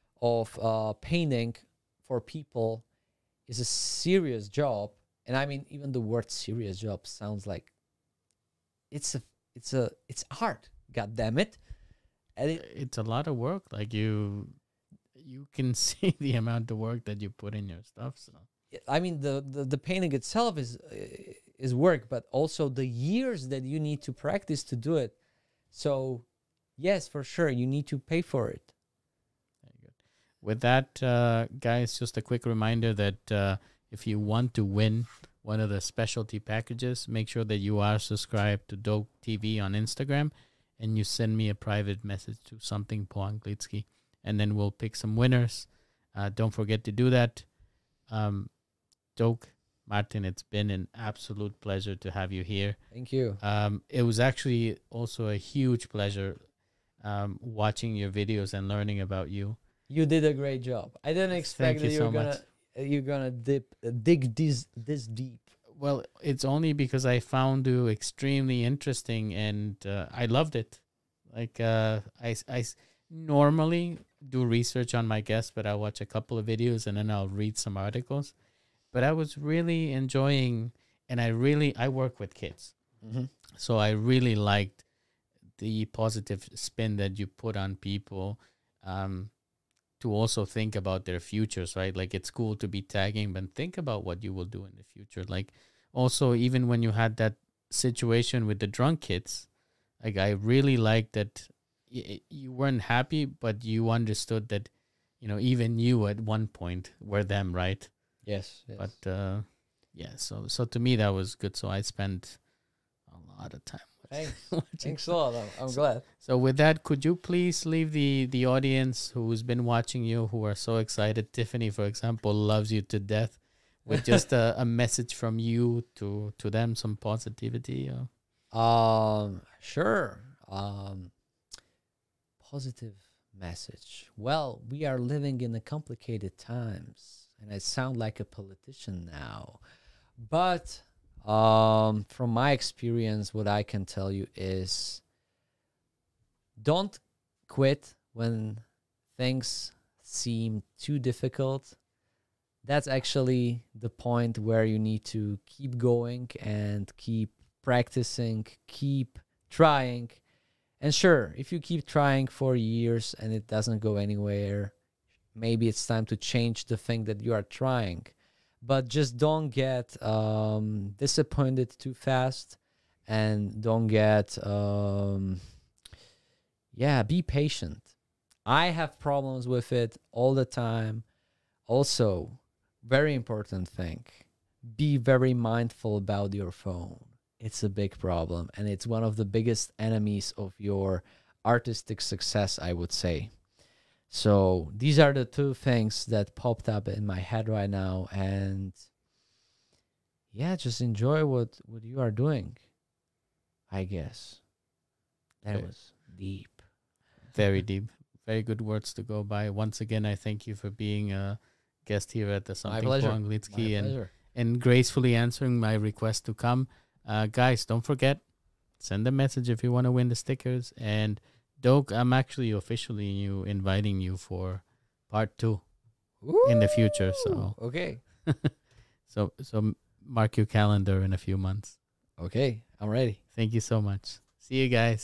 of uh, painting for people is a serious job. And I mean, even the word serious job sounds like it's a it's a it's art. God damn it! And it, It's a lot of work. Like you, you can see the amount of work that you put in your stuff. So I mean, the, the the painting itself is uh, is work, but also the years that you need to practice to do it. So, yes, for sure, you need to pay for it. very good. With that, uh, guys, just a quick reminder that uh, if you want to win one of the specialty packages, make sure that you are subscribed to Dope T V on Instagram, and you send me a private message to something po Anglitsky, and then we'll pick some winners. Uh, don't forget to do that. Um, Doke, Martin, it's been an absolute pleasure to have you here. Thank you. Um, it was actually also a huge pleasure um, watching your videos and learning about you. You did a great job. I didn't expect Thank that you you were so gonna much. uh, you're gonna dip uh, dig this this deep. Well, it's only because I found you extremely interesting and uh, I loved it. Like uh, I, I s- normally do research on my guests, but I'll watch a couple of videos and then I'll read some articles. But I was really enjoying, and I really I work with kids, Mm-hmm. so I really liked the positive spin that you put on people. Um, to also think about their futures, right? Like it's cool to be tagging, but think about what you will do in the future. Like also, even when you had that situation with the drunk kids, like I really liked that y- you weren't happy, but you understood that, you know, even you at one point were them, right? Yes. yes. But uh, yeah, so so to me that was good. So I spent a lot of time Thanks. watching. Thanks a lot. I'm, I'm glad. So with that, could you please leave the the audience who's been watching you, who are so excited? Tiffany, for example, loves you to death, with just a, a message from you to to them, some positivity. Or? Um, sure. Um, positive message. Well, we are living in the complicated times, and I sound like a politician now, but um, from my experience, what I can tell you is don't quit when things seem too difficult. That's actually the point where you need to keep going and keep practicing, keep trying. And sure, if you keep trying for years and it doesn't go anywhere, maybe it's time to change the thing that you are trying. But just don't get um, disappointed too fast, and don't get, um, yeah, be patient. I have problems with it all the time. Also, very important thing, be very mindful about your phone. It's a big problem, and it's one of the biggest enemies of your artistic success, I would say. So these are the two things that popped up in my head right now, and yeah, just enjoy what what you are doing, I guess. That Okay. was deep. Very deep, very good words to go by. Once again, I thank you for being a guest here at the My Something pleasure. Po My Anglitsky and pleasure. and gracefully answering my request to come. Uh, guys, don't forget, send a message if you want to win the stickers. And Doke, I'm actually officially you inviting you for part two in the future. So Ooh, okay. so so mark your calendar in a few months. Okay, I'm ready. Thank you so much. See you guys.